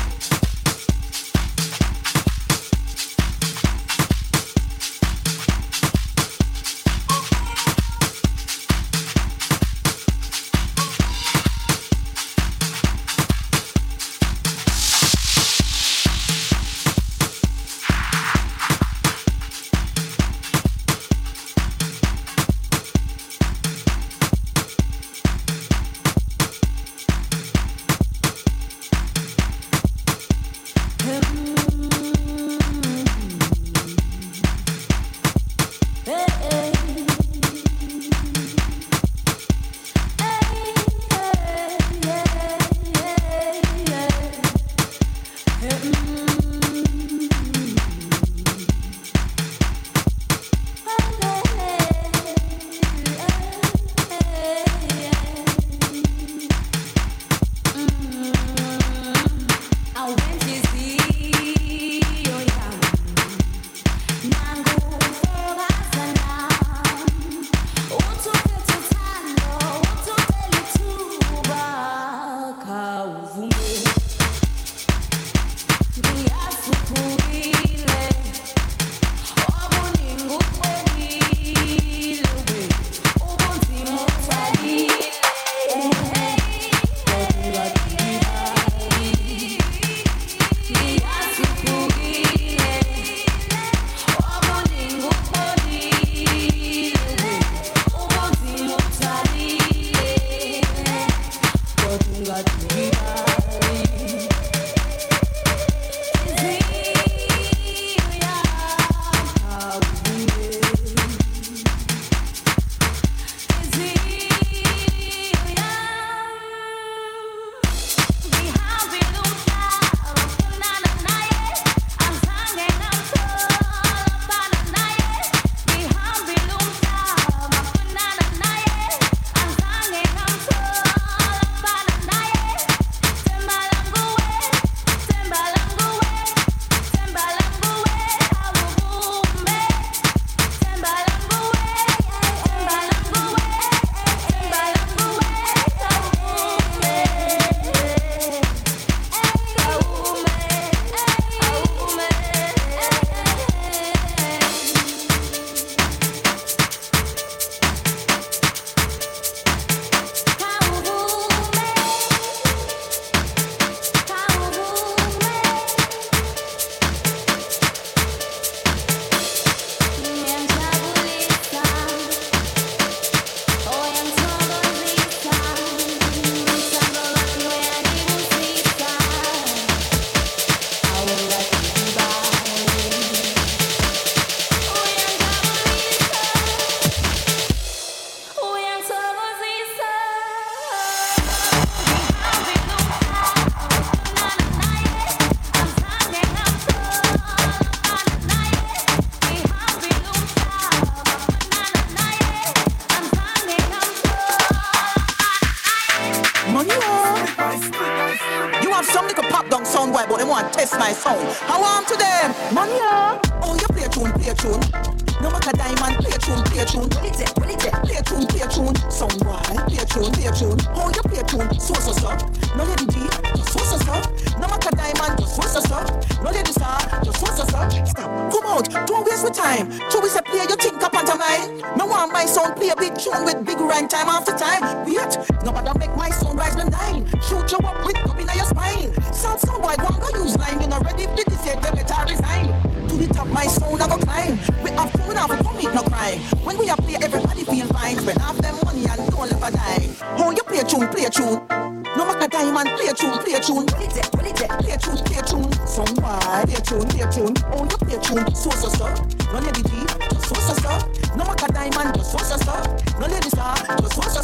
boy, but they want to test my sound. How am to them? Man, yeah. Oh, you play a tune, play a tune. No matter diamond, play a tune, play a tune. What is it? What is it? Play a tune, play a tune. Sound boy, play a tune, play a tune. Oh, you play a tune, so so so. No lady D, just so so so. No matter diamond, just so so so. No lady star, just so so so. Stop, come out, don't waste my time. Two we say play, you think up onto mine. Me want my sound play a big tune with big rhyme time after time. Wait, nobody make my sound rise the nine. Shoot you up with up in your spine. Sound sound boy, one go use line. You know ready for this yet, they better resign. To the top, my sound I go climb. We have food now, we come eat no crime. When we are play, everybody feel fine. Spend half them money and don't ever die. Oh, you play a tune, play a tune. No matter diamond, play a tune, play a tune. What is it? What is it? Play a tune, play a tune. Somebody play a tune, play a tune. Oh, you play a tune, so so so. No lady G, just so so so. No matter diamond, just so so so. No lady star, just so so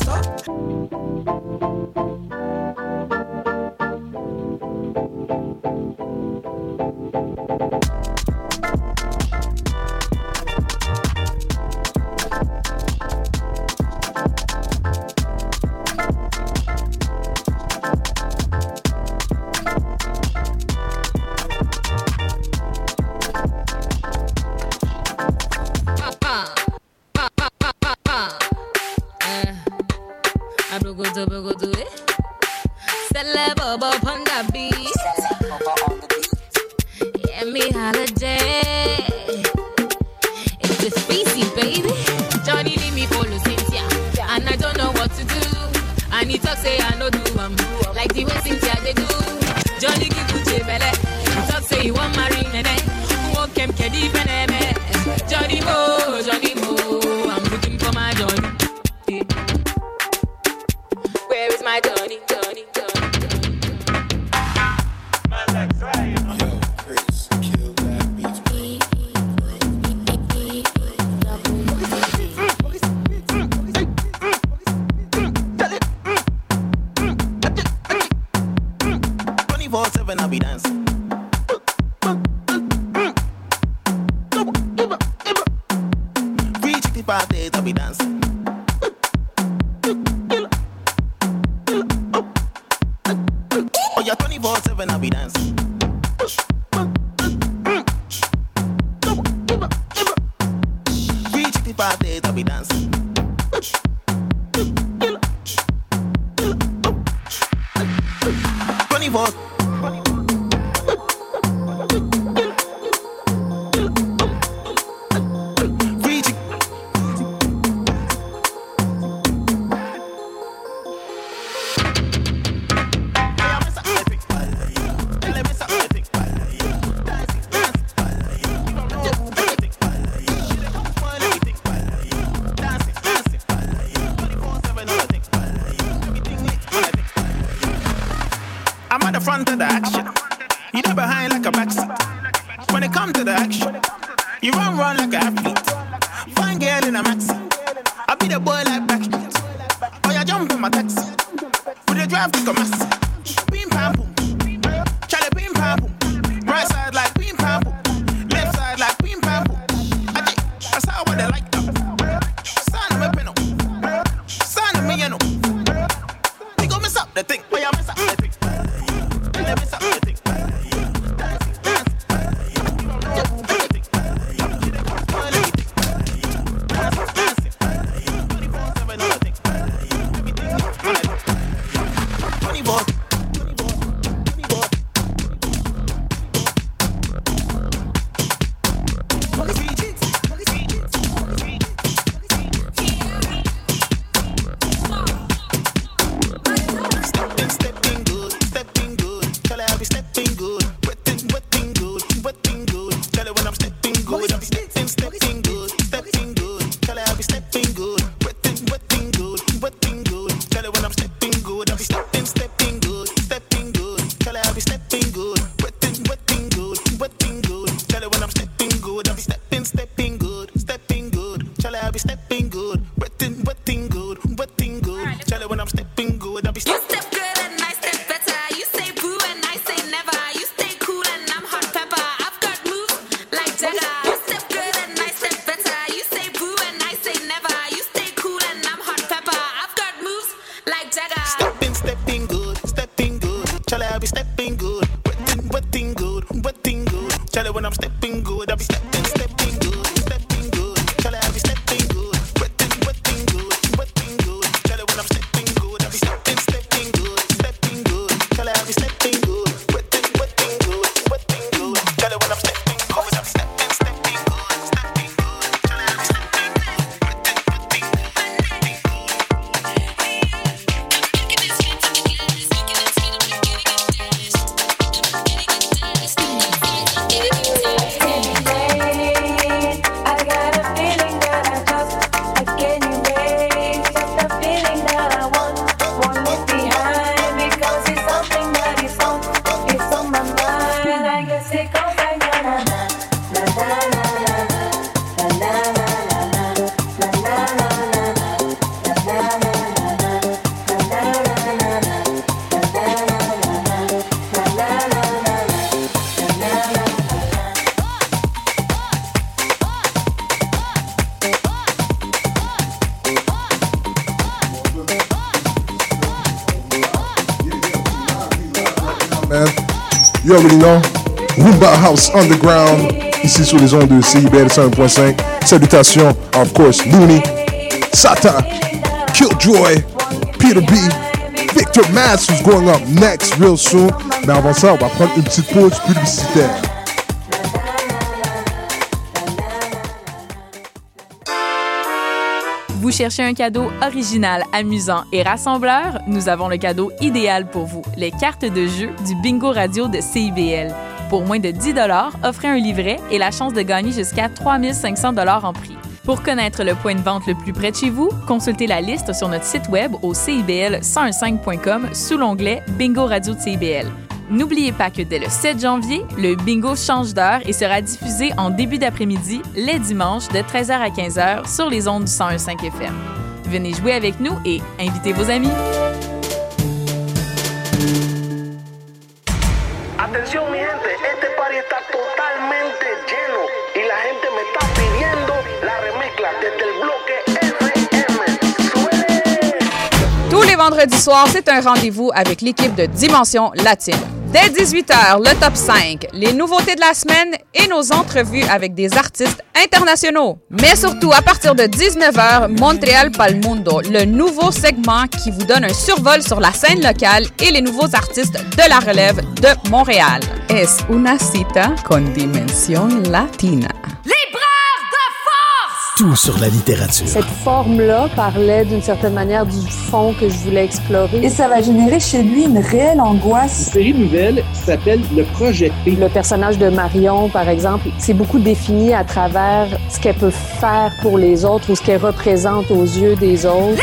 so. bugudu bugudu eh. Celebobo on the beat. Yeah, me holiday. It's the species, baby. Johnny leave me follow Cynthia, and I don't know what to do. And he talk say I no do um, like the way Cynthia they do. Johnny give Uche belle. He talk say he want marry nene. Won't kem kedi peneme. Johnny Mo, Johnny Mo, I'm looking for my Johnny. Where is my Johnny, Johnny, Johnny, twenty-four seven, I'll be dancing. three sixty-five days, I'll be dancing. Oh, yeah, twenty-four seven, I'll be dancing. three sixty-five days, I'll be dancing. twenty-four I'm at the front of the action. You there behind like a backseat. When it come to the action, you run, run like an athlete. Fine girl in a maxi. I be the boy like Backstreet. Oh, you jump in my taxi. With the drive to come massy. Beam pam boom. Charlie beam pam boom. Right side like beam pam boom. Left side like beam pam boom. I think that's how what they like them. Son of me peno. Son of me, you know. We go miss up the thing. Oh, you miss up the thing. Man, you already know. Roomba House Underground, ici sur les ondes de C I B L cent un point cinq. Salutations, of course, Looney, Satan, Killjoy, P Peter B, Victor Mass, who's going up next real soon. Mais avant ça, on va prendre une petite pause publicitaire. Vous cherchez un cadeau original, amusant et rassembleur? Nous avons le cadeau idéal pour vous, les cartes de jeu du Bingo Radio de C I B L. Pour moins de dix dollars, offrez un livret et la chance de gagner jusqu'à trois mille cinq cents dollars en prix. Pour connaître le point de vente le plus près de chez vous, consultez la liste sur notre site web au c i b l cent quinze point com sous l'onglet Bingo Radio de C I B L. N'oubliez pas que dès le sept janvier, le bingo change d'heure et sera diffusé en début d'après-midi, les dimanches, de treize heures à quinze heures sur les ondes du cent un virgule cinq F M. Venez jouer avec nous et invitez vos amis. Atención mi gente, este party está totalmente lleno y la gente me está pidiendo la remezcla desde el bloque F M. Tous les vendredis soirs, c'est un rendez-vous avec l'équipe de Dimension Latine. Dès dix-huit heures, le top cinq, les nouveautés de la semaine et nos entrevues avec des artistes internationaux. Mais surtout, à partir de dix-neuf heures, Montréal Pal Mundo, le nouveau segment qui vous donne un survol sur la scène locale et les nouveaux artistes de la relève de Montréal. Es una cita con Dimension Latina. Tout sur la littérature. Cette forme-là parlait d'une certaine manière du fond que je voulais explorer. Et ça va générer chez lui une réelle angoisse. Une série nouvelle qui s'appelle Le Projet P. Le personnage de Marion, par exemple, c'est beaucoup défini à travers ce qu'elle peut faire pour les autres ou ce qu'elle représente aux yeux des autres.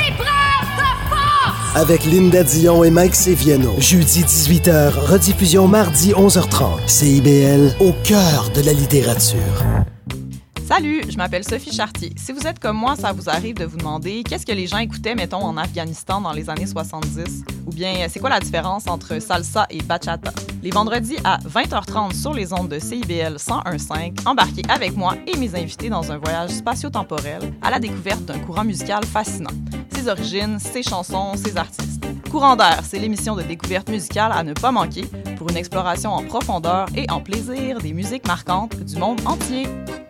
Avec Linda Dion et Mike Seviano. Jeudi dix-huit heures, rediffusion mardi onze heures trente. C I B L, au cœur de la littérature. Salut, je m'appelle Sophie Chartier. Si vous êtes comme moi, ça vous arrive de vous demander qu'est-ce que les gens écoutaient, mettons, en Afghanistan dans les années soixante-dix? Ou bien, c'est quoi la différence entre salsa et bachata? Les vendredis à vingt heures trente sur les ondes de C I B L cent un virgule cinq, embarquez avec moi et mes invités dans un voyage spatio-temporel à la découverte d'un courant musical fascinant. Ses origines, ses chansons, ses artistes. Courant d'air, c'est l'émission de découverte musicale à ne pas manquer pour une exploration en profondeur et en plaisir des musiques marquantes du monde entier.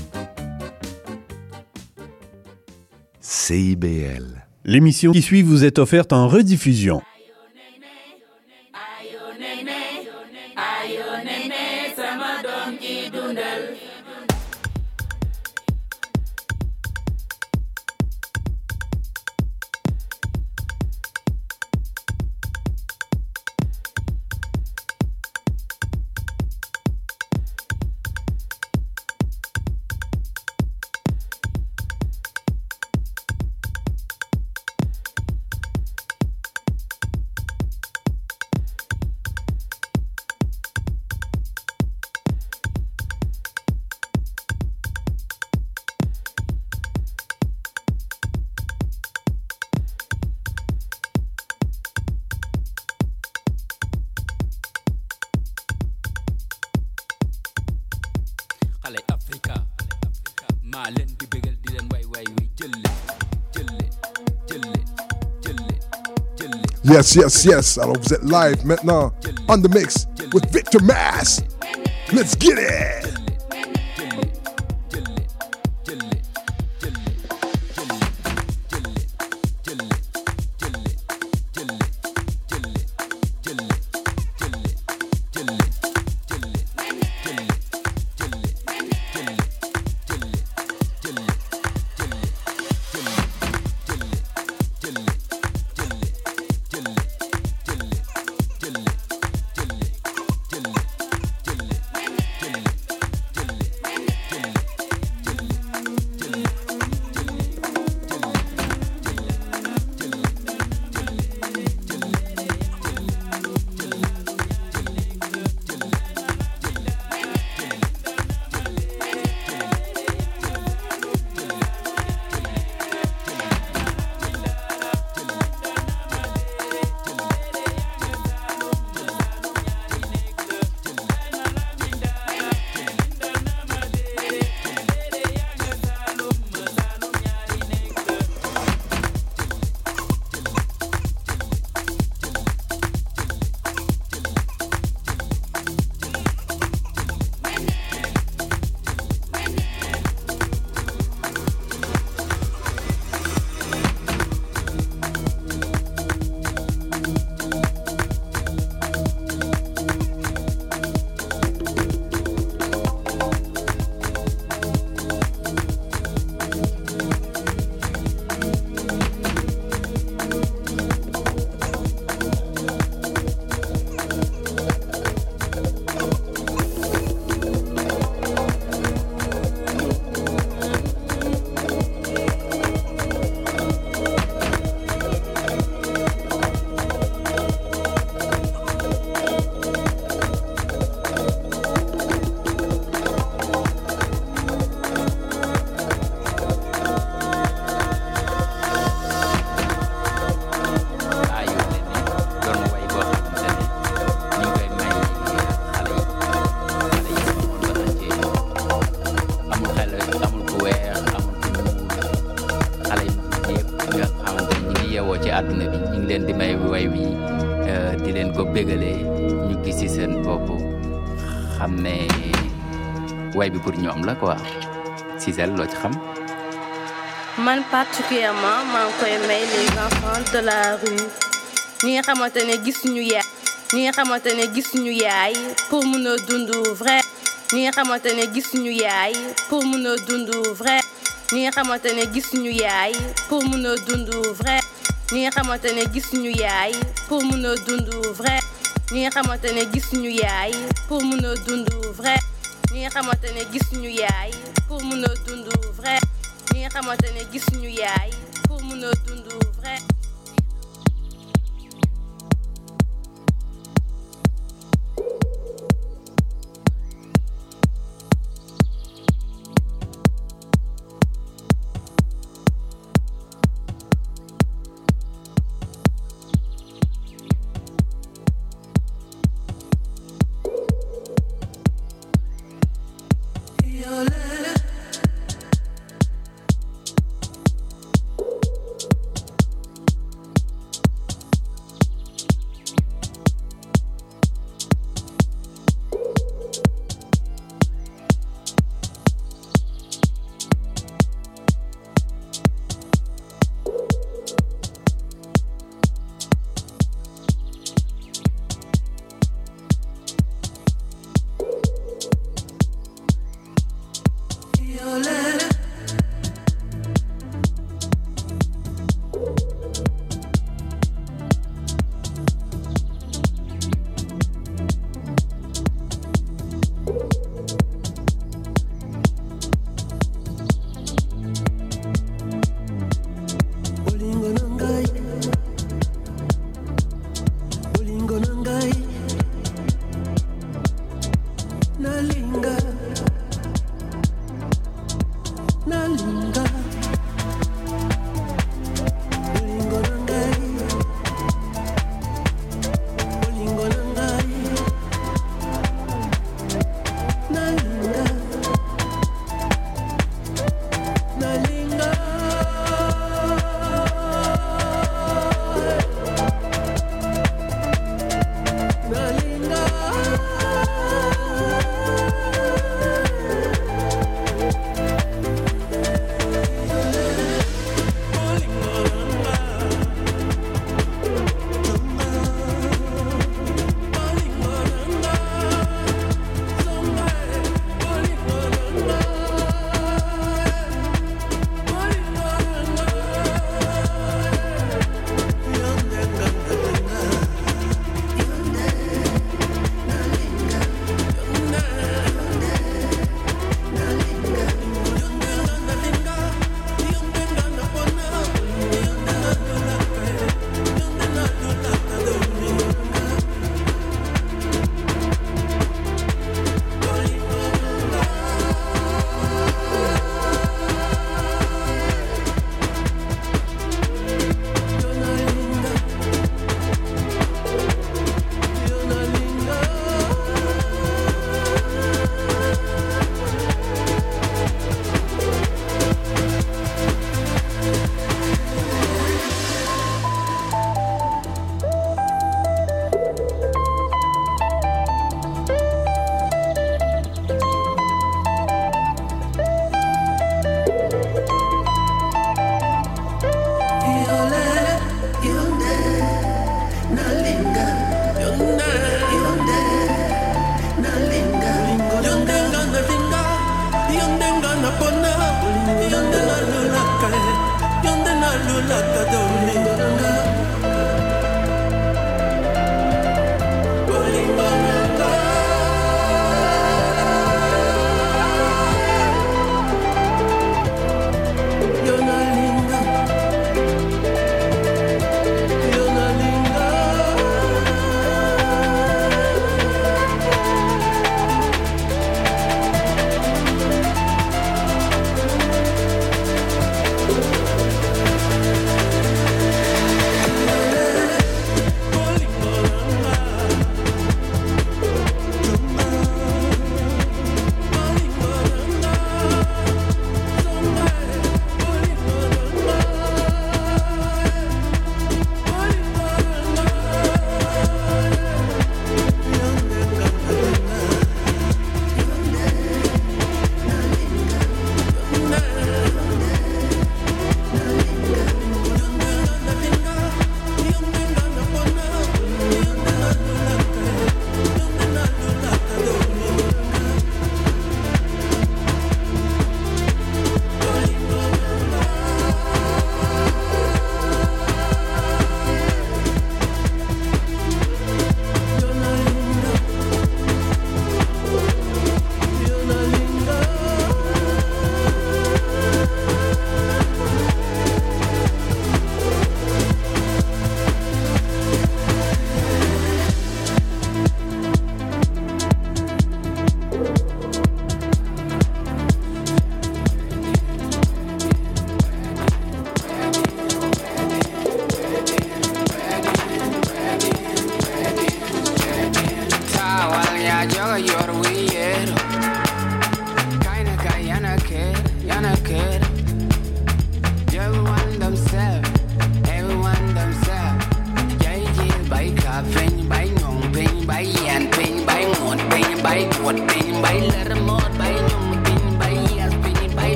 C I B L. L'émission qui suit vous est offerte en rediffusion. Yes, yes, yes. Alors vous êtes live maintenant on the mix with Victor Mass. Let's get it. bégalee ñu gis ci seen bopp xam ne way bi pour ñoom la quoi Cisel loo ci xam. man particulièrement maa ngi koy may les enfants de la rue ñi nga xamante ne gisuñu yaay ñi nga xamante ne gisuñu yaay pour mun a dund vrai ñi nga xamante ne gisuñu yaay pour mun a dund vrai ñi nga xamante ne gisuñu yaay pour mun a dund vrai ñi nga xamante ne gisuñu yaay pour mun a dund vrai ñi nga xamante ne gisuñu yaay pour mun a dund vrai ñi nga xamante ne gisuñu yaay pour mun a dund vrai ñi nga xamante ne gisuñu yaay pour mun a dund vrai.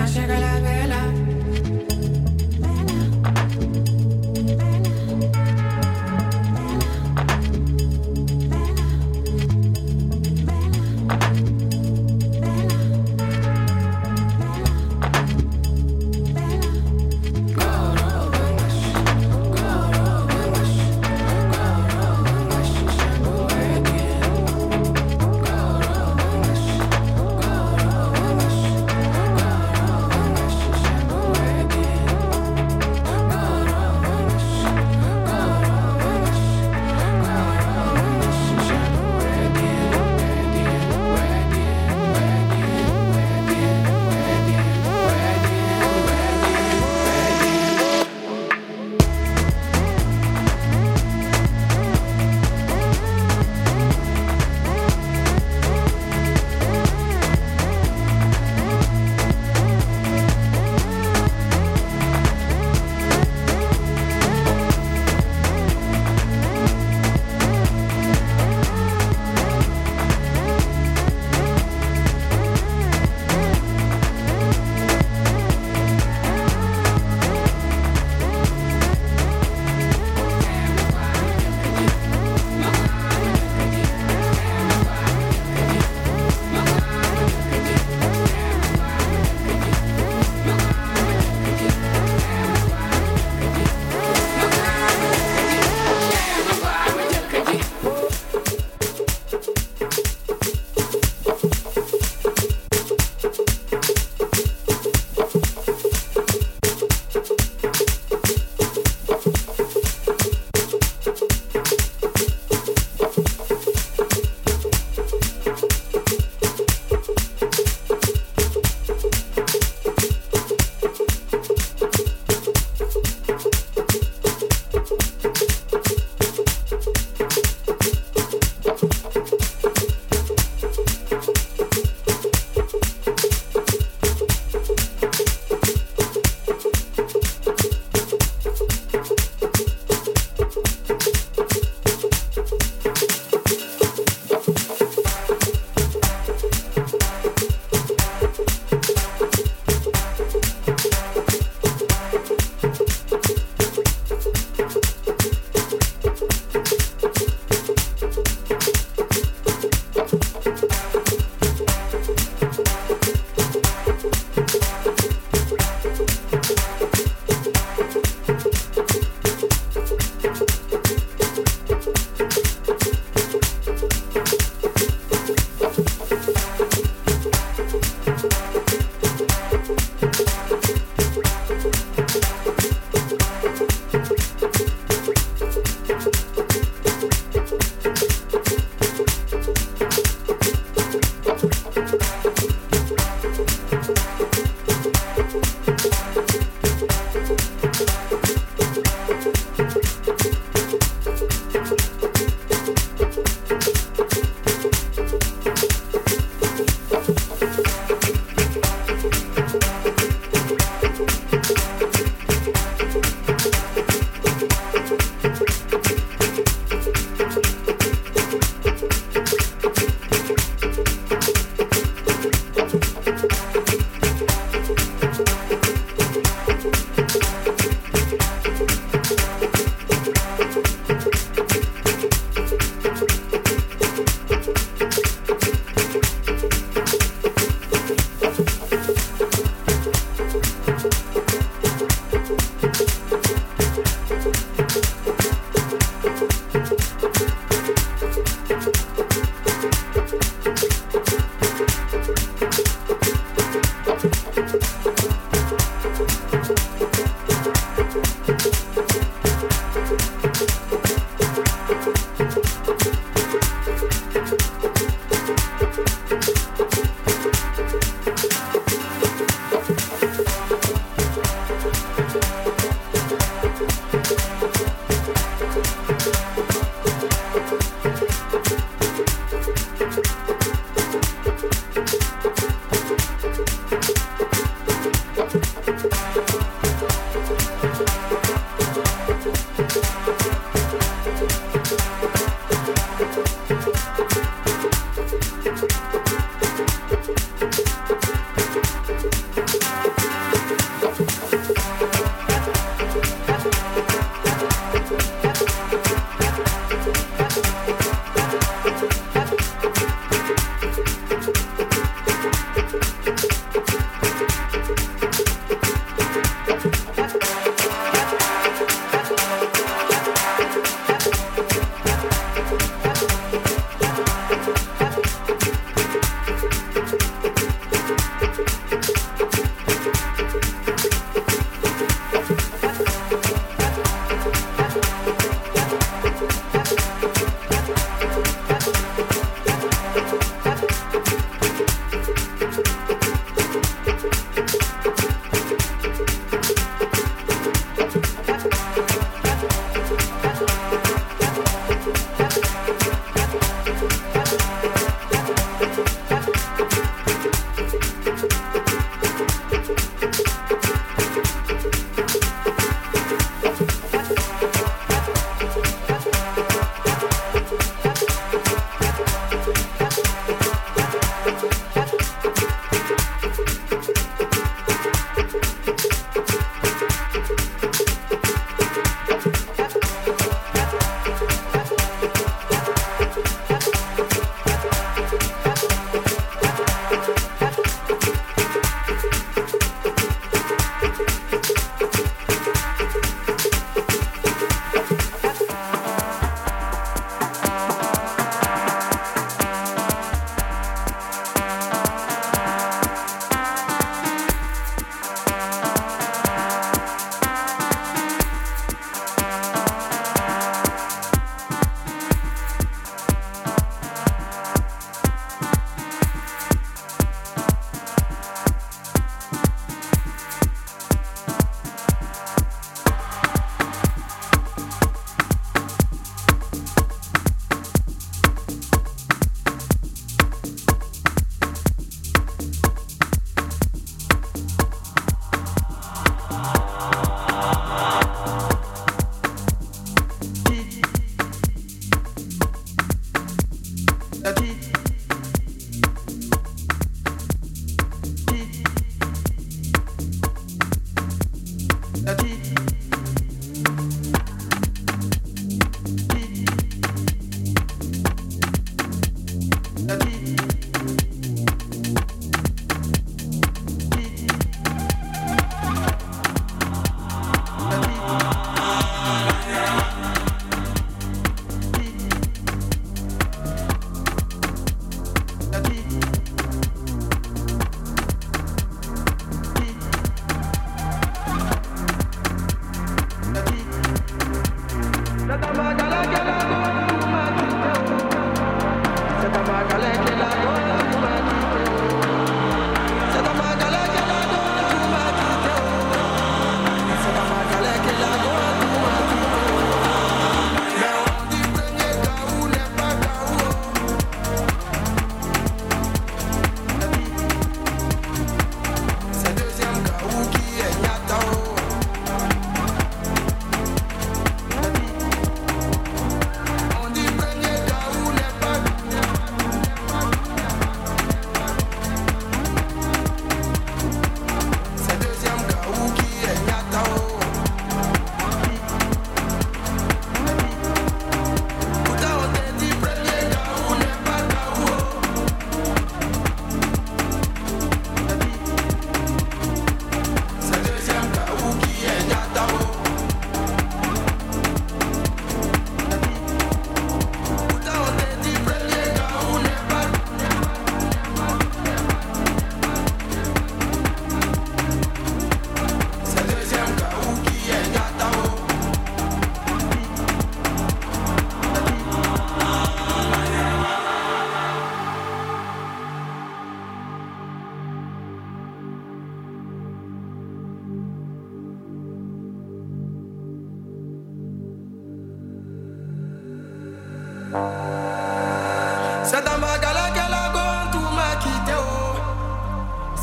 más llega la vela.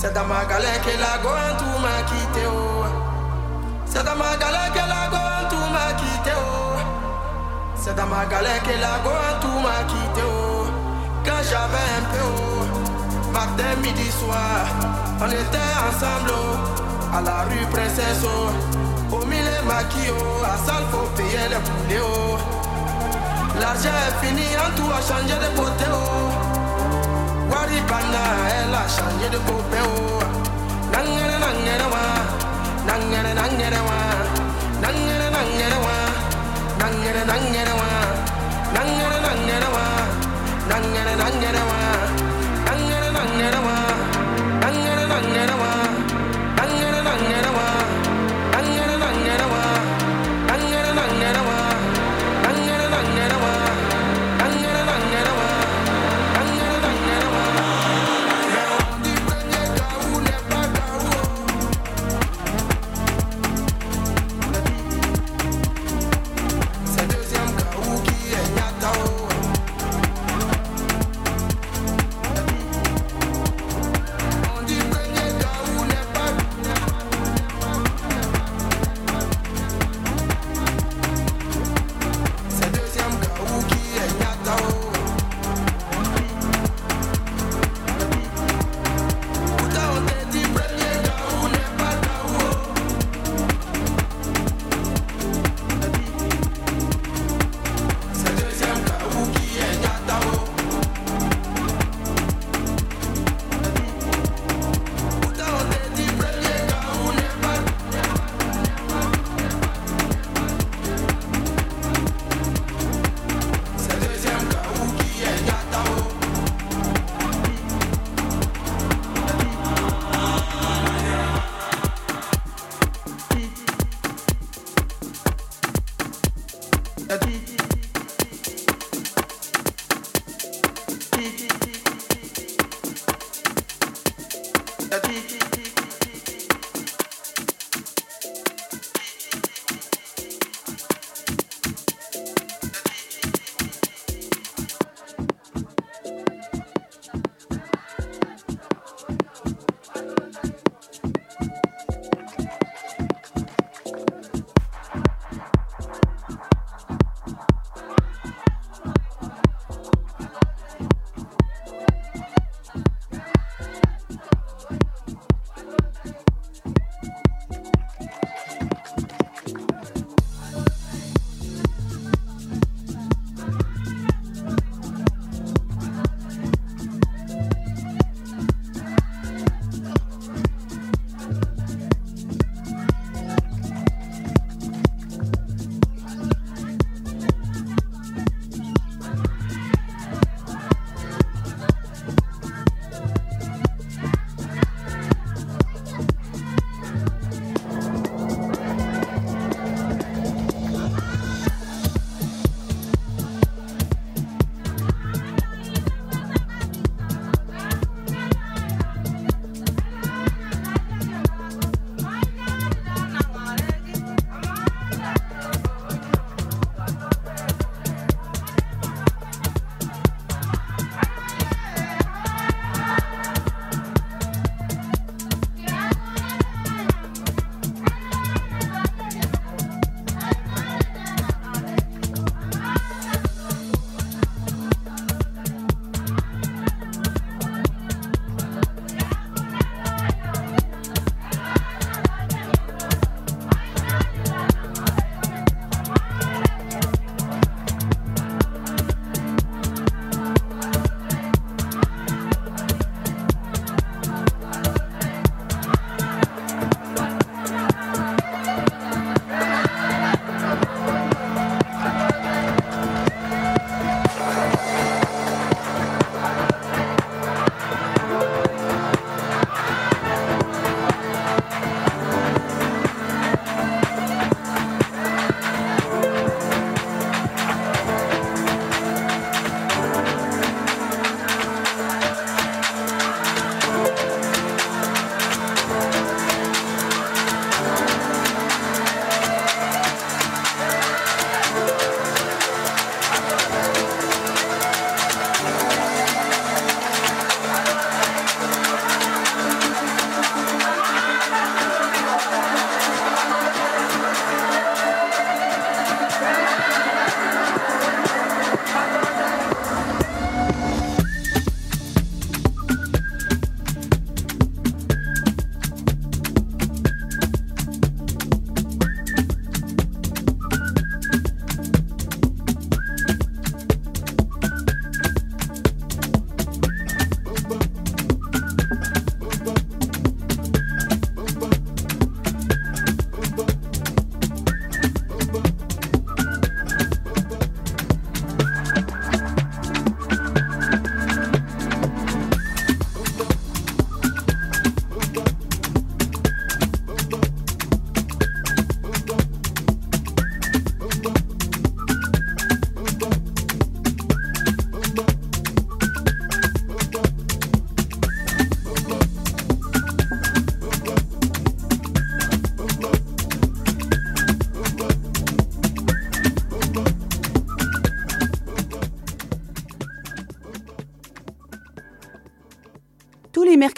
C'est dans ma galère que la goin tout m'a quitté oh. C'est dans ma galère que la goin tout m'a quitté oh. C'est dans ma galère que la goin tout m'a quitté oh. Quand j'avais un peu oh. Matin, midi, soir, on était ensemble oh. À la rue Princesse oh. Au milieu maquis oh. À salle faut payer les poulets oh. L'argent est fini, en tout a changé de beauté oh. Waribana, elle a changé de beauté oh. Nangere nangere wa, nangere nangere wa, nangere nangere wa, nangere nangere wa, nangere nangere wa, nangere nangere wa, nangere nangere wa, nangere nangere wa, nangere nangere wa, nangere nangere wa, nangere nangere wa.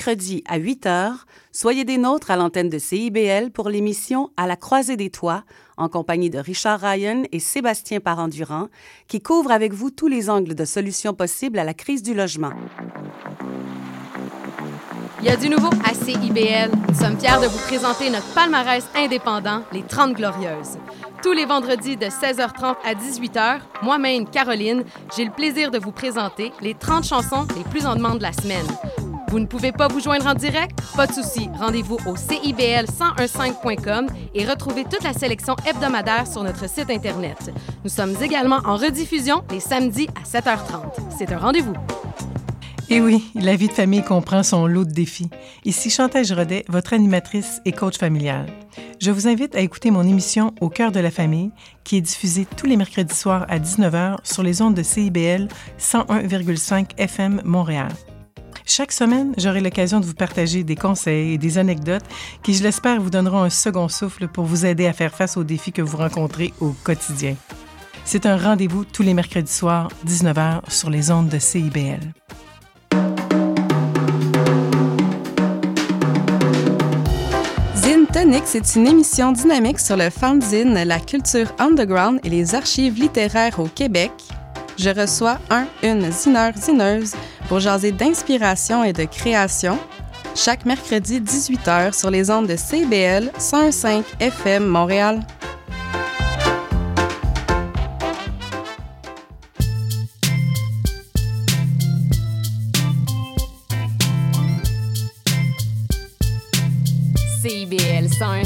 mercredi à huit heures, soyez des nôtres à l'antenne de C I B L pour l'émission À la croisée des toits, en compagnie de Richard Ryan et Sébastien Parent-Durand, qui couvrent avec vous tous les angles de solutions possibles à la crise du logement. Il y a du nouveau à C I B L. Nous sommes fiers de vous présenter notre palmarès indépendant, les trente Glorieuses. Tous les vendredis de seize heures trente à dix-huit heures, moi-même, Caroline, j'ai le plaisir de vous présenter les trente chansons les plus en demande de la semaine. Vous ne pouvez pas vous joindre en direct? Pas de souci. Rendez-vous au C I B L cent quinze point com et retrouvez toute la sélection hebdomadaire sur notre site Internet. Nous sommes également en rediffusion les samedis à sept heures trente. C'est un rendez-vous. Et oui, la vie de famille comprend son lot de défis. Ici Chantal Giraudet, votre animatrice et coach familial. Je vous invite à écouter mon émission Au cœur de la famille, qui est diffusée tous les mercredis soirs à dix-neuf heures sur les ondes de C I B L cent un virgule cinq F M Montréal. Chaque semaine, j'aurai l'occasion de vous partager des conseils et des anecdotes qui, je l'espère, vous donneront un second souffle pour vous aider à faire face aux défis que vous rencontrez au quotidien. C'est un rendez-vous tous les mercredis soirs, dix-neuf heures, sur les ondes de C I B L. Zine Tonic, c'est une émission dynamique sur le fanzine, la culture underground et les archives littéraires au Québec. Je reçois un, une zineur, zineuse pour jaser d'inspiration et de création. Chaque mercredi dix-huit heures sur les ondes de C I B L cent quinze F M Montréal. C I B L cent